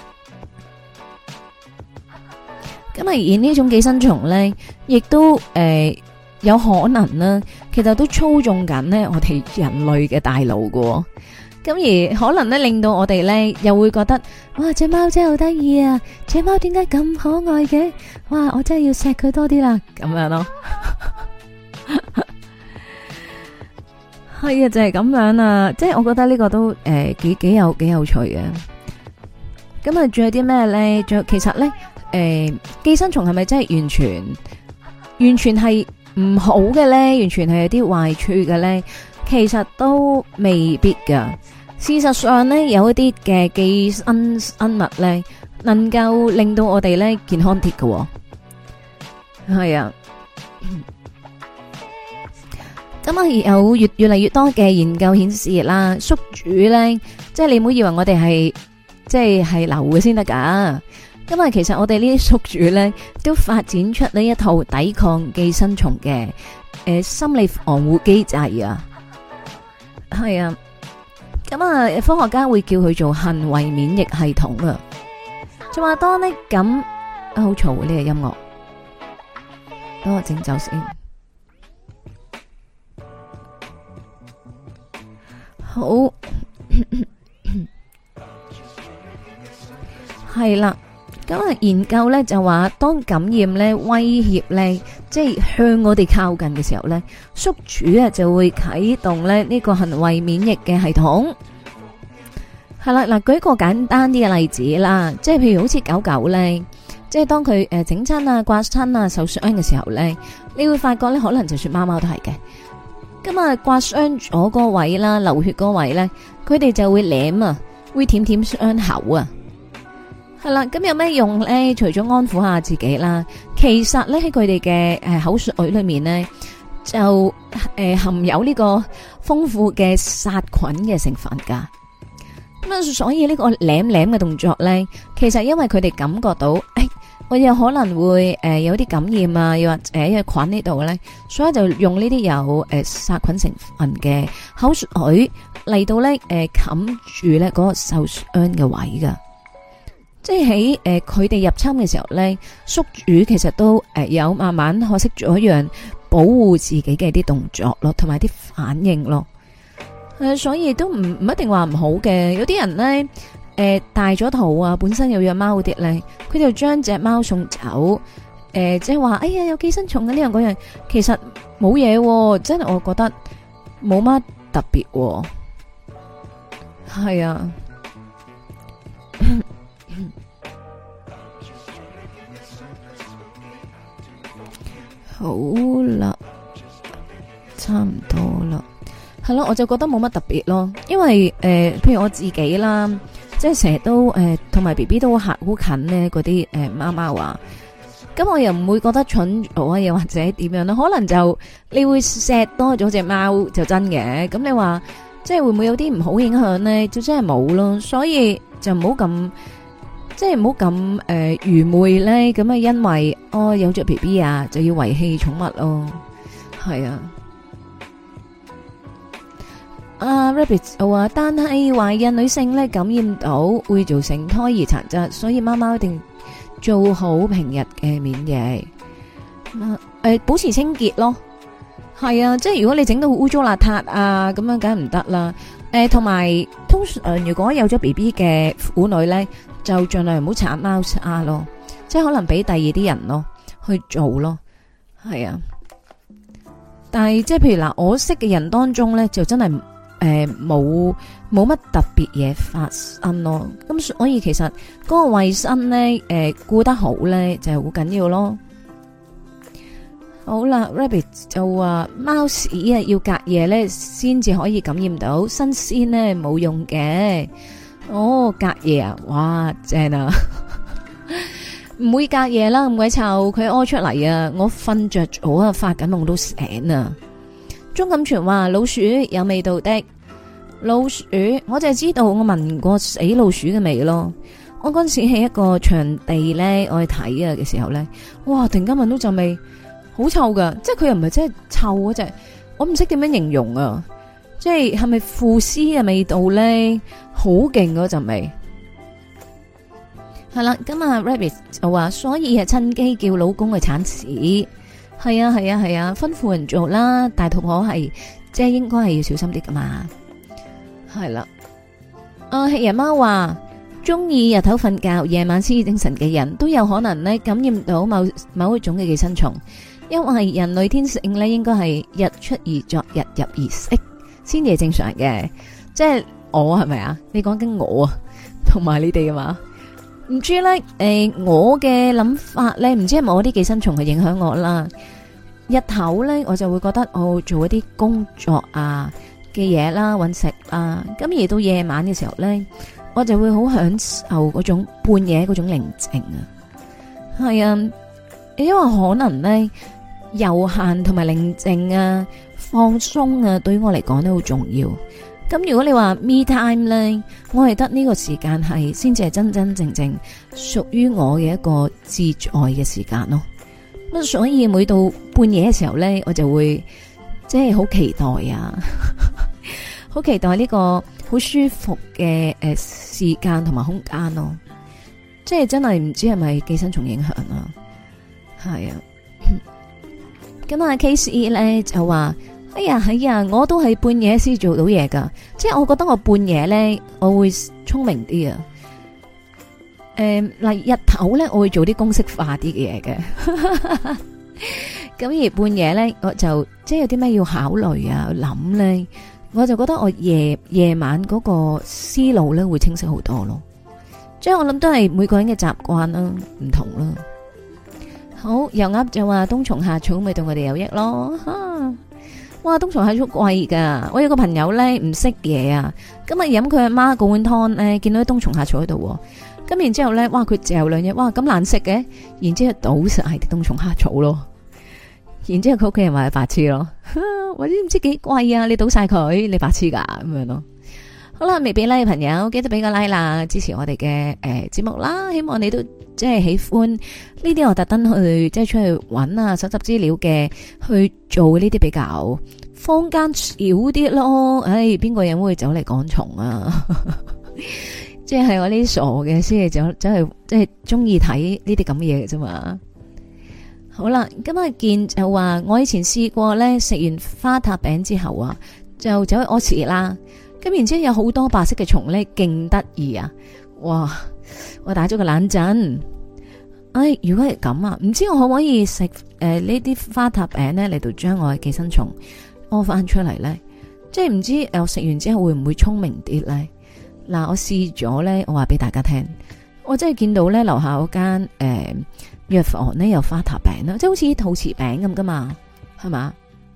咁啊而呢種寄生蟲咧，亦都有可能啦，其實都操縱緊呢我哋人類嘅大腦噶，咁而可能咧令到我哋咧又會覺得，哇隻貓真係好得意啊，隻貓點解咁可愛嘅？哇我真係要錫佢多啲啦，咁樣咯。係啊，就係咁樣啊，即係我覺得呢個都幾有趣嘅。咁啊，仲有啲咩咧？仲有其實咧，寄生蟲係咪真係完全係唔好嘅咧？完全係有啲壞處嘅咧？其實都未必噶。事實上咧，有一啲嘅寄生生物咧，能夠令到我哋咧健康啲嘅。係啊。咁啊，有越嚟越多嘅研究顯示啦，宿主咧，即係你唔好以為我哋係即係流嘅先得噶。咁啊，其實我哋呢啲宿主咧，都發展出呢一套抵抗寄生蟲嘅心理防護機制啊。係啊，咁啊，科學家會叫佢做行為免疫系統啊。就話當呢咁好嘈呢個音樂，等我整走先。好，係啦。咁啊，研究咧就話，當感染咧威脅咧，即係向我哋靠近嘅時候咧，宿主啊就會啟動咧呢個行為免疫嘅系統。係啦，嗱，舉個簡單啲嘅例子啦，即係譬如好似狗狗咧，即係當佢整親啊、刮親啊、受傷嘅時候咧，你會發覺咧，可能就算貓貓都係嘅。 咁啊刮傷咗個位啦，流血個位咧，佢哋就會舐啊，會舔舔傷口啊。係啦，咁有咩用咧？除咗安撫下自己啦，其實咧喺佢哋嘅口水裏面咧，就含有呢個豐富嘅殺菌嘅成分噶。咁啊，所以呢個舐舐嘅動作咧，其實因為佢哋感覺到，我有可能會有啲感染啊，又或者有菌呢度咧，所以就用呢啲有殺菌成分嘅口水嚟到咧冚住咧嗰個受傷嘅位噶。即係喺佢哋入侵嘅時候咧，宿主其實都有慢慢學識咗一樣保護自己嘅啲動作咯，同埋啲反應咯。所以都唔一定話唔好嘅。有啲人咧大咗肚啊，本身有養貓嗰啲咧，佢就將隻貓送走，即係話哎呀有寄生蟲啊呢樣嗰樣，其實冇嘢，真係我覺得冇乜特別。係啊。好啦，差唔多啦，係咯，我就覺得冇乜特別咯，因為譬如我自己啦，即係成日都同埋 BB 都好近呢嗰啲貓貓啊，咁我又唔會覺得蠢咗啊，又或者點樣啦，可能就你會錫多咗隻貓就真嘅，咁你話即係會唔會有啲唔好影響呢？就真係冇咯，所以就唔好咁。即係唔好咁愚昧咧，咁啊因為有咗 BB 啊，就要遺棄寵物咯，係啊。Rabbit 話，但係懷孕女性咧感染到會造成胎兒殘疾，所以貓貓一定做好平日嘅免疫，保持清潔咯。係啊，即係如果你整到污糟邋遢啊，咁樣梗係唔得啦。同埋通常如果有咗 BB 嘅婦女咧，就盡量唔好鏟貓砂咯，即係可能俾第二啲人咯去做咯，係啊。但係即係譬如嗱，我識嘅人當中咧，就真係冇乜特別嘢發生咯。咁所以其實嗰個衛生咧，顧得好咧就係好緊要咯。好啦 ，Rabbit 就話貓屎啊要隔夜咧先至可以感染到，新鮮咧冇用嘅。隔夜啊，哇正啊，唔會隔夜啦，咁鬼臭，佢屙出嚟啊，我瞓着咗啊，發緊夢都醒啊。鍾錦全話老鼠有味道的，老鼠我就係知道我聞過死老鼠嘅味咯。我嗰陣時喺一個場地咧，我去睇啊嘅時候咧，哇突然間聞到陣味。好臭噶，即係佢又唔係真係臭嗰隻，我唔識點樣形容啊！即係咪腐屍嘅味道咧？好勁嗰陣味。係啦，咁啊 Rabbit 就話，所以係趁機叫老公去鏟屎。係啊係啊係啊，吩咐人做啦。大肚婆係即係應該係要小心啲噶嘛。係啦，黑人貓話，中意日頭瞓覺，夜晚先精神嘅人都有可能咧感染到某一種嘅寄生蟲。因為人類天性咧，應該係日出而作，日入而息，先至係正常嘅。即係我係咪啊？你講緊我啊，同埋你哋啊嘛？唔知咧，我嘅諗法咧，唔知係咪我啲寄生蟲去影響我啦？日頭咧，我就會覺得我做一啲工作啊嘅嘢啦，搵食啊。咁而到夜晚嘅時候咧，我就會好享受嗰種半夜嗰種寧靜啊。係啊，因為可能咧。悠閒同埋寧靜啊，放鬆啊，對於我嚟講都好重要。咁如果你話 me time 咧，我係得呢個時間係先至係真真正正屬於我嘅一個自在嘅時間咯。咁所以每到半夜嘅時候咧，我就會即係好期待啊，好期待呢個好舒服嘅時間同埋空間咯。即係真係唔知係咪寄生蟲影響啊？係啊。咁啊 ，Case 咧就話，哎呀，我都係半夜先做到嘢噶，即係我覺得我半夜咧，我會聰明啲啊。嗱，日頭咧，我會做啲公式化啲嘅嘢嘅。咁而半夜咧，我就即係有啲咩要考慮啊、諗咧，我就覺得我夜晚嗰個思路咧會清晰好多咯。即係我諗都係每個人嘅習慣啦，唔同啦。好，油鴨就話冬蟲夏草咪對我哋有益咯， 哇，冬蟲夏草貴噶，我有個朋友咧唔識嘢啊，今日飲佢阿媽嗰碗湯咧，見到啲冬蟲夏草喺度，咁然之後咧，哇，佢嚼兩嘢，哇，咁難食嘅，然之後倒晒啲冬蟲夏草咯，然之後佢屋企人話係白痴咯，或者唔知幾貴啊，你倒晒佢，你白痴噶咁樣咯。好啦，未俾 like 嘅朋友記得俾個 like 啦，支持我哋嘅節目啦。希望你都即係喜歡呢啲，我特登去即係出去揾啊，搜集資料嘅，去做呢啲比較坊間少啲咯。唉，邊個人會走嚟趕蟲啊？即係我呢啲傻嘅先係走去即係中意睇呢啲咁嘅嘢嘅啫嘛。好啦，今日見就話我以前試過咧，食完花塔餅之後啊，就走去屙屎啦。咁然之後有好多白色嘅蟲咧，勁得意啊！哇，我打咗個冷震。唉，如果係咁啊，唔知我可唔可以食呢啲花塔餅咧嚟到將我嘅寄生蟲屙翻出嚟咧？即係唔知我食完之後會唔會聰明啲咧？嗱，我試咗咧，我話俾大家聽，我真係見到咧樓下嗰間藥房咧有花塔餅啦，即係好似陶瓷餅咁噶嘛，係嘛？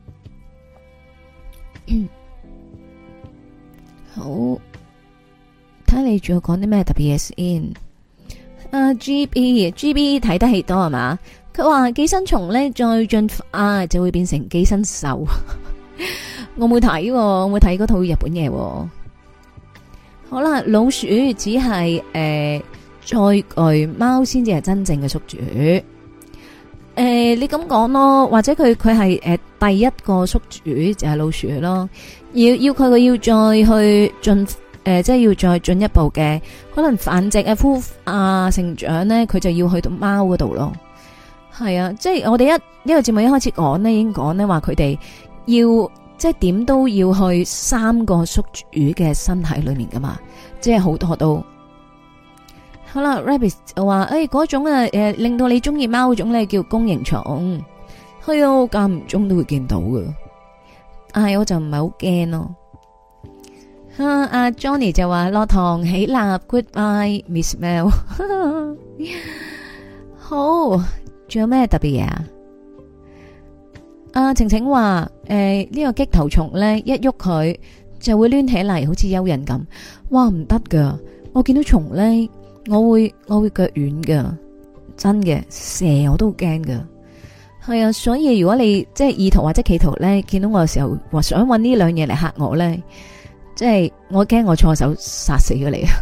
好，睇下你仲要講啲咩特別嘢先。G B 睇得戲多係嘛？佢話寄生蟲咧再進化就會變成寄生獸。我冇睇，我冇睇嗰套日本嘢。好啦，老鼠只係載具，貓先至係真正嘅宿主。你咁講咯，或者佢係第一個宿主就係老鼠咯。要佢要再去進即係要再進一步嘅，可能繁殖啊、孵化成長咧，佢就要去到貓嗰度咯。係啊，即係我哋呢個節目一開始講咧，已經講咧話佢哋要即係點都要去3個宿主嘅身體裏面噶嘛，即係好多都。好啦 Rabbit 就話嗰種啊令到你中意貓嗰種咧叫弓形蟲，係啊，間唔中都會見到噶。我就唔係好驚咯。阿 Johnny 就話落堂起立 ，Goodbye Miss Mel。好，仲有咩特別嘢啊？阿晴晴話呢個激頭蟲咧一喐佢就會攣起嚟，好似蚯蚓咁。哇，唔得噶！我見到蟲咧，我會腳軟噶，真嘅，蛇我都好驚噶。係啊，所以如果你即係意圖或者企圖咧，見到我嘅時候，話想搵呢兩嘢嚟嚇我咧，即係我驚我錯手殺死咗你啊！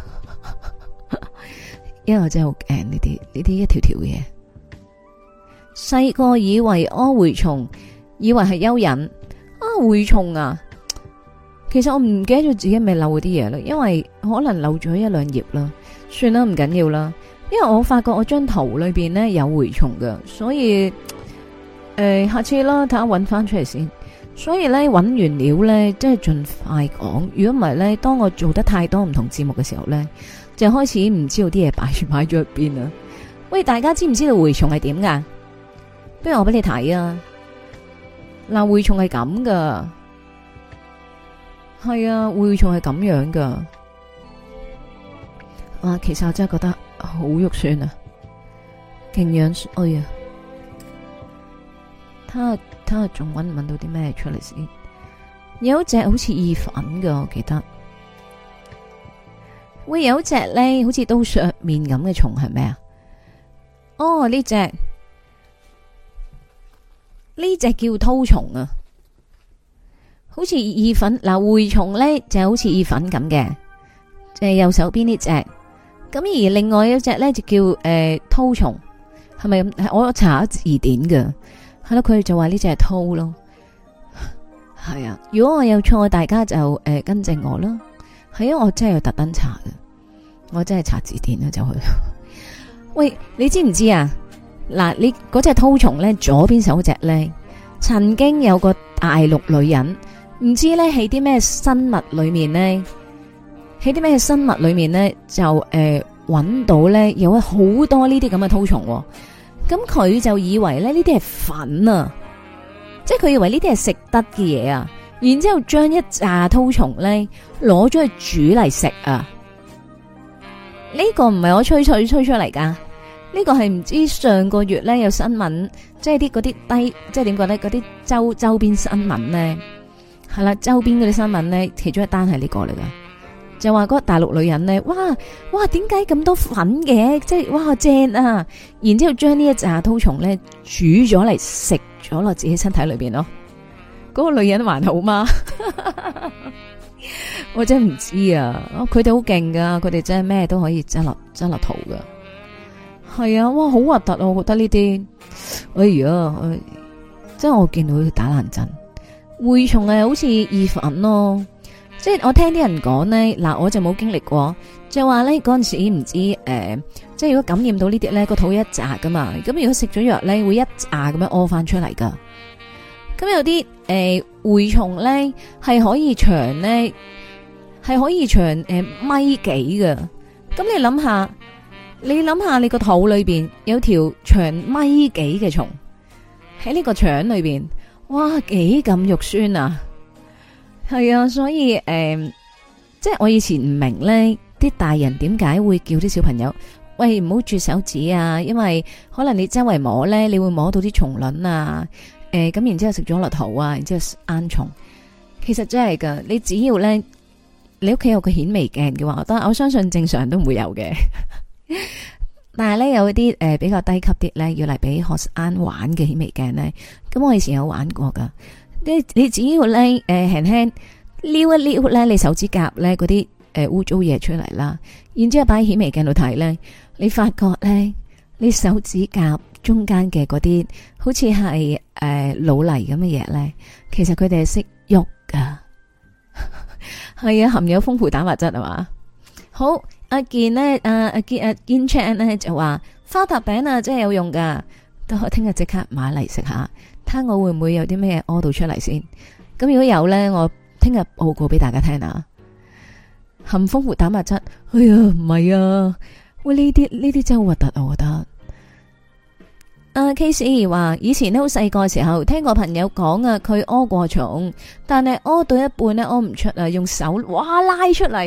因為我真係好驚呢啲一條條嘅嘢。細個以為屙蛔蟲，以為係蚯蚓蛔蟲啊！其實我唔記得咗自己咪漏嗰啲嘢啦，因為可能漏咗一兩頁啦，算啦，唔緊要啦。因為我發覺我張圖裏邊咧有蛔蟲噶，所以。下次啦，睇下搵翻出嚟先。所以咧，搵完料咧，即係盡快講。如果唔係咧，當我做得太多唔同節目嘅時候咧，就開始唔知道啲嘢擺咗入邊啦。喂，大家知唔知道蛔蟲係點噶？不如我俾你睇啊。嗱，蛔蟲係咁噶，係啊，蛔蟲係咁樣噶。哇，其實我真係覺得好肉酸啊，勁樣衰啊！睇下仲搵唔搵到啲咩出嚟先？有一隻好似意粉噶，我記得。會有一隻咧，好似刀削面咁嘅蟲係咩啊？哦，呢隻叫絛蟲啊，好似意粉。嗱，蛔蟲咧就好似意粉咁嘅，就係右手邊呢隻。咁而另外一隻咧就叫絛蟲，係咪咁？我查咗字典㗎。係咯，佢就話呢隻係絛咯，係啊。如果我有錯，大家就跟正我啦。係啊，我真係要特登查嘅，我真係查字典啦就去。喂，你知唔知啊？嗱，你嗰隻絛蟲咧，左邊手隻咧，曾經有個大陸女人，唔知咧喺啲咩生物裏面咧，就搵到咧有好多呢啲咁嘅絛蟲。咁佢就以為咧呢啲係粉啊，即係佢以為呢啲係食得嘅嘢啊，然之後將一紮絛蟲咧攞咗去煮嚟食啊！呢個唔係我吹出嚟噶， 呢個係唔知上個月咧有新聞，即係啲嗰啲低，即係點講咧？嗰啲周邊新聞咧，係啦，周邊嗰啲新聞咧，其中一單係呢個嚟噶，就話嗰個大陸女人咧，哇，點解咁多粉嘅？即係哇正啊！然之後將呢一紮絛蟲咧煮咗嚟食咗落自己身體裏邊咯。嗰個女人還好嗎？我真係唔知啊！佢哋好勁噶，佢哋真係咩都可以執落肚噶。係啊，哇，好核突啊！我覺得呢啲，哎呀，即係我見到佢打冷震。蛔蟲係好似意粉咯，即係我聽啲人講咧，嗱，我就冇經歷過，就話咧嗰陣時唔知即係如果感染到呢啲咧，個肚一紮噶嘛，咁如果食咗藥咧，會一紮咁樣屙翻出嚟噶。咁有啲蛔蟲咧係可以長咧，係可以長米幾噶。咁你諗下。你個肚裏邊有條長米幾嘅蟲喺呢個腸裏邊，哇，幾咁肉酸啊！係啊，所以即係我以前唔明咧，啲大人點解會叫啲小朋友喂唔好啜手指啊？因為可能你周圍摸咧，你會摸到啲蟲卵啊，咁然之後食咗落肚啊，然之後生蟲。其實真係噶，你只要咧你屋企有個顯微鏡嘅話，我相信正常人都唔會有嘅。但係咧有啲比較低級啲咧，要嚟俾學生玩嘅顯微鏡咧，咁我以前有玩過噶。你只要咧輕輕撩一撩咧，你手指甲咧嗰啲污糟嘢出嚟啦，然之後擺喺顯微鏡度睇咧，你發覺咧你手指甲中間嘅嗰啲好似係老泥咁嘅嘢咧，其實佢哋係識喐噶，係啊，含有豐富蛋白質係嘛。好。阿健呢，阿健 Chan 咧就話花塔餅啊，真係有用噶，都聽日即刻買嚟食下，睇下我會唔會有啲咩屙到出嚟先。咁如果有咧，我聽日報告俾大家聽啊。含豐富蛋白質，哎呀唔係啊，喂呢啲真係好核突啊，我覺得。阿 Case 話以前咧好細個嘅時候，聽過朋友講啊，佢屙過蟲，但係屙到一半咧屙唔出啊，用手哇拉出嚟。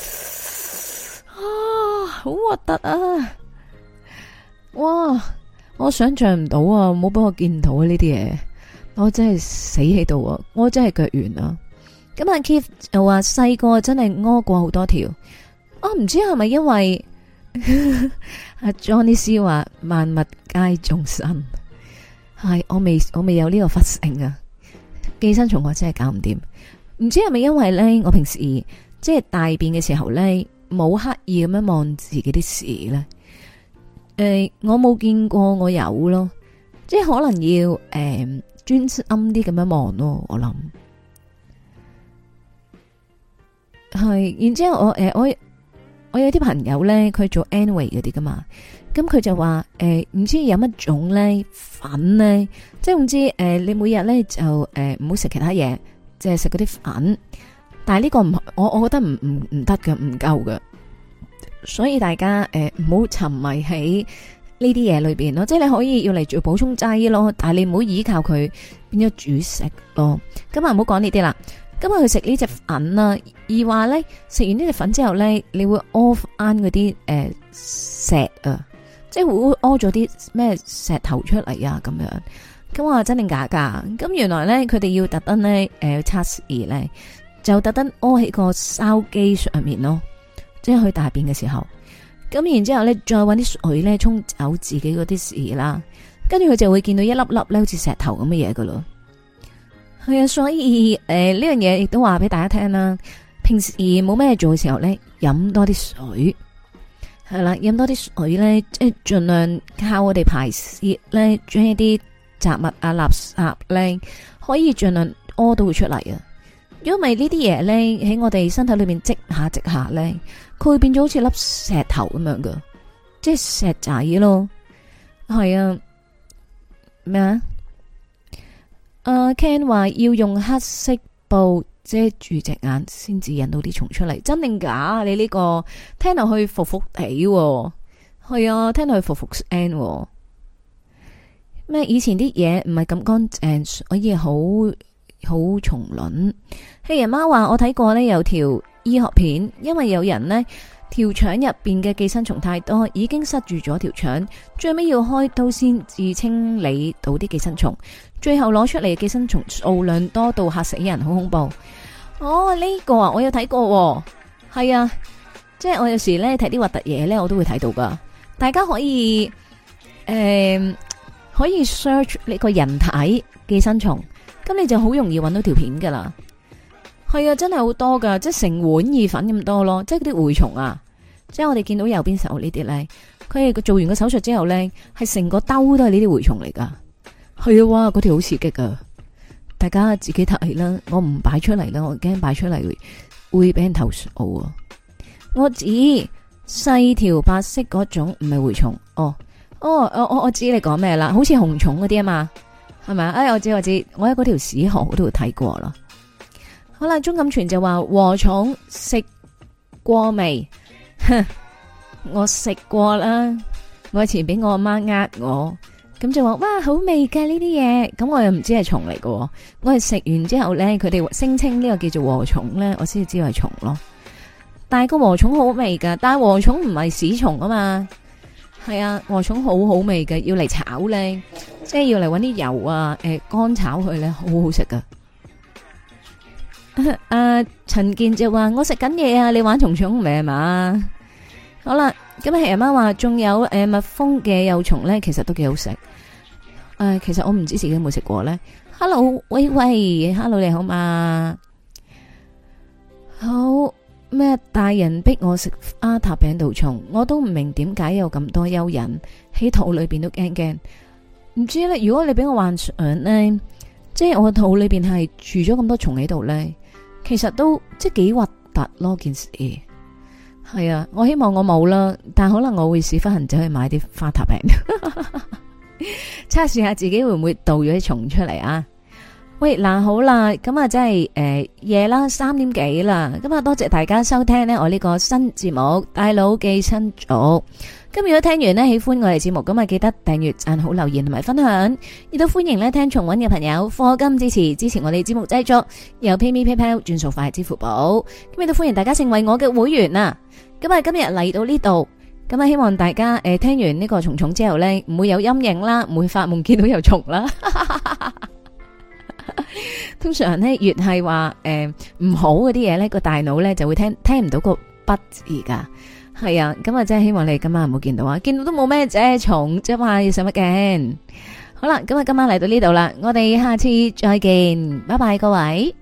啊，好核突啊！哇，我想象唔到啊，冇俾我見到啊呢啲嘢，我真係死喺度啊！我真係腳軟啊！咁阿 Keith 又話細個真係屙過好多條，我唔知係咪因為阿 Johnny C 話萬物皆眾生，係我未有呢個佛性啊！寄生蟲我真係搞唔掂，唔知係咪因為咧我平時即係大便嘅時候咧。冇刻意咁樣望自己啲屎咧，我冇見過我有咯，即係可能要專心啲咁樣望咯，我諗係。然之後我有啲朋友咧，佢做 Anyway 嗰啲噶嘛，咁佢就話唔知有乜種咧粉咧，即係唔知你每日咧就唔好食其他嘢，即係食嗰啲粉。但係呢個唔，我覺得唔得嘅，唔夠嘅，所以大家唔好沉迷喺呢啲嘢裏邊咯，即係你可以要嚟做補充劑咯，但係你唔好依靠佢變咗主食咯。咁啊唔好講呢啲啦，咁啊去食呢隻粉啦，而話咧食完呢隻粉之後咧，你會屙翻嗰啲石啊，即係會屙咗啲咩石頭出嚟啊咁樣。咁我話真定假噶？咁原來咧佢哋要特登咧測試咧。就特登屙喺個筲箕上面咯，即係去大便嘅時候，咁然之後咧再搵啲水咧沖走自己嗰啲屎啦，跟住佢就會見到一粒粒咧好似石頭咁嘅嘢噶咯。係啊，所以呢樣嘢亦都話俾大家聽啦。平時冇咩做嘅時候咧，飲多啲水係啦，飲多啲水咧，即係盡量靠我哋排泄咧，將一啲雜物啊、垃圾咧，可以盡量屙到佢出嚟啊。如果唔係呢啲嘢咧喺我哋身體裏面積下咧，佢會變咗好似粒石頭咁樣噶，即係石仔咯。係啊，咩啊？Ken 話要用黑色布遮住隻眼先至引到啲蟲出嚟，真定假？你呢個聽落去服服地，係啊，聽落去服服 N。咩？以前啲嘢唔係咁乾淨，所以好好蟲卵。黑人媽話我睇過呢有條醫學片，因為有人呢條腸入邊嘅寄生蟲太多，已經塞住咗條腸，最尾要開刀先至清理到啲寄生蟲，最後攞出嚟嘅寄生蟲數量多到嚇死人，好恐怖。哦，呢個啊，我有睇過，係啊，即係我有時咧睇啲核突嘢咧，我都會睇到噶。大家可以可以 search 呢個人體寄生蟲，咁你就好容易揾到條片噶啦。係啊，真係好多噶，即係成碗意粉咁多咯。即係嗰啲蛔蟲啊，即係我哋見到右邊手呢啲咧，佢係做完個手術之後咧，係成個兜都係呢啲蛔蟲嚟噶。係啊，哇，嗰條好刺激噶。大家自己睇啦，我唔擺出嚟啦，我驚擺出嚟會俾人投訴啊！我指細條白色嗰種，唔係蛔蟲。我知你講咩啦，好似紅蟲嗰啲啊嘛，係咪啊？哎，我知，我喺嗰條屎河嗰度睇過啦。好啦，鍾錦全就話禾蟲食過未？我食過啦，我以前俾我阿媽呃我。咁就話哇好味㗎呢啲嘢，咁我又唔知係蟲嚟㗎，我係食完之後咧，佢哋聲稱呢個叫做禾蟲咧，我先至知道係蟲咯。但係個禾蟲好味㗎，但係禾蟲唔係屎蟲啊嘛，係啊，禾蟲好好味㗎，要嚟炒咧，即係要嚟搵啲油啊，乾炒佢咧，好好食㗎。陳健就話我食緊嘢啊，你玩蟲蟲未係嘛？好啦。咁啊，阿媽話仲有蜜蜂嘅幼蟲咧，其實都幾好食。其實我唔知自己有冇食過咧。Hello， 喂，Hello 你好嘛？好咩？大人逼我食阿塔餅度蟲，我都唔明點解有咁多蚯蚓喺肚裏邊都驚驚。唔知咧，如果你俾我幻想咧，即係我肚裏邊係住咗咁多蟲喺度咧，其實都即係幾核突咯件事。係啊，我希望我冇啦，但可能我會屎忽痕走去買啲花塔餅，測試下自己會唔會導咗啲蟲出嚟啊！喂，嗱好啦，咁啊真係夜啦，3點幾啦，咁啊多謝大家收聽呢我呢個新節目《大佬寄生族》。咁如果聽完呢喜歡我哋節目，咁啊記得訂閱、讚好、留言同埋分享，亦都歡迎呢聽重溫嘅朋友課金支持我哋節目製作，有 PayMe PayPal 轉數快支付寶，咁亦都歡迎大家成為我嘅會員啊！咁啊今日嚟到呢度，咁啊希望大家聽完呢個蟲蟲之後呢，唔會有陰影啦，唔會發夢見到有蟲啦。通常呢，越係話唔好嗰啲嘢呢，個大腦呢就會聽唔到個不字噶。係啊，咁啊真係希望你今晚唔好見到啊，見到都冇咩啫，蟲啫嘛，要使乜驚？好啦，咁啊今晚嚟到呢度啦，我哋下次再見，拜拜各位。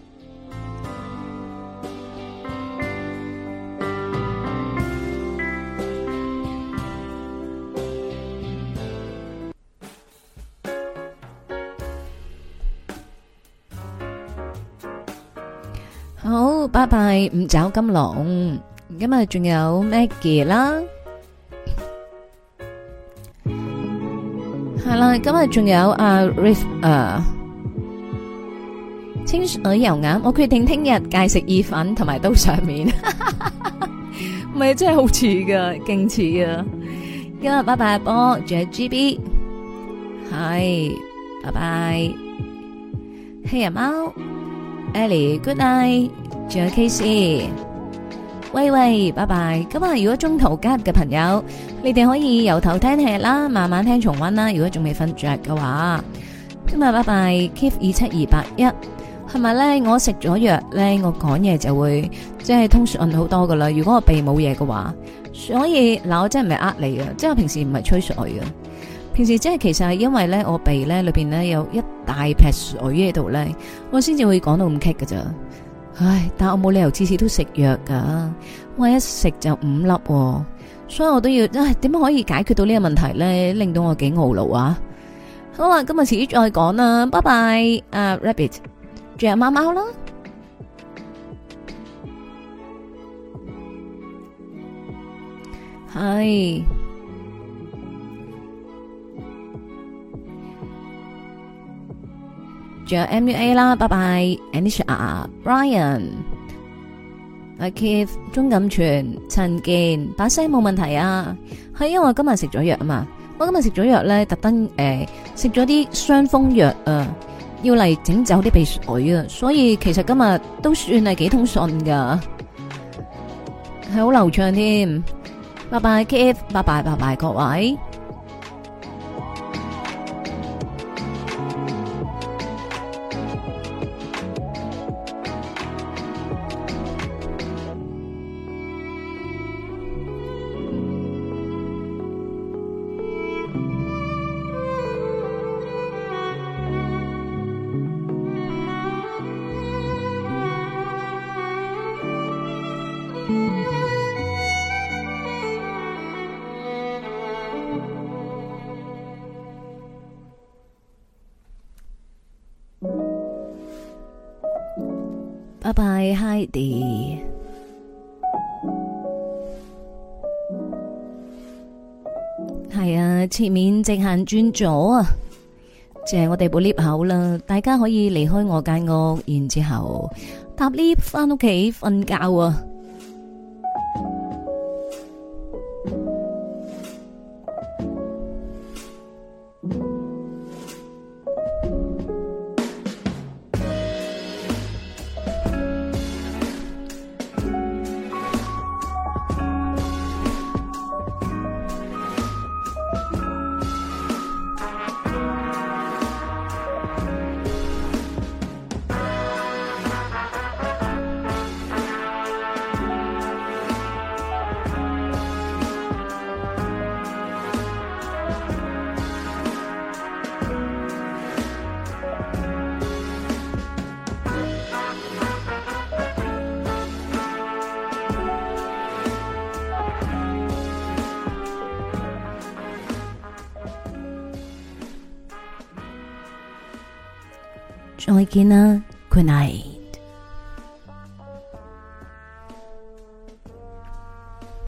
好，拜拜，五爪金龍。今日仲有 Maggie 啦，係啦，今日仲有阿 Riff 清水油鴨，我決定聽日戒食意粉同埋刀上面，唔係真係好似噶，勁似啊！今日拜拜阿波，仲有 GB， 係，拜拜，黑人貓 Ellie，Good night， 仲有 KC。喂，拜拜！咁啊，如果中途加入嘅朋友，你哋可以由頭聽起啦，慢慢聽重溫啦。如果仲未瞓着嘅話，咁啊，拜拜 Keep 27281，係咪咧？我食咗藥咧，我講嘢就會即係通順好多噶啦。如果我鼻冇嘢嘅話，所以嗱，我真係唔係呃你啊，即係我平時唔係吹水嘅，平時即係其實係因為咧我鼻咧裏邊咧有一大撇水喺度咧，我先至會講到咁棘噶咋。唉，但我冇理由次次都食藥噶，我一食就5粒，所以我都要，點樣可以解決到呢個問題咧？令到我幾懊惱啊！好啦，今日遲啲再講啦，拜拜，Rabbit， 仲有貓貓啦，係。仲有 MUA 啦，拜拜 Anisha、Brian、阿 Keith、鍾錦全、陳健，把聲冇問題啊，係因為我今日食咗藥啊嘛，我今日食咗藥咧，特登食咗啲傷風藥啊， 要嚟整走啲鼻水啊，所以其實今日都算係幾通順噶，係好流暢添。拜拜 Keith， 拜拜拜拜各位。拜拜 Heidi， 係啊，前面直行轉左啊，就係我哋部 lift 口啦，大家可以離開我間屋，然之後搭 lift 翻屋企瞓覺啊。再見啦，Good night。